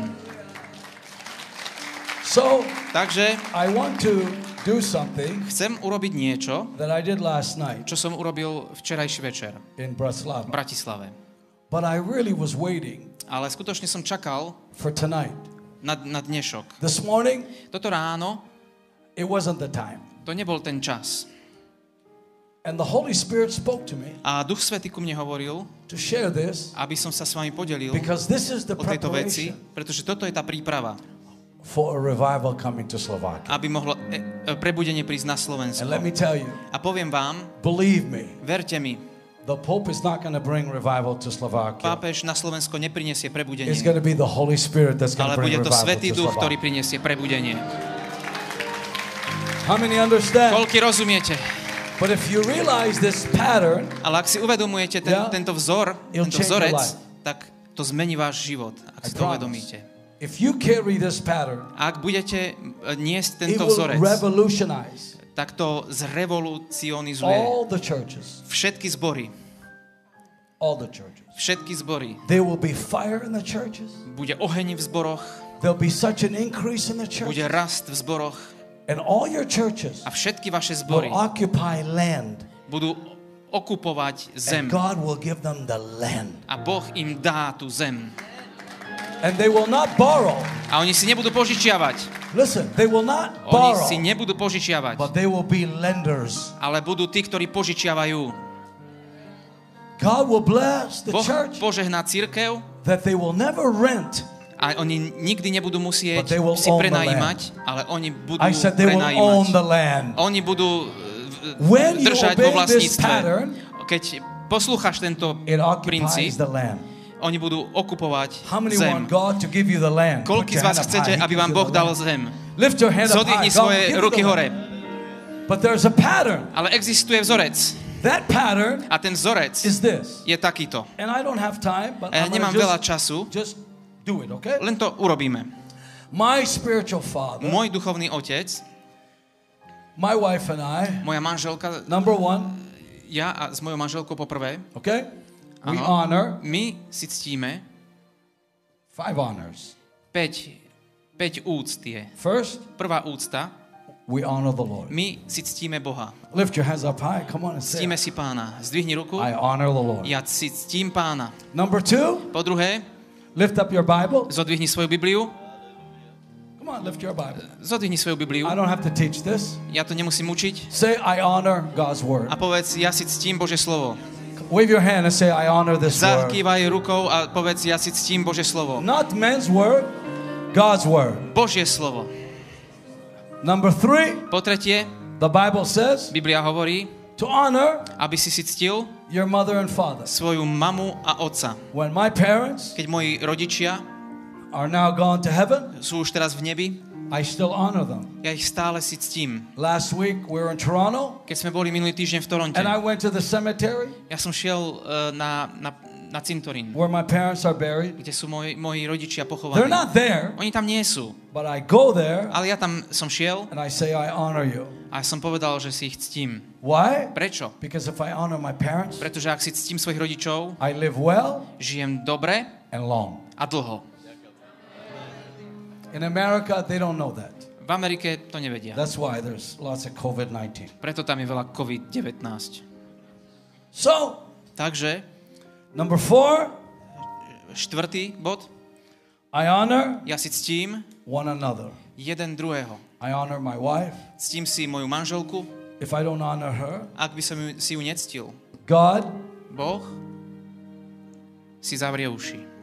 So, Takže I want to do something chcem urobiť niečo, that I did last night čo som urobil včerajší večer in v Bratislava. Bratislave. But I really was waiting Ale skutočne som čakal for tonight. na dnešok. This morning, Toto ráno, it wasn't the time. to nebol ten čas. And the Holy Spirit spoke to me A Duch Svätý ku mne hovoril, to share this aby som sa s vami podelil because this is the o tejto veci, preparation pretože toto je tá príprava, for a revival coming to Slovakia. aby mohlo prebudenie prísť na And let me Slovensko. tell you, A poviem vám, believe me, verte mi, the Pope is not going to bring revival to Slovakia. pápež na Slovensko neprinesie prebudenie, It's going to be the Holy Spirit that's going ale to bring bude to revival Svätý to Duch, ktorý Slovakia. prinesie prebudenie. How many understand? Koľky rozumiete? But if you realize this pattern, Ale ak si uvedomujete Yeah. tento vzor, It'll tento change your vzorec, life. tak to zmení váš život, ak I si to promise. uvedomíte. If you carry this pattern, A ak budete niesť it tento will vzorec, revolutionize tak to zrevolucionizuje all the churches. všetky zbory. All the churches. Všetky zbory. There will be fire in the churches. Bude oheň v zboroch, There'll be such an increase in the bude churches. rast v zboroch And all your churches a všetky vaše will zbory occupy land. budú okupovať zem. And God will give them the land. A Boh im dá tú zem. And they will not borrow. A oni si nebudú požičiavať. Listen, they will not Oni borrow, si nebudú požičiavať. but they will be lenders. Ale budú tí, ktorí požičiavajú. God will bless the Boh church požehná cirkev that they will never rent. a oni nikdy nebudú musieť But they will si own the prenajímať, ale oni budú I said they will own the prenajímať. land. Oni budú When you držať vo obey this vlastníctve. pattern, Keď poslúchaš tento it occupies princíp, the land. oni budú okupovať How many zem. want God to give you the land? Put Koľký your z vás hand up chcete, high. He aby gives vám you Boh the dal land. zem? Lift your hand up high. Zodvihni God svoje will give you ruky the hore. land. But there's a pattern. Ale existuje vzorec. That pattern A ten vzorec is this. je takýto. And I don't have time, but A ja I'm nemám gonna veľa času, just do it, okay? len to urobíme. My spiritual father, Môj duchovný otec, my wife and I, moja manželka, number one, ja a s mojou manželkou poprvé, okay? We Áno. honor my si ctíme 5 honors. 5 úct je. First, Prvá úcta, we honor the Lord. my si ctíme Boha. Lift your hands up high. Come on and say Ctíme it. si Pána. Zdvihni ruku. I honor the Lord. Ja si ctím Pána. Number two, Po druhé, lift up your Bible. zodvihni svoju Bibliu. Come on, lift your Bible. Zodvihni svoju Bibliu. I don't have to teach this. Ja to nemusím učiť. Say, I honor God's word. A povedz, ja si ctím Božie slovo. Wave your hand and say, I honor this word. Zakývaj rukou a povedz, ja si ctím Božie slovo. Not men's word, God's word. Božie slovo. Number three, Po tretie, the Bible says Biblia hovorí, to honor aby si ctil your mother and father. svoju mamu a otca. When my parents Keď moji rodičia are now gone to heaven, sú už teraz v nebi, I still honor them. ja ich stále si ctím. Last week we were in Toronto Keď sme boli minulý týždeň v Toronte, and I went to the cemetery ja som šiel na cintorín, where my parents are buried. kde sú moji rodičia They're pochovaní. not there, Oni tam nie sú, but I go there ale ja tam som šiel and I say, I honor you. a som povedal, že si ich ctím. Why? Prečo? Because if I honor my parents, Pretože ak si ctím svojich rodičov, I live well žijem dobre and long. a dlho. In America, they don't know that. V Amerike to nevedia. That's why there's lots of COVID-19. Preto tam je veľa COVID-19. So, Takže, number 4, štvrtý bod. I honor Ja si ctím one another. jeden druhého. I honor my wife. Ctím si moju manželku. If I don't honor her, Ak by som si ju nectil, God Boh si zavrie uši.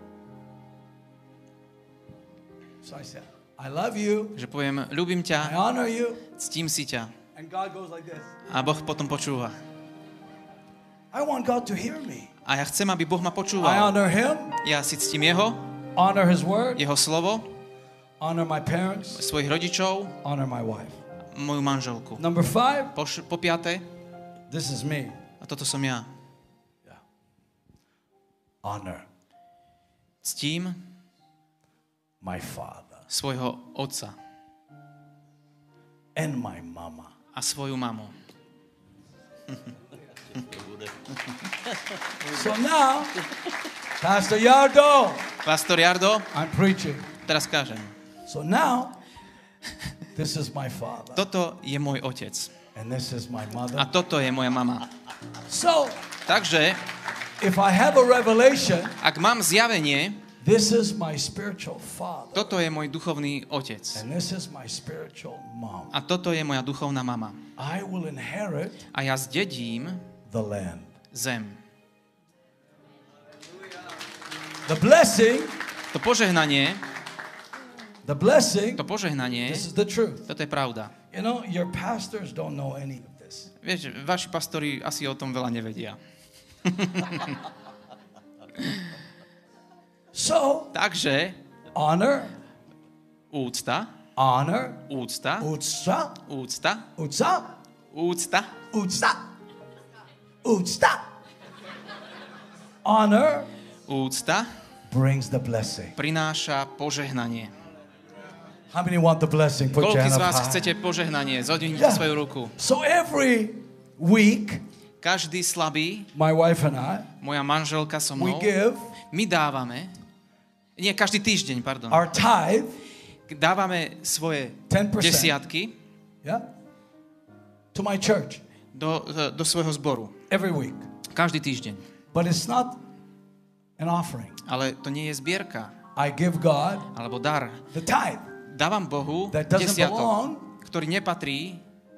So I said, I love you, Že poviem, ľúbim I ťa, honor you, ctím si ťa. and God goes like this. A Boh potom počúva. I want God to hear me. A ja chcem, aby Boh ma I počúval. honor Him, Ja si ctím jeho, honor His word, jeho slovo, honor my parents, svojich rodičov, honor my wife. moju manželku. Number 5, Po piaté, this is me. a toto som ja. Honor Ctím my father svojho otca and my mama. a svoju mamu. So now, Pastor Yardo, Pastor Jardo, I'm preaching. teraz kážem. So now, this is my father, Toto je môj otec. and this is my A mother. toto je moja mama. So, Takže, if I have a revelation, ak mám zjavenie, this is my spiritual father, toto je môj duchovný otec. and this is my spiritual mom. A toto je moja duchovná mama. I will inherit A ja zdedím the land. zem. The blessing, To požehnanie, this is the truth. toto je pravda. You know, your pastors don't know any of this. Vieš, vaši pastori asi o tom veľa nevedia. So, Takže, honor, úcta, honor, úcta, utsa, úcta, utsa, úcta, utsa, utsa. Honor úcta brings the blessing. prináša požehnanie. How many want the blessing? Put your Koľký hand z up vás high. chcete požehnanie? Zodvihnite Yeah. svoju ruku. So every week, Každý slabý, my wife and I, moja manželka so we mnou, give my dávame, nie, každý týždeň, pardon, our tithe, dávame svoje 10%. desiatky yeah, to my church do svojho zboru. every week. Každý týždeň. But it's not an offering. Ale to nie je zbierka, I give God alebo dar. the tithe. Dávam Bohu That doesn't desiatok, belong. ktorý nepatrí,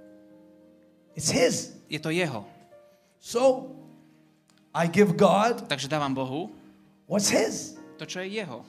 It's His. je to jeho. So I give God Takže dávam Bohu what's His. to, čo je jeho.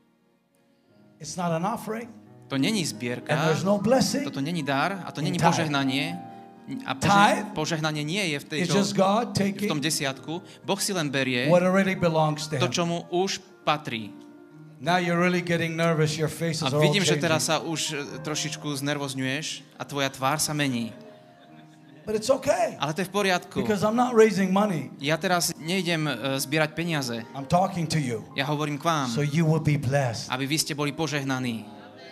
It's not an offering, To není and zbierka, there's no blessing. toto není dar a to není In tithe. požehnanie. A Tithe požehnanie nie je v It's just God v tom taking desiatku. Boh si len berie what already belongs to to, Him. čo mu už patrí. Now you're really getting nervous. Your faces A are all vidím, že changing. teraz sa už trošičku znervozňuješ a tvoja tvár sa mení. But it's okay Ale to je v poriadku. because I'm not raising money. Ja teraz nejdem zbierať peniaze. I'm talking to you, Ja hovorím k vám, so you will be blessed. aby vy ste boli požehnaní.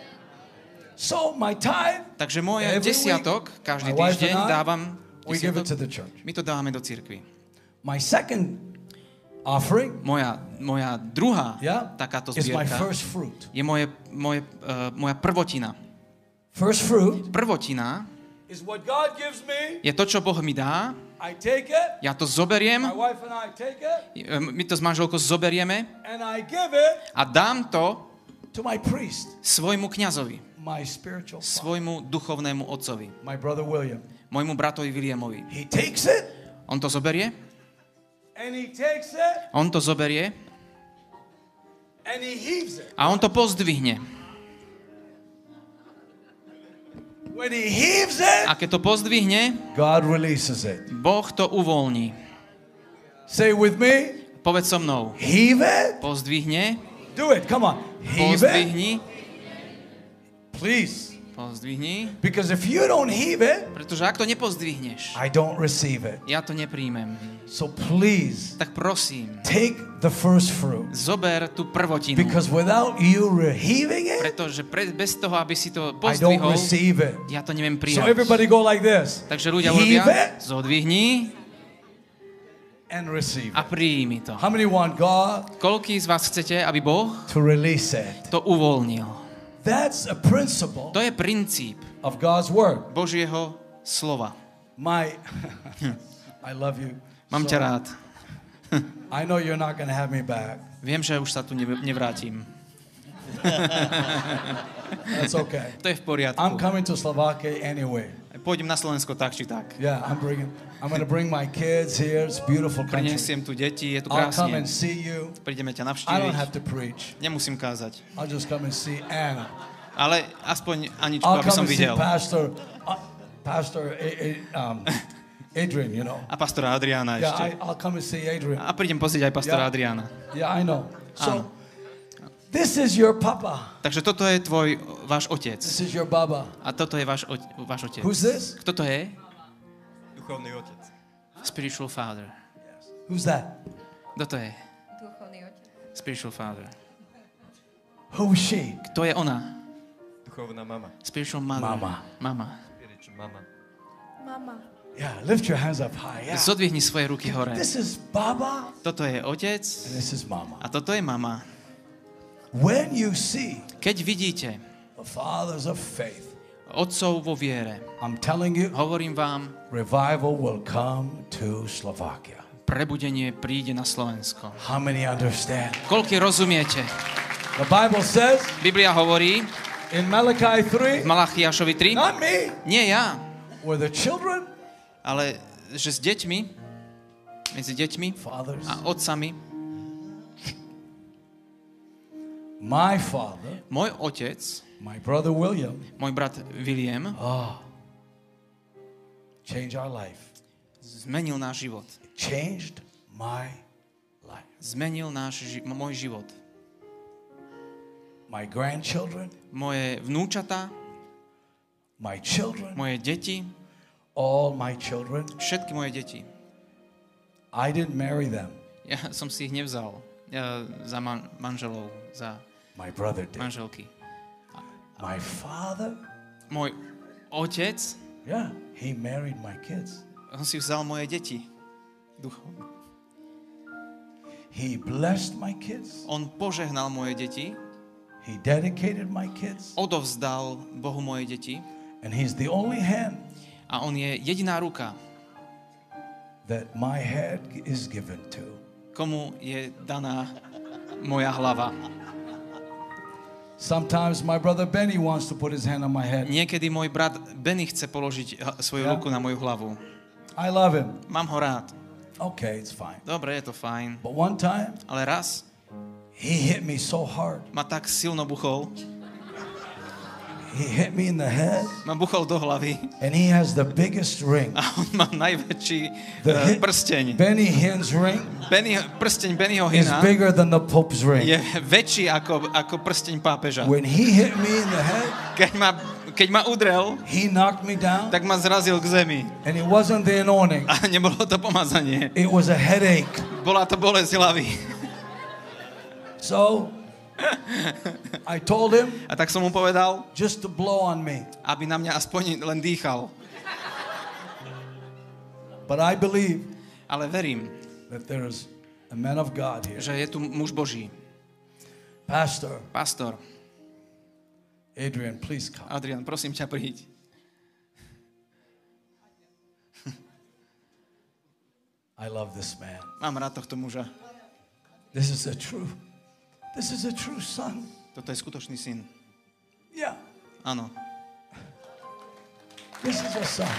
So my tithe, Takže moje Every desiatok každý my wife týždeň and I, dávam we give it to desiatok. the church. My to dávame do cirkvi. My second offering, Moja druhá yeah, takáto is my zbierka first fruit. je moja prvotina. First fruit Prvotina is what God gives me. je to, čo Boh mi dá. I take it. Ja to zoberiem, My wife and I take it, my to s manželkou zoberieme and I give it a dám to to my priest, svojmu kňazovi, my spiritual father, svojmu duchovnému otcovi, my brother William. môjmu bratovi Williamovi. He takes it, On to zoberie, and he takes it, on to zoberie and he heaves it. a on to pozdvihne. When he heaves it, A keď to pozdvihne, God releases it. Boh to uvoľní. Say with me, Povedz so mnou. heave it. Pozdvihne, Do it, come on. Heave it, pozdvihni, please. Pozdvihni, Because if you don't heave it, pretože ak to nepozdvihneš, I don't receive it. ja to nepríjmem. So please Tak prosím, take the first fruit. zober tú prvotinu. Because without you heaving it, Pretože bez toho, aby si to I don't pozdvihol, receive it. ja to neviem So prijať. everybody go like this. Takže ľudia Heave urobia, it zodvihni and receive a it. príjmi to. How many want God Koľký z vás chcete, aby Boh to release it? to uvoľnil? That's a principle To je princíp of God's word. Božieho slova. My, I love you. Mám ťa rád. I know you're not going to have me back. Viem, že už sa tu nevrátim. That's okay. To je v poriadku. I'm coming to Slovakia anyway. Pôjdem na Slovensko tak či tak. Yeah, I'm going to bring my kids here. It's a beautiful country. Prinesiem tu deti, je tu I'll come krásne. and see you. Prídeme ťa I don't navštíviť. have to preach. Nemusím kázať. I'll just come and see Anna. Ale aspoň Aničku, I'll aby som come and see videl. Pastor Adrian, you know. A pastora Adriána Yeah, ešte. I'll come and see Adrian. A prídem pozrieť aj pastora Yeah. Adriána. Yeah, I know. Áno. So, this is your papa. Takže toto je váš otec. This is your baba. A toto je váš otec. Who's this? Kto to je? Duchovný otec. Spiritual father. Who's that? Kto to je? Duchovný otec. Spiritual father. Who is she? Kto je ona? Duchovná mama. Spiritual mother. Mama. Mama. Spiritual mama. Mama. Yeah, lift your hands up high. Yeah. Zodvihni svoje ruky hore. This is Baba Toto je otec and this is Mama. a toto je mama. When you see Keď vidíte the fathers of faith, otcov vo viere, I'm telling you, hovorím vám, revival will come to Slovakia. prebudenie príde na Slovensko. How many understand? Koľko rozumiete? The Bible says Biblia hovorí in Malachi v 3, Malachiašovi 3, not me, nie ja, were the children, ale že s deťmi, medzi deťmi fathers, a otcami, my father, môj otec, my brother William, môj brat William, changed our life. zmenil náš život. Changed my life. Zmenil môj život. My grandchildren, Moje vnúčatá, my children, moje deti, all my children. všetky moje deti. I didn't marry them. Ja som si ich nevzal za manželov, za My brother did. manželky. My father, Môj otec, yeah, he married my kids. on si vzal moje deti. Duchovne. He blessed my kids. On požehnal moje deti, He dedicated my kids. odovzdal Bohu moje deti And he's the only hand a on je jediná ruka, that my head is given to. komu je daná moja hlava. Sometimes my brother Benny wants to put his hand on my head. Niekedy môj brat Benny chce položiť svoju Ja? ruku na moju hlavu. I love him. Mám ho rád. Okay, it's fine. Dobre, je to fajn. But one time, Ale raz he hit me so hard. ma tak silno buchol, He hit me in the head, ma buchol do hlavy and he has the biggest ring. a on má najväčší The prsteň. Benny Hinn's ring Prsteň Bennyho is Hinna bigger than the Pope's ring. je väčší ako prsteň pápeža. When he hit me in the head, Keď ma udrel, he knocked me down, tak ma zrazil k zemi. and it wasn't the anointing. A nebolo to pomazanie. It was a headache. Bola to bolesť hlavy. So I told him A tak som mu povedal, just to blow on me. aby na mňa aspoň len dýchal. But I believe Ale verím, that there is a man of God here. že je tu muž Boží. Pastor Pastor, Adrian, please come. Adrian, prosím ťa, príď. I love this man. Mám rád tohto muža. This is a true son. Toto je skutočný syn. Yeah, Áno. this is a son.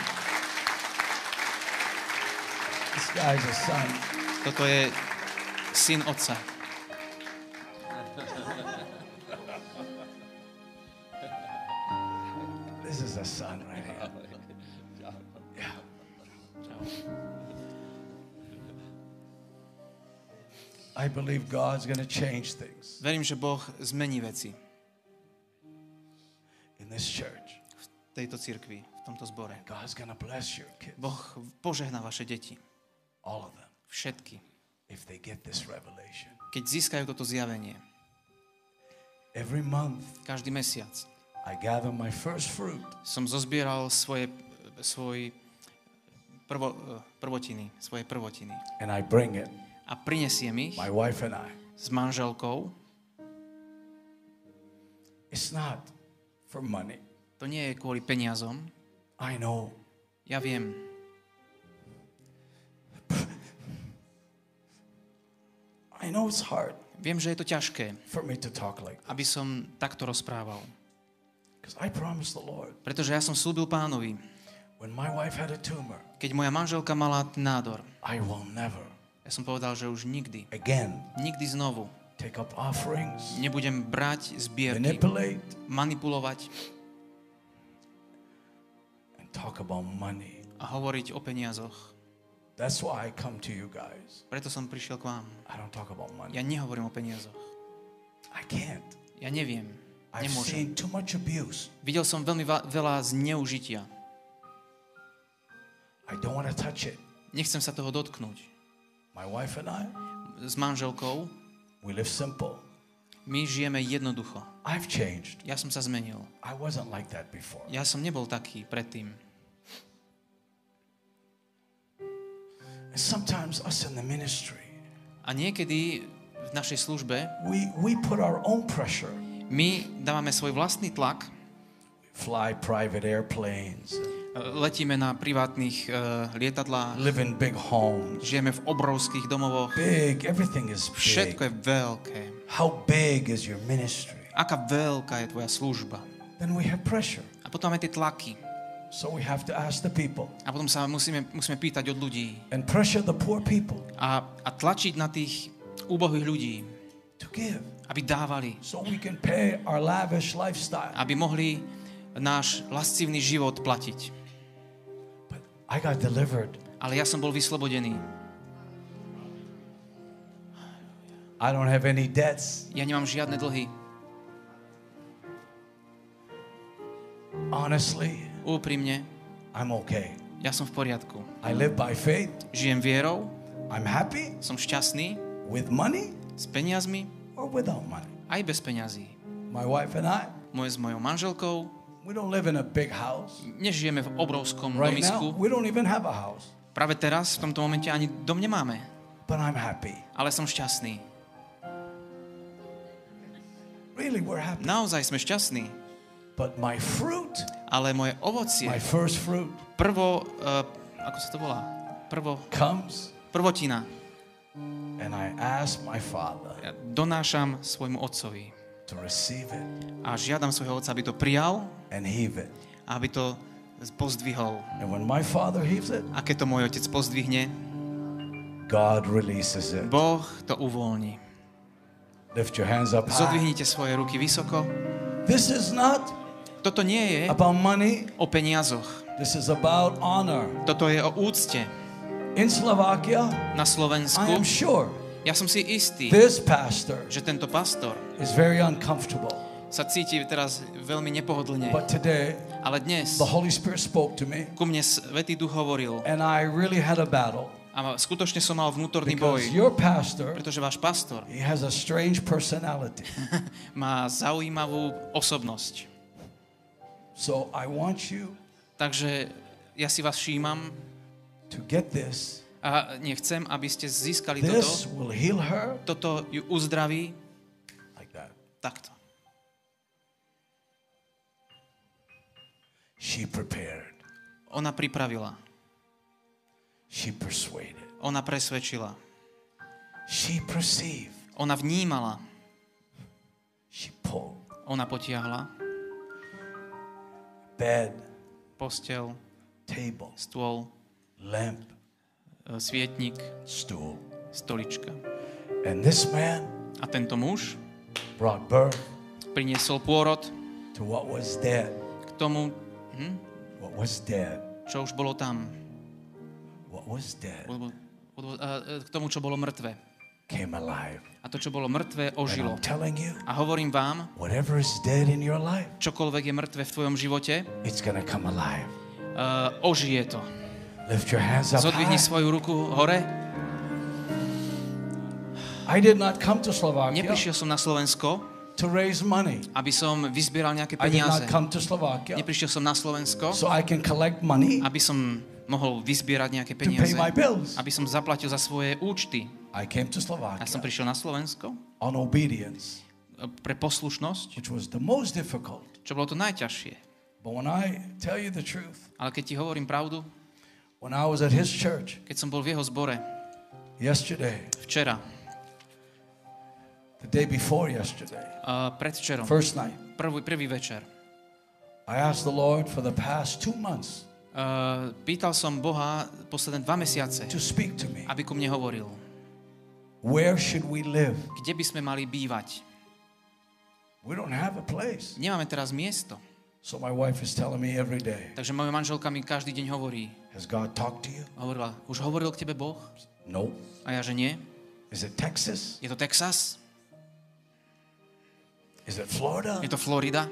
This guy's a son. Toto je syn otca. This is a son right here. Yeah. I believe God's going to change things Verím, že Boh zmení veci in this church. v tejto cirkvi, v tomto zbore. God's going to bless your kids. Boh požehná vaše deti. All of them. Všetky. If they get this revelation. Keď získajú toto zjavenie. Every month. Každý mesiac. I gather my first fruit. Som zozbieral svoje prvotiny. And I bring it. A prinesiem ich. My wife and I. S manželkou. It's not for money. To nie je kvôli peniazom. I know. Ja viem. I know it's hard. Viem, že je to ťažké, for me to talk like this. aby som takto rozprával. Because I promised the Lord. Pretože ja som slúbil Pánovi, when my wife had a tumor, keď moja manželka mala nádor, I will never ja som povedal, že už nikdy znovu take up offerings, nebudem brať zbierky, manipulate, manipulovať and talk about money. a hovoriť o peniazoch. That's why I come to you guys. Preto som prišiel k vám. I don't talk about money. Ja nehovorím o peniazoch. I can't. Ja neviem. I've Nemôžem. seen too much abuse. Videl som veľmi veľa zneužitia. I don't want to touch it. Nechcem sa toho dotknúť. My wife and I, S manželkou we live simple. my žijeme jednoducho. I've changed. Ja som sa zmenil. I wasn't like that before. Ja som nebol taký predtým. And sometimes us in the ministry, A niekedy v našej službe we put our own pressure. my dávame svoj vlastný tlak, Fly private airplanes, letíme na privátnych lietadlách, live in big homes. žijeme v obrovských domovoch, Big, everything is všetko big. je veľké. How big is your ministry? Aká veľká je tvoja služba. Then we have pressure. A potom máme tie tlaky. So we have to ask the people A potom sa musíme pýtať od ľudí. and pressure the poor people A tlačiť na tých úbohých ľudí, to give aby dávali. so we can pay our lavish lifestyle. Aby mohli náš lascivný život platiť. But I got delivered. Ale ja som bol vyslobodený. I don't have any debts. Ja nemám žiadne dlhy. Honestly, Úprimne, I'm okay. ja som v poriadku. I live by faith. Žijem vierou, I'm happy som šťastný, with money s peniazmi, or without money. aj bez peňazí. My wife and I, S mojou manželkou we don't live in a big house. nežijeme v obrovskom Right now, domisku. we don't even have a house. Práve teraz, v tomto momente, ani dom nemáme. But I'm happy. Ale som šťastný. Really, we're happy. Naozaj sme šťastní. But my fruit, Ale moje ovocie, my first fruit, ako sa to volá? comes Prvotina. and I ask my Father Ja donášam svojmu otcovi. to receive it A žiadam svojho otca, aby to prijal and heave it. a aby to pozdvihol. And when my Father heaves it, A keď to môj otec pozdvihne, God releases it. Boh to uvoľní. Lift your hands up high. Zodvihnite svoje ruky vysoko. This is not Toto nie je about money. o peniazoch. This is about honor. Toto je o úcte. In Slovakia, Na I am Slovensku, sure ja som si istý, this pastor že tento pastor is very uncomfortable. sa cíti teraz veľmi nepohodlne. But today, Ale dnes the Holy Spirit spoke to me, ku mne Svätý Duch hovoril and I really had a battle. a skutočne som mal vnútorný Because boj, your pastor, pretože váš pastor he has a strange personality. má zaujímavú osobnosť. So I want you Takže ja si vás všímam to get this. a nechcem, aby ste získali This will heal her toto ju uzdraví like that. takto. She prepared. Ona pripravila, She persuaded. ona presvedčila, She perceived. ona vnímala, She pulled. ona potiahla Bed, posteľ, table, stôl, lamp, svietnik, stool. stolička. And this man A tento muž brought birth priniesol pôrod to what was dead. k tomu, What was dead. čo už bolo tam. What was dead. K tomu, čo bolo mŕtve. came alive. A to, čo bolo mŕtve, And ožilo. I'm telling you, A hovorím vám, whatever is dead in your life, čokoľvek je mŕtve v tvojom živote, it's going to come alive. ožije to. Lift your hands up Zodvihni high. svoju ruku hore. I did not come to Slovakia Neprišiel som na Slovensko, to raise money. aby som vyzbieral nejaké I did peniaze. not come to Slovakia Neprišiel som na Slovensko, so I can collect money aby som mohol vyzbierať nejaké to pay peniaze, my bills. aby som zaplatil za svoje účty. I came to Ja som Slovakia prišiel na Slovensko on obedience, pre poslušnosť, which was the most difficult. čo bolo to najťažšie. But when I tell you the truth, Ale keď ti hovorím pravdu, when I was at his church keď som bol v jeho zbore yesterday, včera, the day before yesterday, predvčerom, first night, prvý večer, I asked the Lord for the past 2 months pýtal som Boha posledné 2 mesiace, to speak to me. aby ku mne hovoril. Where should we live? Kde by sme mali bývať? We don't have a place. Nemáme teraz miesto. So my wife is telling me every day, Takže moja manželka mi každý deň hovorí. has God talked to you? Hovorila, už hovoril k tebe Boh? No. A ja, že nie. Is it Texas? Je to Texas? Is it Florida? Je to Florida?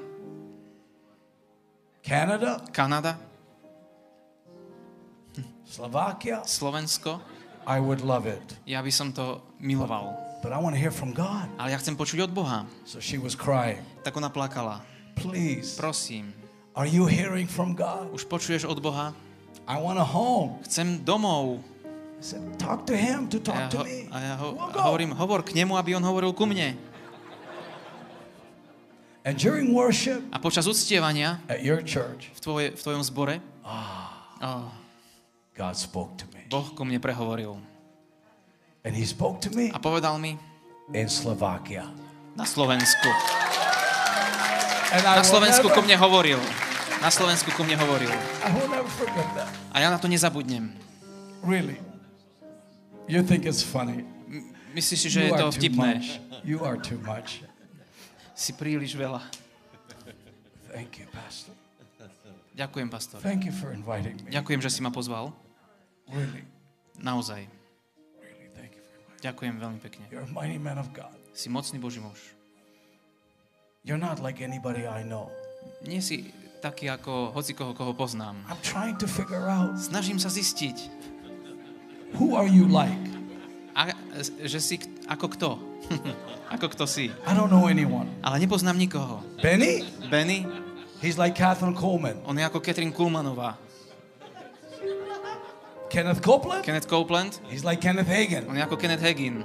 Canada? Kanada? Slovakia? Slovensko? I would love it. Ja by som to miloval. But I want to hear from God. Ale ja chcem počuť od Boha. So she was crying. Tak ona plakala. Please, Prosím, are you hearing from God? už počuješ od Boha? I want a home. Chcem domov. I said, talk to him to talk to me. We'll go. Hovorím, hovor k nemu, aby on hovoril ku mne. And during worship A počas uctievania at your church, v tvojom zbore God spoke to me. Boh ku mne prehovoril. And he spoke to me A povedal mi in Slovakia. na Slovensku. And I Na Slovensku ku will mne hovoril. Na Slovensku ku mne hovoril. I will never forget that. A ja na to nezabudnem. Really. You think it's funny. Myslíš si, že je You to are too vtipné? much. You are too much. Si príliš veľa. Thank you, Pastor. Ďakujem, pastor. Thank you for inviting me. Ďakujem, že si ma pozval. Really, Naozaj. really, thank you for inviting me. Ďakujem veľmi pekne. You're a mighty man of God. Si mocný Boží muž. You're not like anybody I know. Nie si taký ako hocikoho, koho poznám. I'm trying to figure out, Snažím sa zistiť, who are you like? že si ako kto. Ako kto si. I don't know anyone. Ale nepoznám nikoho. Benny? Benny, He's like Catherine Coleman. on je ako Catherine Kuhlmanová. Kenneth Copeland? Kenneth Copeland, He's like Kenneth Hagin. on je ako Kenneth Hagin.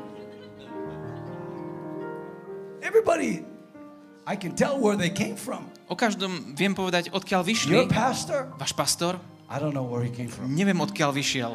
Everybody, I can tell where they came from. O každom viem povedať, odkiaľ Your vyšli. pastor? Váš pastor? I don't know where he came from. Neviem, odkiaľ vyšiel.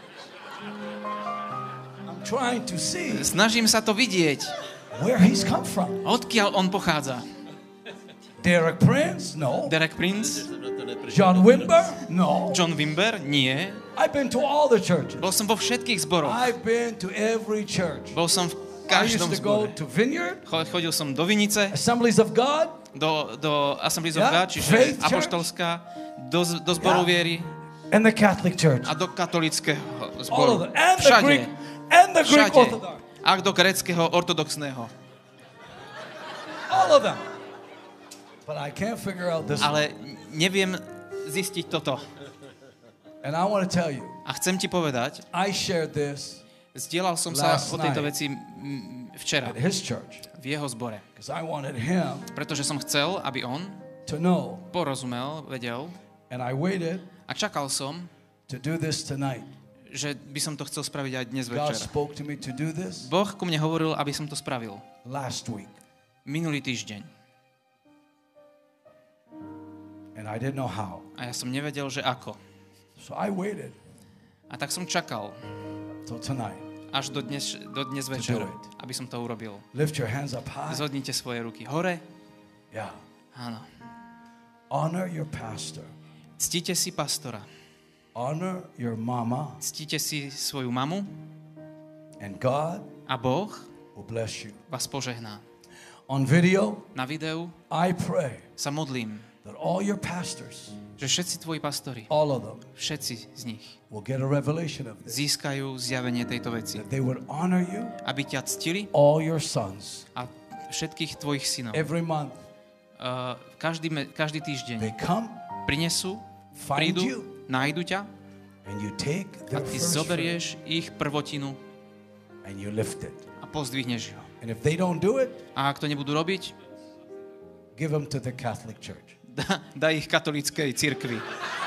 I'm trying to see Snažím sa to vidieť. where he's come from. Odkiaľ on pochádza? Derek Prince? No. Derek Prince? John Wimber? No. John Wimber? Nie. I've been to all the churches. Bol som vo všetkých zboroch. I've been to every church. Bol som v I used každom to go zbore. to Vineyard, Chodil som do Vinice, Assemblies of God, do Assemblies of Yeah, God, čiže Faith Church. apoštolská, do zboru Yeah. viery and the Catholic Church. a do katolického All of zboru. them. And the Všade. Greek, and the Greek Všade. Orthodox. A do gréckeho ortodoxného. All of them. But I can't figure out this one. Ale neviem zistiť toto. And I want to tell you, A chcem ti povedať, I shared this zdieľal som sa Last o tejto night. veci včera at his church v jeho zbore. because I wanted him Pretože som chcel, aby on to know. porozumel, vedel And I waited a čakal som, to do this tonight. že by som to chcel spraviť aj dnes God večer. spoke to me to do this Boh ku mne hovoril, aby som to spravil. last week. Minulý týždeň. And I didn't know how. A ja som nevedel, že ako. So I waited A tak som čakal till tonight. až do dnes večer, aby som to urobil. Lift your hands up high. Zhodnite svoje ruky hore. Yeah. Áno. Honor your pastor. Ctíte si pastora. Honor your mama. Ctíte si svoju mamu And God a Boh will bless you. vás požehná. On video, Na videu I pray sa modlím, that all your pastors, že všetci tvoji pastori, all of them, všetci z nich will get a revelation of this. získajú zjavenie tejto veci. That they would honor you, Aby ťa ctili all your sons, a všetkých tvojich synov. every month. Každý týždeň They come, prinesú, find prídu, you, nájdu ťa and you take a their ty first fruit, zoberieš ich prvotinu and you lift it. a pozdvihneš ho. And if they don't do it, A ak to nebudú robiť, give them to the Catholic Church. daj ich katolíckej cirkvi.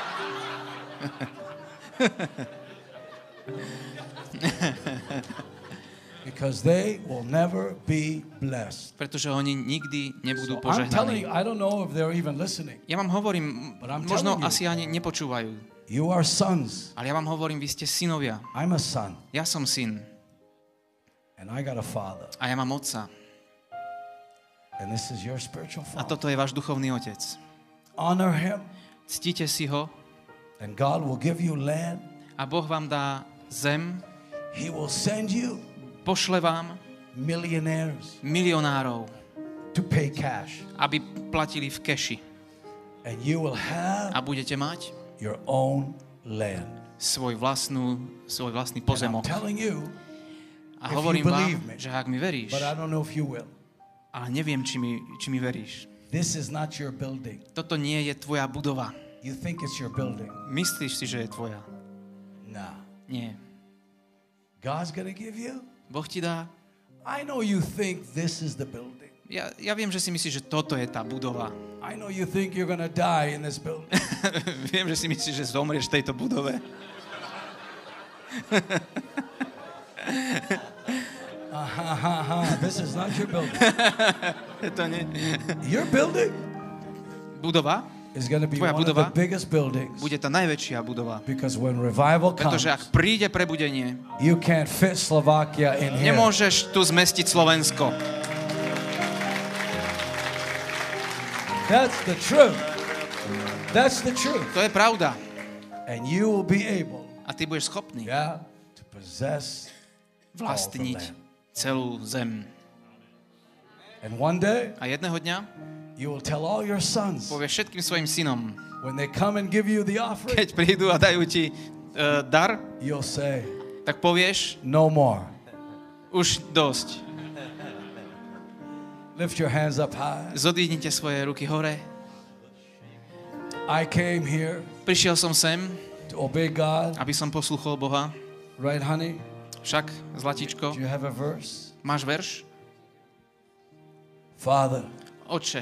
Because they will never be blessed. Pretože oni nikdy nebudú So I'm telling požehnaní. you, I don't know if they're even listening. Ja vám hovorím, But I'm možno telling you. asi ani nepočúvajú, You are sons. ale ja vám hovorím, vy ste synovia. I'm a son. Ja som syn And I got a father. a ja mám otca. And this is your spiritual A father. toto je váš duchovný otec. Honor him. Ctíte si ho And God will give you land. a Boh vám dá zem, He will send you pošle vám millionaires milionárov, to pay cash. aby platili v keši. And you will have A budete mať your own land. svoj vlastný And I'm pozemok. telling you, A if hovorím you vám, believe me, že ak mi veríš, but I don't know if you will. ale neviem, či mi veríš, This is not your building. toto nie je tvoja budova. You think it's your building. Myslíš si, že je tvoja? No. Nie. God's going to give you. Boh ti dá. I know you think this is the building. Ja viem, že si myslíš, že toto je tá budova. I know you think you're going to die in this building. Viem, že si myslíš, že zomrieš v tejto budove. This is not your building. To nie. Your building Budova is going to be Tvoja one of the budova biggest buildings. bude tá najväčšia budova. Because when revival comes, Pretože ak príde prebudenie, you can't fit Slovakia in here. nemôžeš tu zmestiť Slovensko. That's the truth. That's the truth. To je pravda. And you will be able, A ty budeš schopný to possess vlastniť celú zem. And one day, A jedného dňa you will tell all your sons povieš všetkým svojim synom, when they come and give you the offering, keď prídu a dajú ti dar, you'll say, tak povieš, no more. už dosť. Lift your hands up high. Zodvihnite svoje ruky hore. I came here Prišiel som sem, to obey God. aby som posluchol Boha. Right, honey? Však, zlatičko, Do you have a verse? máš verš? Father, Otče,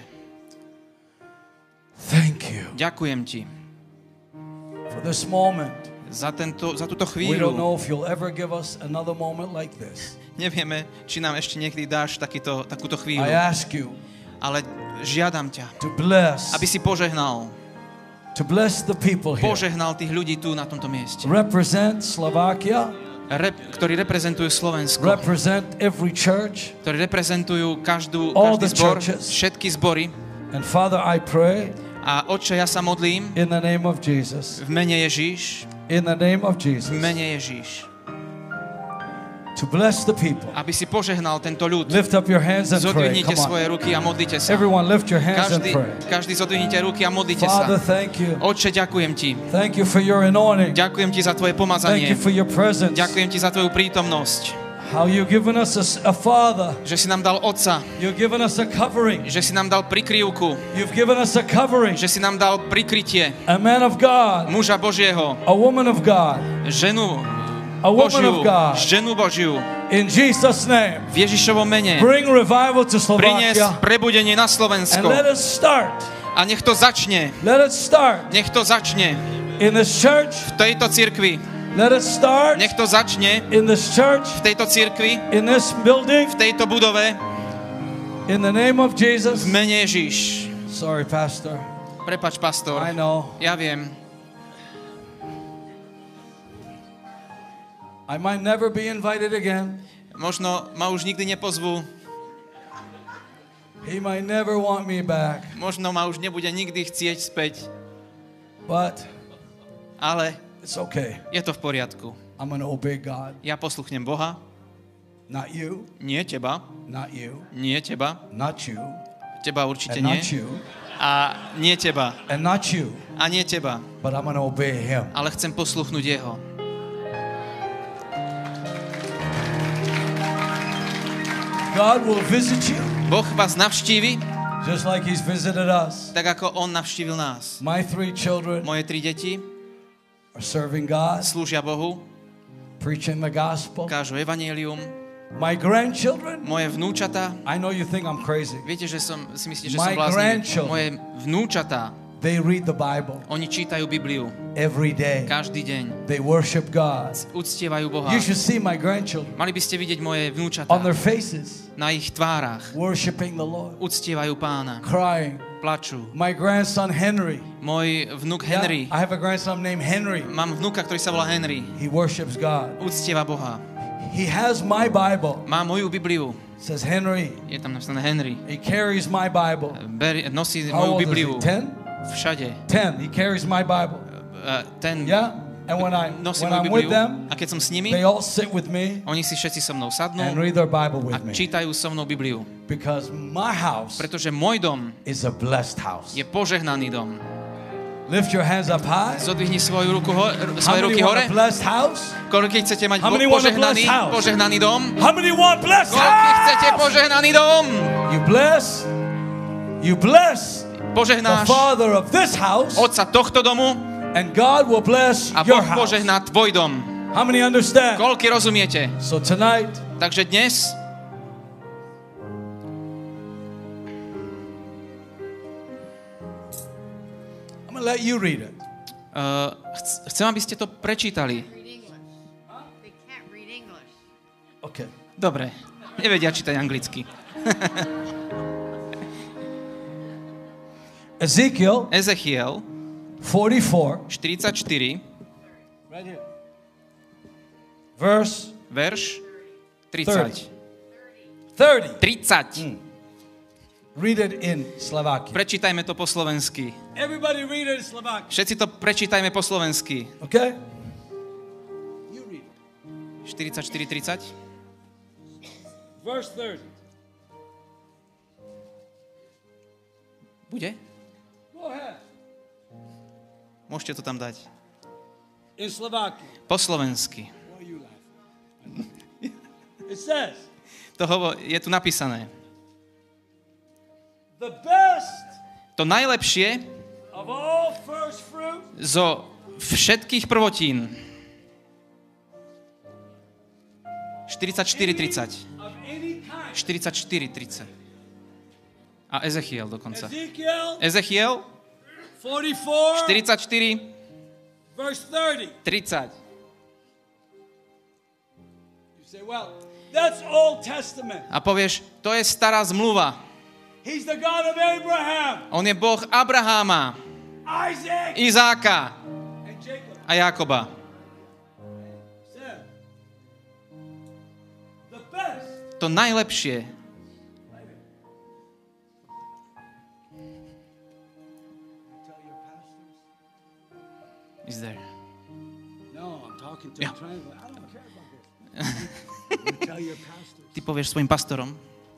thank you ďakujem ti for this moment. za túto We don't chvíľu. know if you'll ever give us another moment like this. Nevieme, či nám ešte niekedy dáš takúto chvíľu. I ask you Ale žiadam ťa, to bless, aby si požehnal the people here. požehnal tých ľudí tu na tomto mieste, Represent Slovakia, ktorí reprezentujú Slovensko, represent every church. ktorí reprezentujú každý All the zbor, churches. všetky zbory. And Father, I pray A Otče, ja sa modlím in the name of Jesus, v mene Ježíš, in the name of v Jesus, mene Ježíš, to bless the people. aby si požehnal tento ľud. Lift up your hands and pray. Zodvihnite Come on. svoje ruky a modlite sa. Everyone lift your hands and pray. Každý zodvihnite ruky a modlite Father, sa. thank you. Otče, ďakujem ti. Thank you for your anointing. Ďakujem ti za tvoje Thank pomazanie. you for your presence. Ďakujem ti za tvoju prítomnosť. How you've given us a father. Že si nám dal otca. You've given us a covering. Že si nám dal prikryvku. You've given us a covering. Že si nám dal prikrytie. A man of God. Muža Božieho. A woman of God. Ženu A woman Božiu. of God. Ženu Božiu. In Jesus' name. V Ježišovom mene. Bring revival to Prinies Slovakia. prebudenie na And Slovensko. let us start. A nech to začne. Let us start Nech to začne in this church. v tejto cirkvi. Let us start Nech to začne in this church, v tejto cirkvi, in this building, v tejto budove. in the name of Jesus. V mene Ježiš. Sorry, Pastor. Prepač, pastor. I know. Ja viem. I might never be invited again. Možno ma už nikdy nepozvú. He might never want me back. Možno ma už nebude nikdy chcieť späť. But Ale it's okay. je to v poriadku. I'm going to obey God. Ja posluchnem Boha. Not you. Nie teba. Not you. Nie teba. Not you. Teba určite And nie. not you. A nie teba. And not you. A nie teba. But I'm going to obey him. Ale chcem posluchnúť jeho. God will visit you Boh vás navštívi, just like he's visited us. tak ako on navštívil nás. My 3 children Moje 3 deti are serving God, slúžia Bohu, preaching the gospel. kážu evanjelium. My grandchildren, Moje vnúčatá, I know you think I'm crazy. viete, že si myslíte, že My som bláznivý. grandchildren. Moje vnúčatá, They read the Bible oni čítajú Bibliu every day. každý deň. They worship God. Uctievajú Boha. You should see my grandchildren Mali by ste vidieť moje vnúčatá on their faces, na ich tvárach. worshiping the Lord, Uctievajú Pána, crying. plačú. My grandson Henry. Môj vnuk Yeah, Henry, I have a grandson named Henry. mám vnuka, ktorý sa volá Henry. He worships God. Uctieva Boha. He has my Bible. Má moju Bibliu. Says Henry. Je tam napísané Henry. He carries my Bible. Nosí How moju old Bibliu. is he? 10? Všade. 10. He carries my Bible. Ten Yeah. And when nosí I'm moju with Bibliu. them, A keď som s nimi, they all sit with me oni si všetci so mnou sadnú and read their Bible a with me. čítajú so mnou Bibliu. Because my house Pretože môj dom is a blessed house. je požehnaný dom. Lift your hands up high. Zodvihni svoje How ruky many want hore. a blessed house? Koľký chcete mať How many want a požehnaný, blessed house? požehnaný dom? How many want blessed Koľký chcete house? požehnaný dom? You bless the Požehnáš father of this house, otca tohto domu and God will bless a your Boh house. požehná tvoj dom. How many understand? Koľký rozumiete? So tonight, Takže dnes I'm going to let you read it. chcem, aby ste to prečítali. Read English. They can't read English. Okay. Dobre, nevedia čítať anglicky. Ezekiel Ezechiel 44, 44, right here. Verse verš 30. 30. 30. Read it in Slovakian. Prečítajme to po slovensky. Everybody read it in Slovakian. Všetci to prečítajme po slovensky. Okay? You read it. 44, 30. Verse 30. Bude? Go ahead. Môžete to tam dať. In Slovakian. Po slovensky. Why are you laughing? It says, Je tu napísané. the best To najlepšie of all first fruit zo všetkých prvotín. 44:30. of any kind. 44:30. A Ezechiel dokonca. Ezekiel Ezechiel 44, 44:30. verse 30. You say, well, that's Old Testament. A povieš, to je stará zmluva. He's the God of Abraham, On je Boh Abraháma, Isaac, Izáka and Jacob. a Jakoba. Said, the best. To najlepšie. Tell your pastors. Is there. No, I'm talking to Yeah. a translator. I don't care about this. You tell your pastors. Ty povieš svojim pastorom.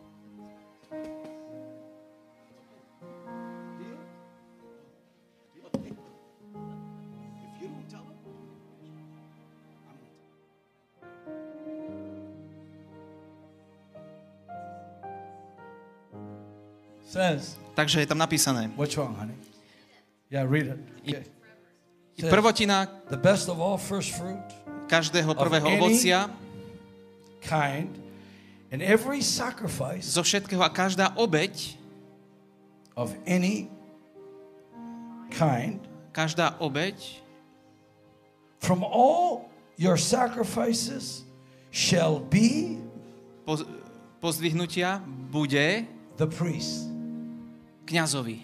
If you don't tell them, says, Takže je tam napísané. what's wrong, honey? Yeah, read it. Okay. Says, Prvotina the best of all first fruit, každého prvého any- ovocia, kind, and every sacrifice zo všetkého a každá obeť, of any kind, každá obeť from all your sacrifices shall be pozdvihnutia bude the priest. kňazovi.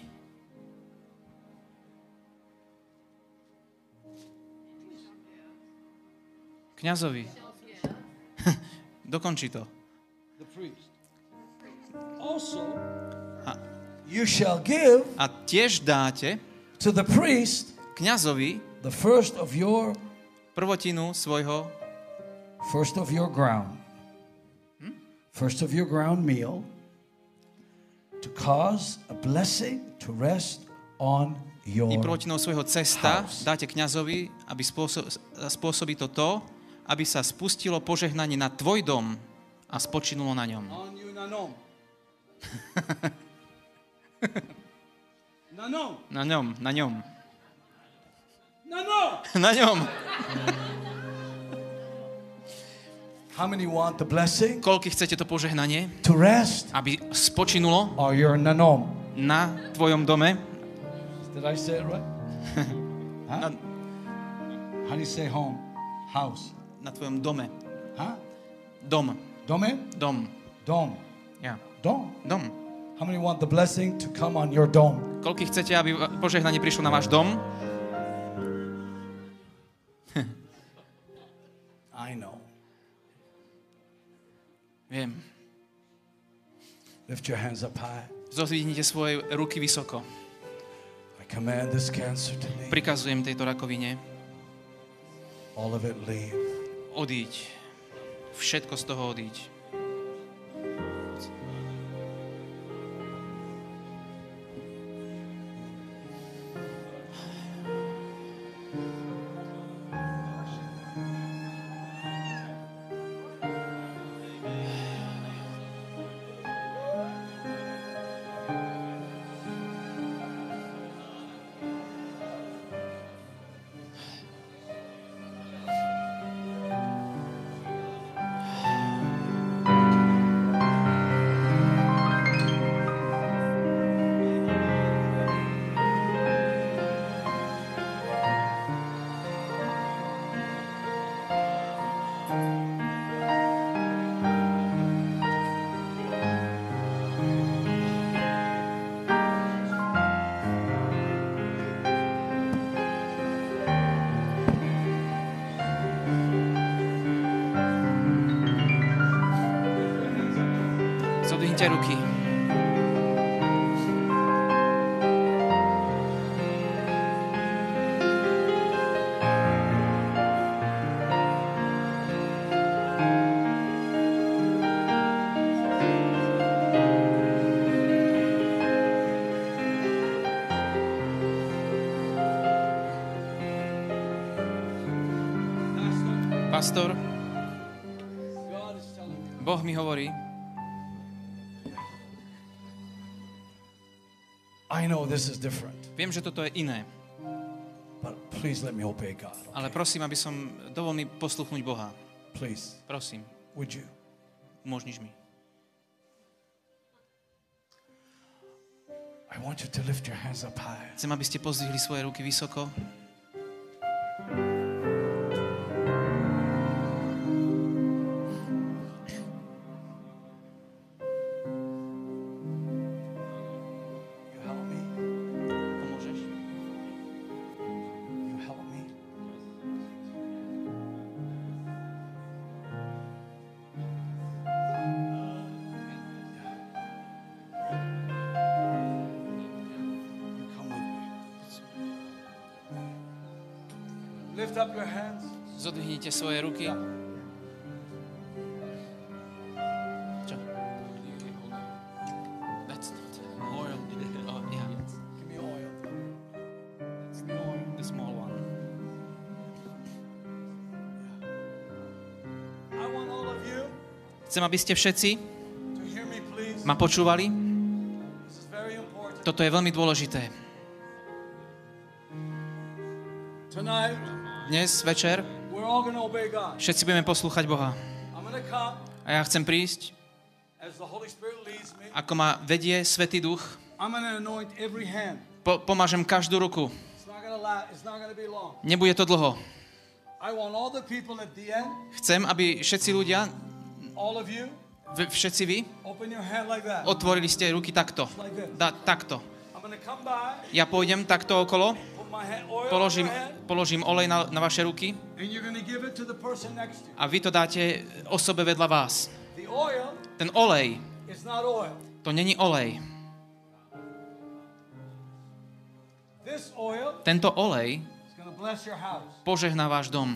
Kňazovi. Dokončí to. The priest. Also, A- you shall give A tiež dáte to the priest kňazovi the first of your prvotinu svojho ground. First of your ground meal to cause a blessing to rest on your I prvotnou svojho cesta house. dáte kňazovi, aby spôsobí to, aby sa spustilo požehnanie na tvoj dom a spočinulo na ňom. On you nanom. Nanom. Na ňom, na ňom. Nanom. Na ňom. How many want the blessing Koľko chcete to požehnanie, to rest aby spočinulo on your nanom? na tvojom dome? Did I say it right? Huh? How do you say home? House. Na tvojom dome. Huh? Dom. Dome? Dom. Dome. Ja. Dome. Dom. How many want the blessing to come on your dome? Koľko chcete, aby požehnanie prišlo na váš dom? I know. Viem. Lift your hands up high. Zodvihnite svoje ruky vysoko. I command this cancer to leave. Prikazujem tejto rakovine. All of it leave. Odíď. Všetko z toho odíď. Zodvihnite ruky. Pastor, Boh mi hovorí, I know this is different, viem, že toto je iné, but please let me obey God. ale prosím, aby som dovol mi posluchnúť Boha. Please, Prosím, would you? umožníš mi. I want you to lift your hands up high. Chcem, aby ste pozdvihli svoje ruky vysoko. You help me. Pomôžeš? You help me. You come with me. Lift up your hands. Zodvihnite svoje ruky. Čo? That's not oil. Oh, yeah. Give me oil. Give me oil. The small one. I want all of you Chcem, aby ste všetci to hear me, please. ma počúvali. This is very important. Toto je veľmi dôležité. Tonight, Dnes večer we're all going to obey God. všetci budeme poslúchať Boha. I'm going to come A ja chcem prísť, as the Holy Spirit leads me. ako ma vedie Svätý Duch. I'm going to anoint every hand. Pomážem každú ruku. It's not going to be long. Nebude to dlho. I want all the people at the end, Chcem, aby všetci ľudia, all of you, všetci vy, open your hand like that. otvorili ste ruky takto. Like this. Takto. I'm going to come by, Ja pôjdem takto okolo, put my hand, oil položím, on your hand, položím olej na vaše ruky and you're going to give it to the person next to you. a vy to dáte osobe vedľa vás. The oil Ten olej, is not oil. to není olej. This oil Tento olej is going to bless your house. požehná váš dom.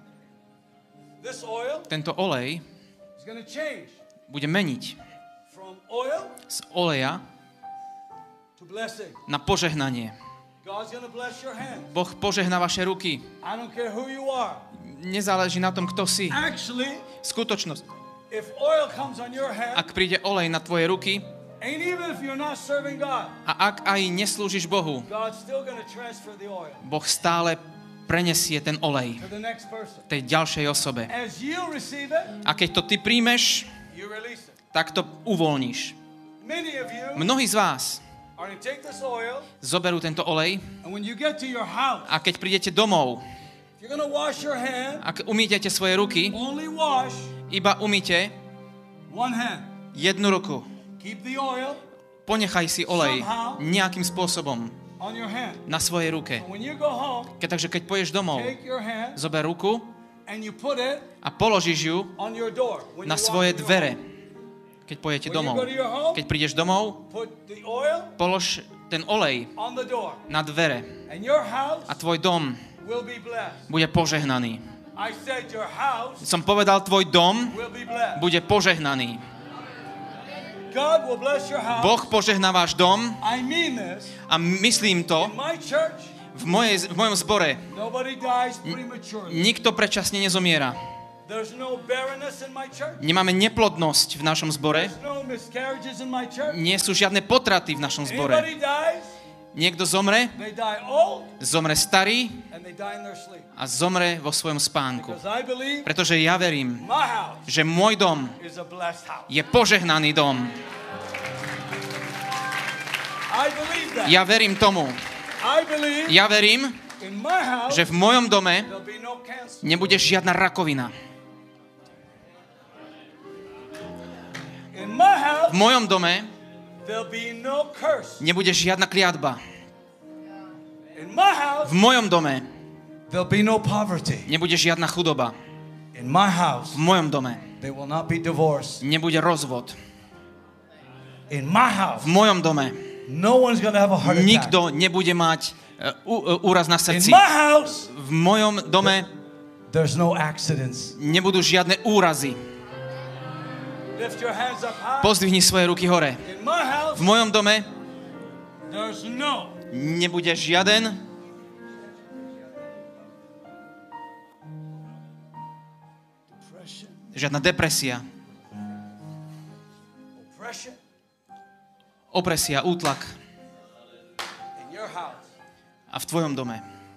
This oil Tento olej is going to change bude meniť from From oil z oleja to blessing. na požehnanie. God's going to bless your hands. Boh požehná vaše ruky. I don't care who you are. Nezáleží na tom, kto si. Actually, Skutočnosť. if oil comes on your hand, Ak príde olej na tvoje ruky and even if you're not serving God, a ak aj neslúžiš Bohu, God's still going to transfer the oil Boh stále prenesie ten olej to the next person. tej ďalšej osobe. As you receive it, A keď to ty príjmeš, you release it. tak to uvoľníš. Many of you Mnohí z vás are going to take this oil, zoberú tento olej and when you get to your house, a keď prídete domov, you're going to wash your hand, ak umýtete svoje ruky, only wash iba umýte one hand. jednu ruku. Keep the oil Ponechaj si olej nejakým spôsobom on your hand. na svojej ruke. And when you go home, Takže keď pôjdeš domov, take your hand zober ruku and you put it a položíš ju on your door. When na you walk svoje in your dvere, home. keď pôjdete When you domov. go to your home, Keď prídeš domov, put the oil polož ten olej on the door. na dvere And your house a tvoj dom will be blessed. bude požehnaný. I said your house Som povedal, tvoj dom will be blessed. bude požehnaný. God will bless your house. Boh požehná váš dom I mean this. a myslím to In my church, v mojom zbore. nobody dies prematurely. Nikto predčasne nezomiera. There's no barrenness in my church. Nemáme neplodnosť v našom zbore. There's no miscarriages in my church. Nie sú žiadne potraty v našom zbore. Anybody dies, Niekto zomre, they die old zomre starý and they die in their sleep. a zomre vo svojom spánku. Because I believe Pretože ja verím, my house že môj dom is a blessed house. je požehnaný dom. I believe that. Ja verím tomu. I believe Ja verím, in my house že v mojom dome there'll be no cancer. nebude žiadna rakovina. In my house V mojom dome there'll be no curse. nebude žiadna kliatba. In my house V mojom dome there'll be no poverty. nebude žiadna chudoba. In my house V mojom dome there will not be divorce. nebude rozvod. In my house V mojom dome no one's going to have a heart attack. nikto nebude mať úraz na In srdci. my house V mojom dome there's no accidents. nebudú žiadne úrazy. Lift your hands up high. Pozdvihni svoje ruky hore. In my house V mojom dome there's no nebude žiaden depression. žiadna depresia, Oppression opresia, útlak. in your house. A v tvojom dome,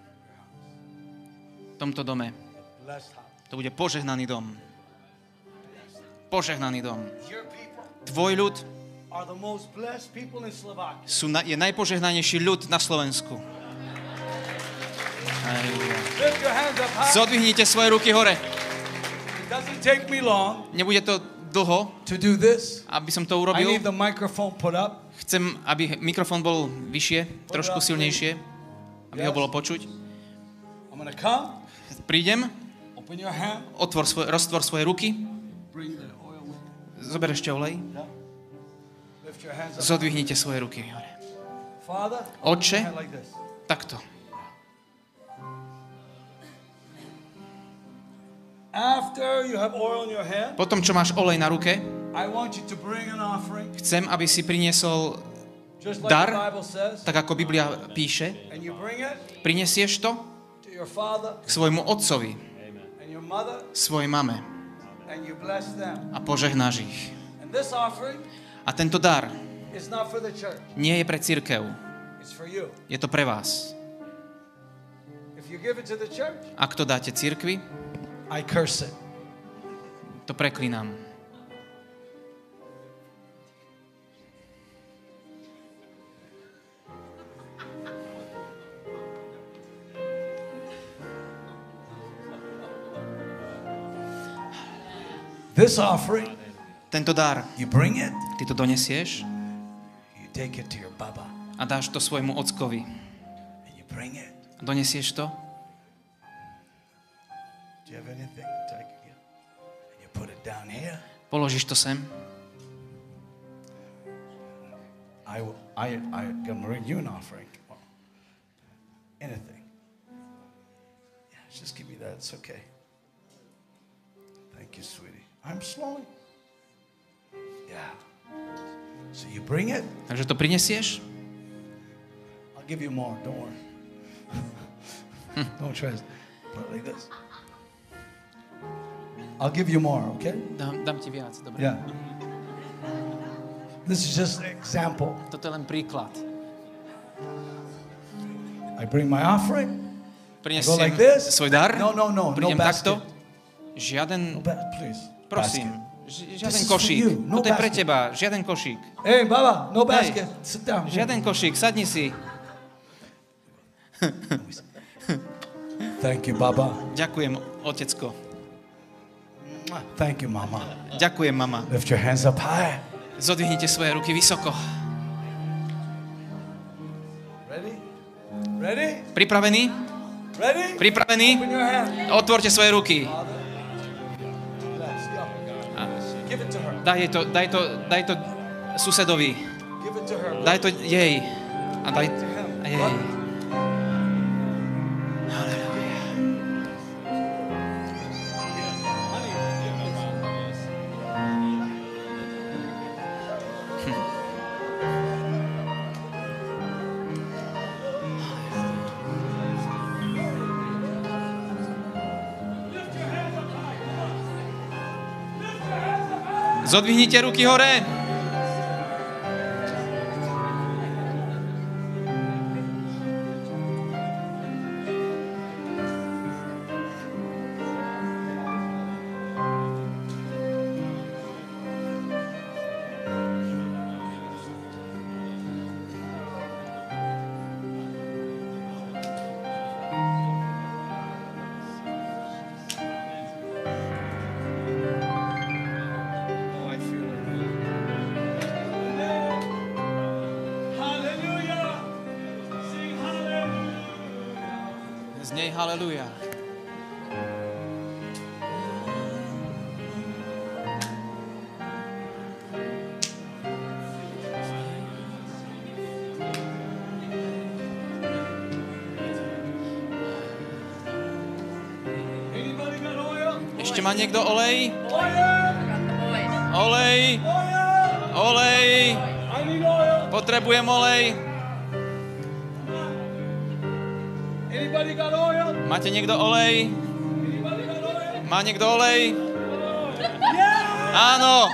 v tomto dome, Blessed house. to bude požehnaný dom. Požehnaný dom. Your people Tvoj ľud are the most blessed people in Slovakia. je najpožehnanejší ľud na Slovensku. Halleluja. Lift your hands up high. Zodvihnite svoje ruky hore. It doesn't take me long Nebude to dlho, to do this. aby som to I urobil. need the microphone put up. Chcem, aby mikrofón bol vyššie, trošku silnejšie, aby ho bolo počuť. I'm going to come. Prídem, Open your hand. roztvor svoje ruky, Bring the oil with you. zober ešte olej, Lift your hands up. zodvihnite svoje ruky hore. Father, Otče, hand like this. takto. After you have oil in your hand, Potom, čo máš olej na ruke, I want you to bring an offering, chcem, aby si priniesol just like dar, the Bible says, tak ako Biblia píše, and you bring it prinesieš to to your father k svojmu otcovi, and your mother, svojej mame and you bless them. a požehnáš ich. And this offering A tento dar is not for the church, nie je pre cirkev, it's for you. je to pre vás. If you give it to the church, Ak to dáte cirkvi, I curse it. to preklinám. This offering, Tento dar, you bring it, ty to donesieš you take it to your baba, a dáš to svojmu ockovi. and you bring it. Donesieš to Do you have anything to take again? And you put it down here. položíš to sem. I can bring you an offering. Anything. Yeah, just give me that. It's okay. Thank you, sweetie. I'm slowing. Yeah. So you bring it. Takže to prinesieš? I'll give you more. Don't worry. Don't try to put it like this. I'll give you more, okay? Dám ti viac, dobre? Yeah. This is just an example. Toto je len príklad. I bring my offering. Prinesiem like this? svoj dar. No. Prídem No takto. basket. Žiaden, Please. prosím, Basket. žiaden This is for košík. you. No Toto je pre basket. teba, žiaden košík. Hey, Baba, no Hej. basket. Sit down. Žiaden košík, sadni si. Thank you, Baba. Ďakujem, otecko. Thank you, Mama. Ďakujem, mama. Lift your hands up high. Zodvihnite svoje ruky vysoko. Ready? Ready? Pripravení? Ready? Pripravení? Open your hand. Otvorte svoje ruky. Give it to her. Daj to susedovi. Give it to her. Daj to jej. A daj a jej. Zodvihnite ruky hore. Znej haleluja. Ešte má niekto olej? Olej! Olej! Potrebujem olej. Máte niekto olej? Má niekto olej? Áno!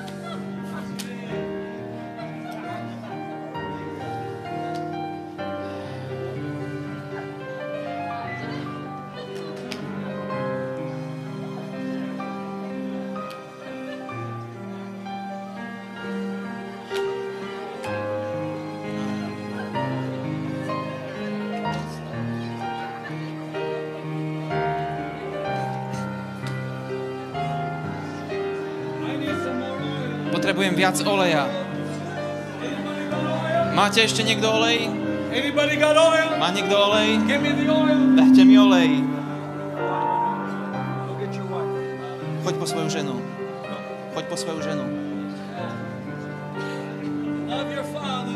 Potrebujem viac oleja. Máte ešte niekto olej? Anybody got oil? Má niekto olej? Give me the oil. Dajte mi olej. Go get your wife. Choď po svoju ženu. Choď po svoju ženu. Love your father.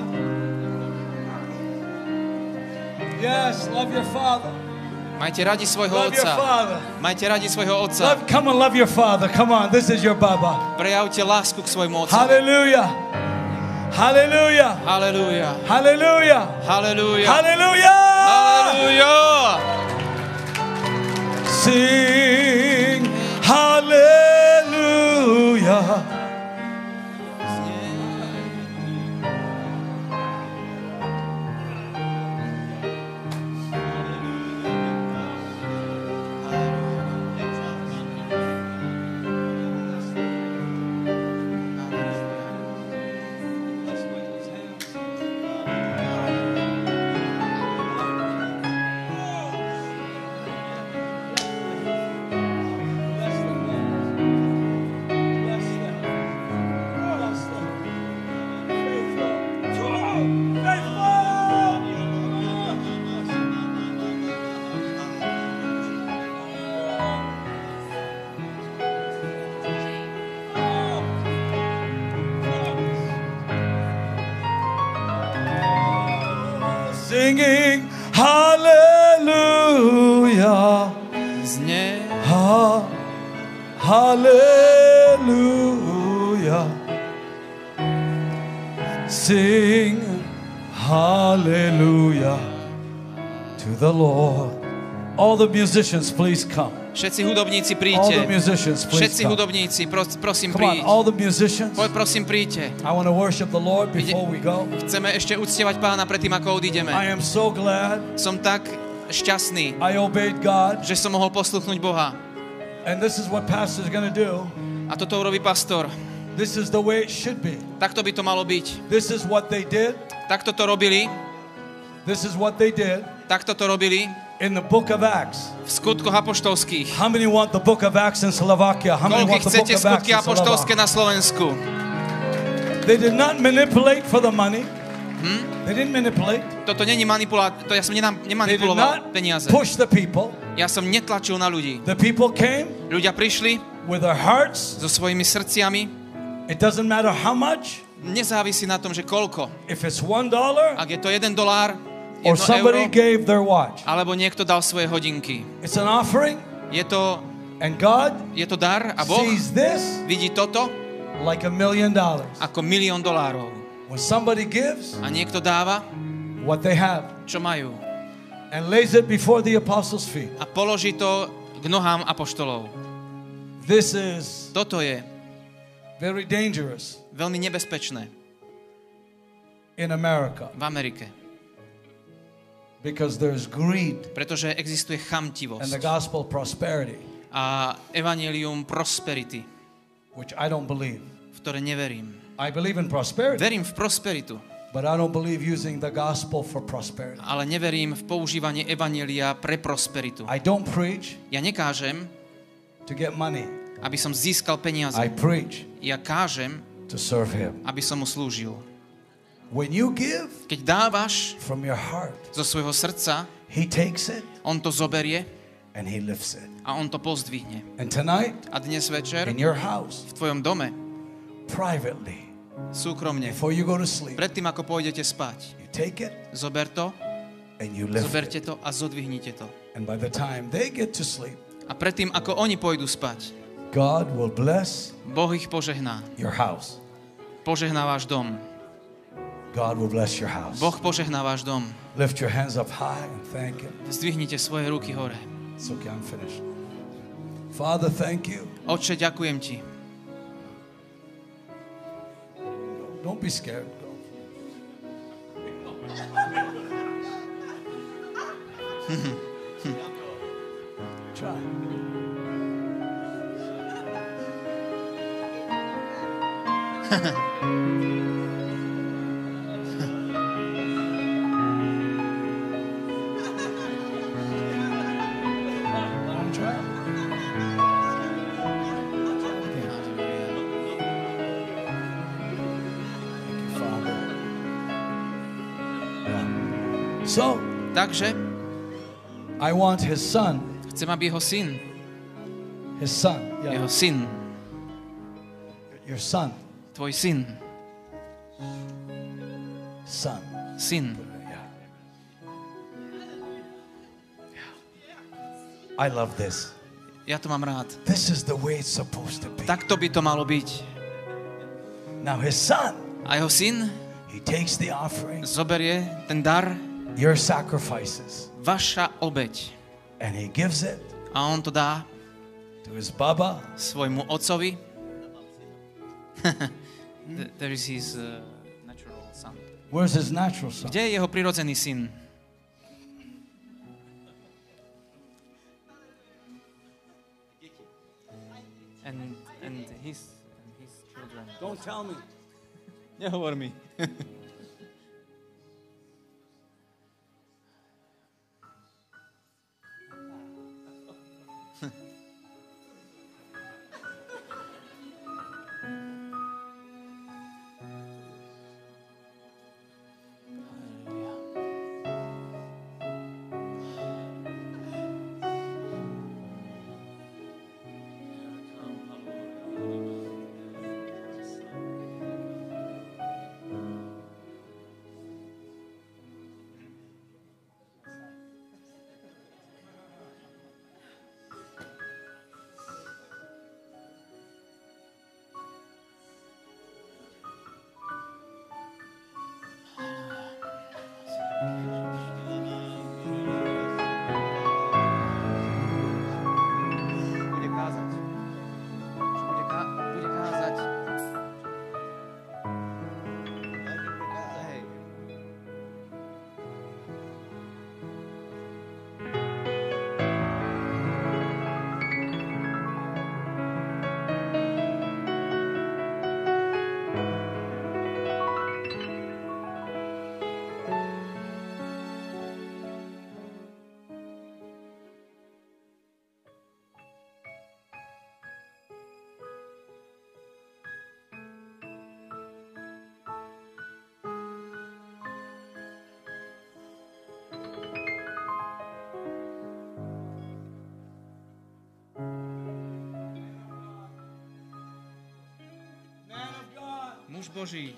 Yes, love your father. Majte radi svojho Love your otca. father. Majte radi svojho otca. Come on, love your father. Come on, this is your Baba. Prejavte lásku k svojmu otcovi. Hallelujah. Hallelujah. Halelúja. Hallelujah. Halelúja. Hallelujah. Halelúja. Sing hallelujah. Singing hallelujah. Znie. Hallelujah. sing hallelujah to the Lord. All the musicians, please come. Všetci hudobníci All príďte. the musicians, please Všetci come. hudobníci, prosím Come on, príď. all the musicians. Prosím príďte. I want to worship the Lord before we go. Chceme ešte uctievať Pána predtým, ako odídeme. I am so glad Som tak šťastný, I obeyed God. že som mohol posluchnúť Boha. And this is what pastor's going to do. A toto urobí pastor. This is the way it should be. Takto by to malo byť. This is what they did. Takto to robili. This is what they did Takto to robili in the book of Acts. v skutkoch apoštolských. How many want the book of Acts in Slovakia? How many Koľko want the book chcete of Acts skutky in apoštolské Slovakia? na Slovensku? They did not manipulate for the money. They didn't manipulate. Toto není manipulátor, ja som They did nemanipuloval not peniaze. push the people. Ja som netlačil na ľudí. The people came Ľudia prišli with their hearts. so svojimi srdciami. It doesn't matter how much. Nezávisí na tom, že koľko. If it's $1 Ak je to $1, or 1 somebody euro, gave their watch. alebo niekto dal svoje hodinky. It's an offering, Je to and God dar a Boh sees this vidí toto like $1 million. ako $1 000 000. When somebody gives A niekto dáva, what they have čo majú. and lays it before the apostles' feet. A položí to k nohám apoštolov. This is Toto je very dangerous veľmi nebezpečné in America v Amerike, because there's greed pretože existuje and the chamtivosť gospel prosperity, a evanjelium prosperity, which I don't believe. v ktoré neverím. I believe in prosperity, Verím v prosperitu, but I don't believe using the gospel for prosperity. ale neverím v používanie evanjelia pre prosperitu. I don't preach Ja nekážem, to get money. aby som získal peniaze. I preach Ja kážem, to serve him. aby som mu slúžil. When you give Keď dávaš from your heart, zo svojho srdca, he takes it on to zoberie and he lifts it. a on to pozdvihne. And tonight, A dnes večer in your house, v tvojom dome, privately, súkromne, before you go to sleep, predtým ako pôjdete spať, you take it zober to, and you lift zoberte it. to a zodvihnite to. And by the time they get to sleep, A predtým ako oni pôjdu spať, God will bless Boh ich požehná. your house. Požehná váš dom. God will bless your house. Boh požehná váš dom. Lift your hands up high and thank him. Zdvihnite svoje ruky hore. It's okay, I'm finished. Father, thank you. Otče, ďakujem ti. Don't be scared. Go. Try. One try. Thank you, Father. Yeah. So, Takže I want his son. chcem, aby jeho syn, His son. Yeah. jeho syn, Your son. tvoj syn, Son. syn, Yeah. I love this. ja to mám rád. This is the way it's supposed to be. Takto by to malo byť. Now his son, A jeho syn he takes the offering, zoberie ten dar, your sacrifices, vaša obeť, and he gives it a on to dá to his baba. svojmu otcovi. There is his natural son. Where's his natural son? Kde je jeho prirodzený syn? And his children. Don't tell me. Nehovor mi. muž Boží.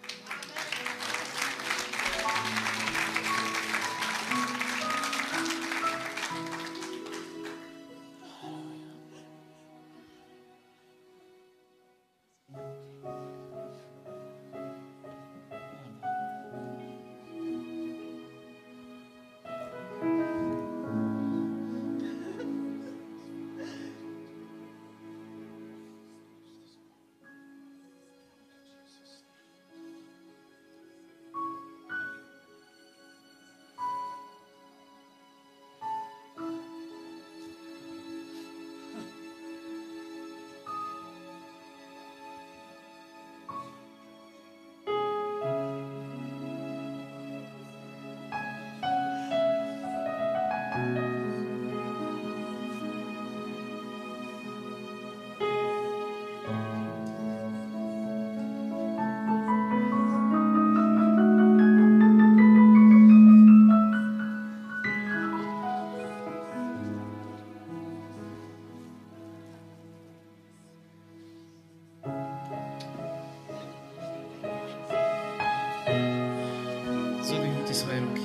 Zodvihnuti svoje ruky.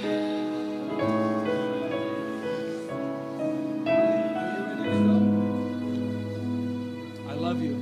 I love you.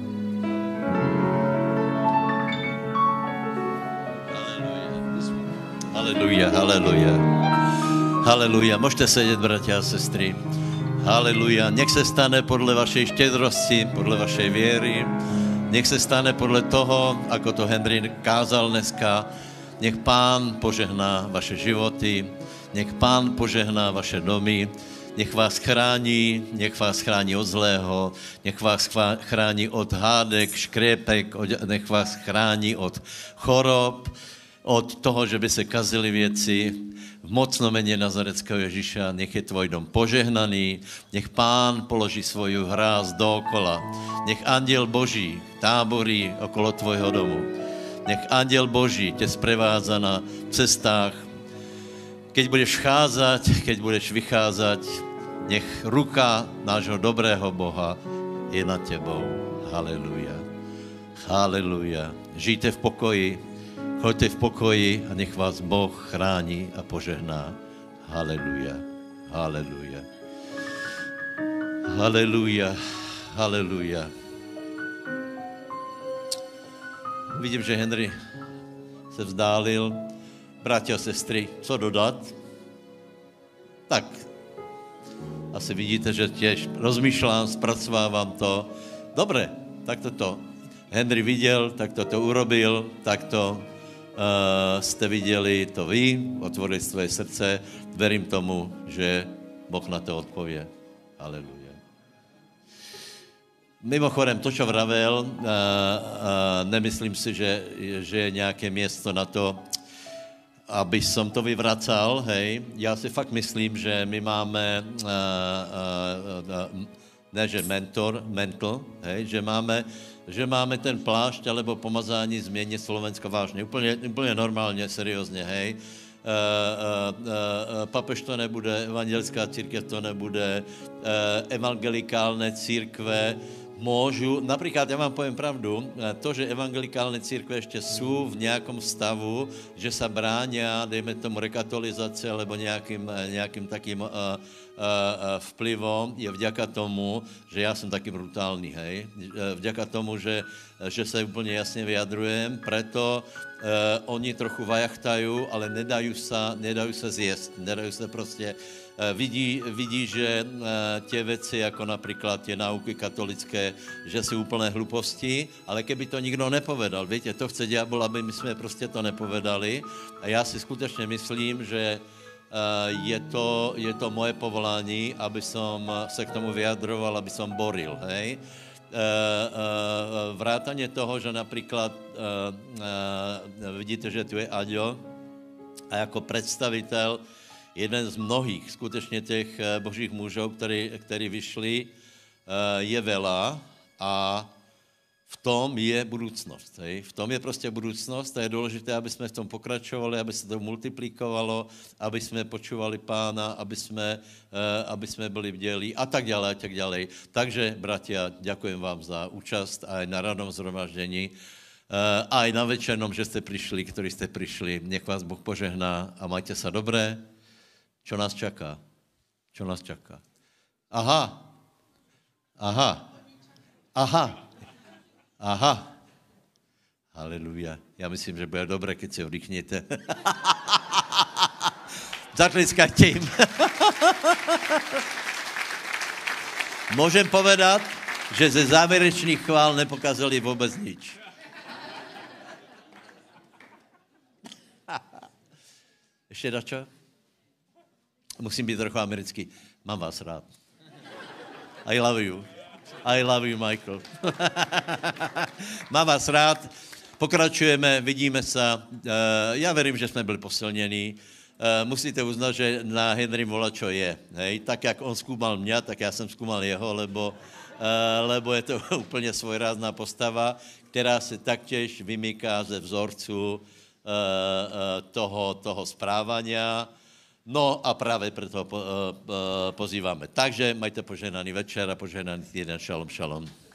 Haleluja, haleluja. Haleluja. Môžete sedieť, bratia a sestry. Haleluja. Nech se stane podle vašej štědrosti, podle vašej věry. Nech se stane podle toho, ako to Henry kázal dneska. Nech Pán požehná vaše životy. Nech Pán požehná vaše domy. Nech vás chrání od zlého, nech vás chrání od hádek, škriepek, nech vás chrání od chorob, od toho, že by se kazily věci. V mocnom mene Nazareckého Ježíša, nech je tvoj dom požehnaný, nech Pán položí svoju hráz dookola, nech anděl Boží táborí okolo tvojho domu, nech anděl Boží tě sprevádza na cestách, keď budeš vcházať, keď budeš vycházať, nech ruka nášho dobrého Boha je nad tebou. Haleluja. Haleluja. Žijte v pokoji, choďte v pokoji a nech vás Boh chrání a požehná. Haleluja. Haleluja. Haleluja. Haleluja. Vidím, že Henry se vzdálil. Bratia a sestry, co dodat? Tak, asi vidíte, že těž rozmýšlám, zpracovávám to. Dobre, tak to Henry viděl, tak to urobil, tak to jste viděli to vy, otvorili svoje srdce. Verím tomu, že Boh na to odpovie. Haleluja. Mimochodem, to, čo vravel, nemyslím si, že je nějaké město na to, aby som to vyvracal, hej. Já si fakt myslím, že my máme, ne že mental, hej, že máme ten plášť alebo pomazání změnit Slovensko vážně, úplně normálně, seriózně, hej. Papež to nebude, evangelická církev to nebude, evangelikálne církve môžu, napríklad, ja vám poviem pravdu, to, že evangelikálne církve ešte sú v nejakom stavu, že sa bránia, dejme tomu, rekatolizace alebo nejakým takým vplyvom, je vďaka tomu, že ja som taký brutálny, hej. Vďaka tomu, že sa úplne jasne vyjadrujem, preto oni trochu vajachtajú, ale nedajú sa zjesť, nedajú sa proste vidí, že tie veci, ako napríklad tie náuky katolické, že sú úplné hluposti, ale keby to nikto nepovedal, viete, to chce diabol, aby my sme proste to nepovedali. A ja si skutečne myslím, že je to moje povolání, aby som sa k tomu vyjadroval, aby som boril, hej. Vrátanie toho, že napríklad vidíte, že tu je Aďo a ako predstavitel jeden z mnohých skutečně těch božích mužů, který vyšli, je veľa a v tom je budoucnost. Hej? V tom je prostě budoucnost a je důležité, aby jsme v tom pokračovali, aby se to multiplikovalo, aby jsme počúvali Pána, aby jsme byli bdělí a tak dále, a tak dále. Takže, bratia, ďakujem vám za účast aj na radnom zhromaždení. aj na večernom, že ste prišli, ktorí ste prišli. Nech vás Boh požehná a majte sa dobré. Čo nás čaká? Čo nás čaká? Aha. Halelujá. Ja myslím, že bude dobré, keď si oddychnete. Zatleskajte im. Môžem povedať, že ze záverečných chvál nepokazali vôbec nič. Ešte dačo? Musím byť trochu americký. Mám vás rád. I love you. I love you, Michael. Mám vás rád. Pokračujeme, vidíme sa. Ja verím, že sme byli posilnení. Musíte uznať, že na Henrym volačo je. Hej? Tak, jak on skúmal mňa, tak ja som skúmal jeho, lebo je to úplne svojrázná postava, ktorá sa taktiež vymýká ze vzorcu toho správania. No a práve preto pozývame. Takže majte požehnaný večer a požehnaný týden. Šalom, šalom.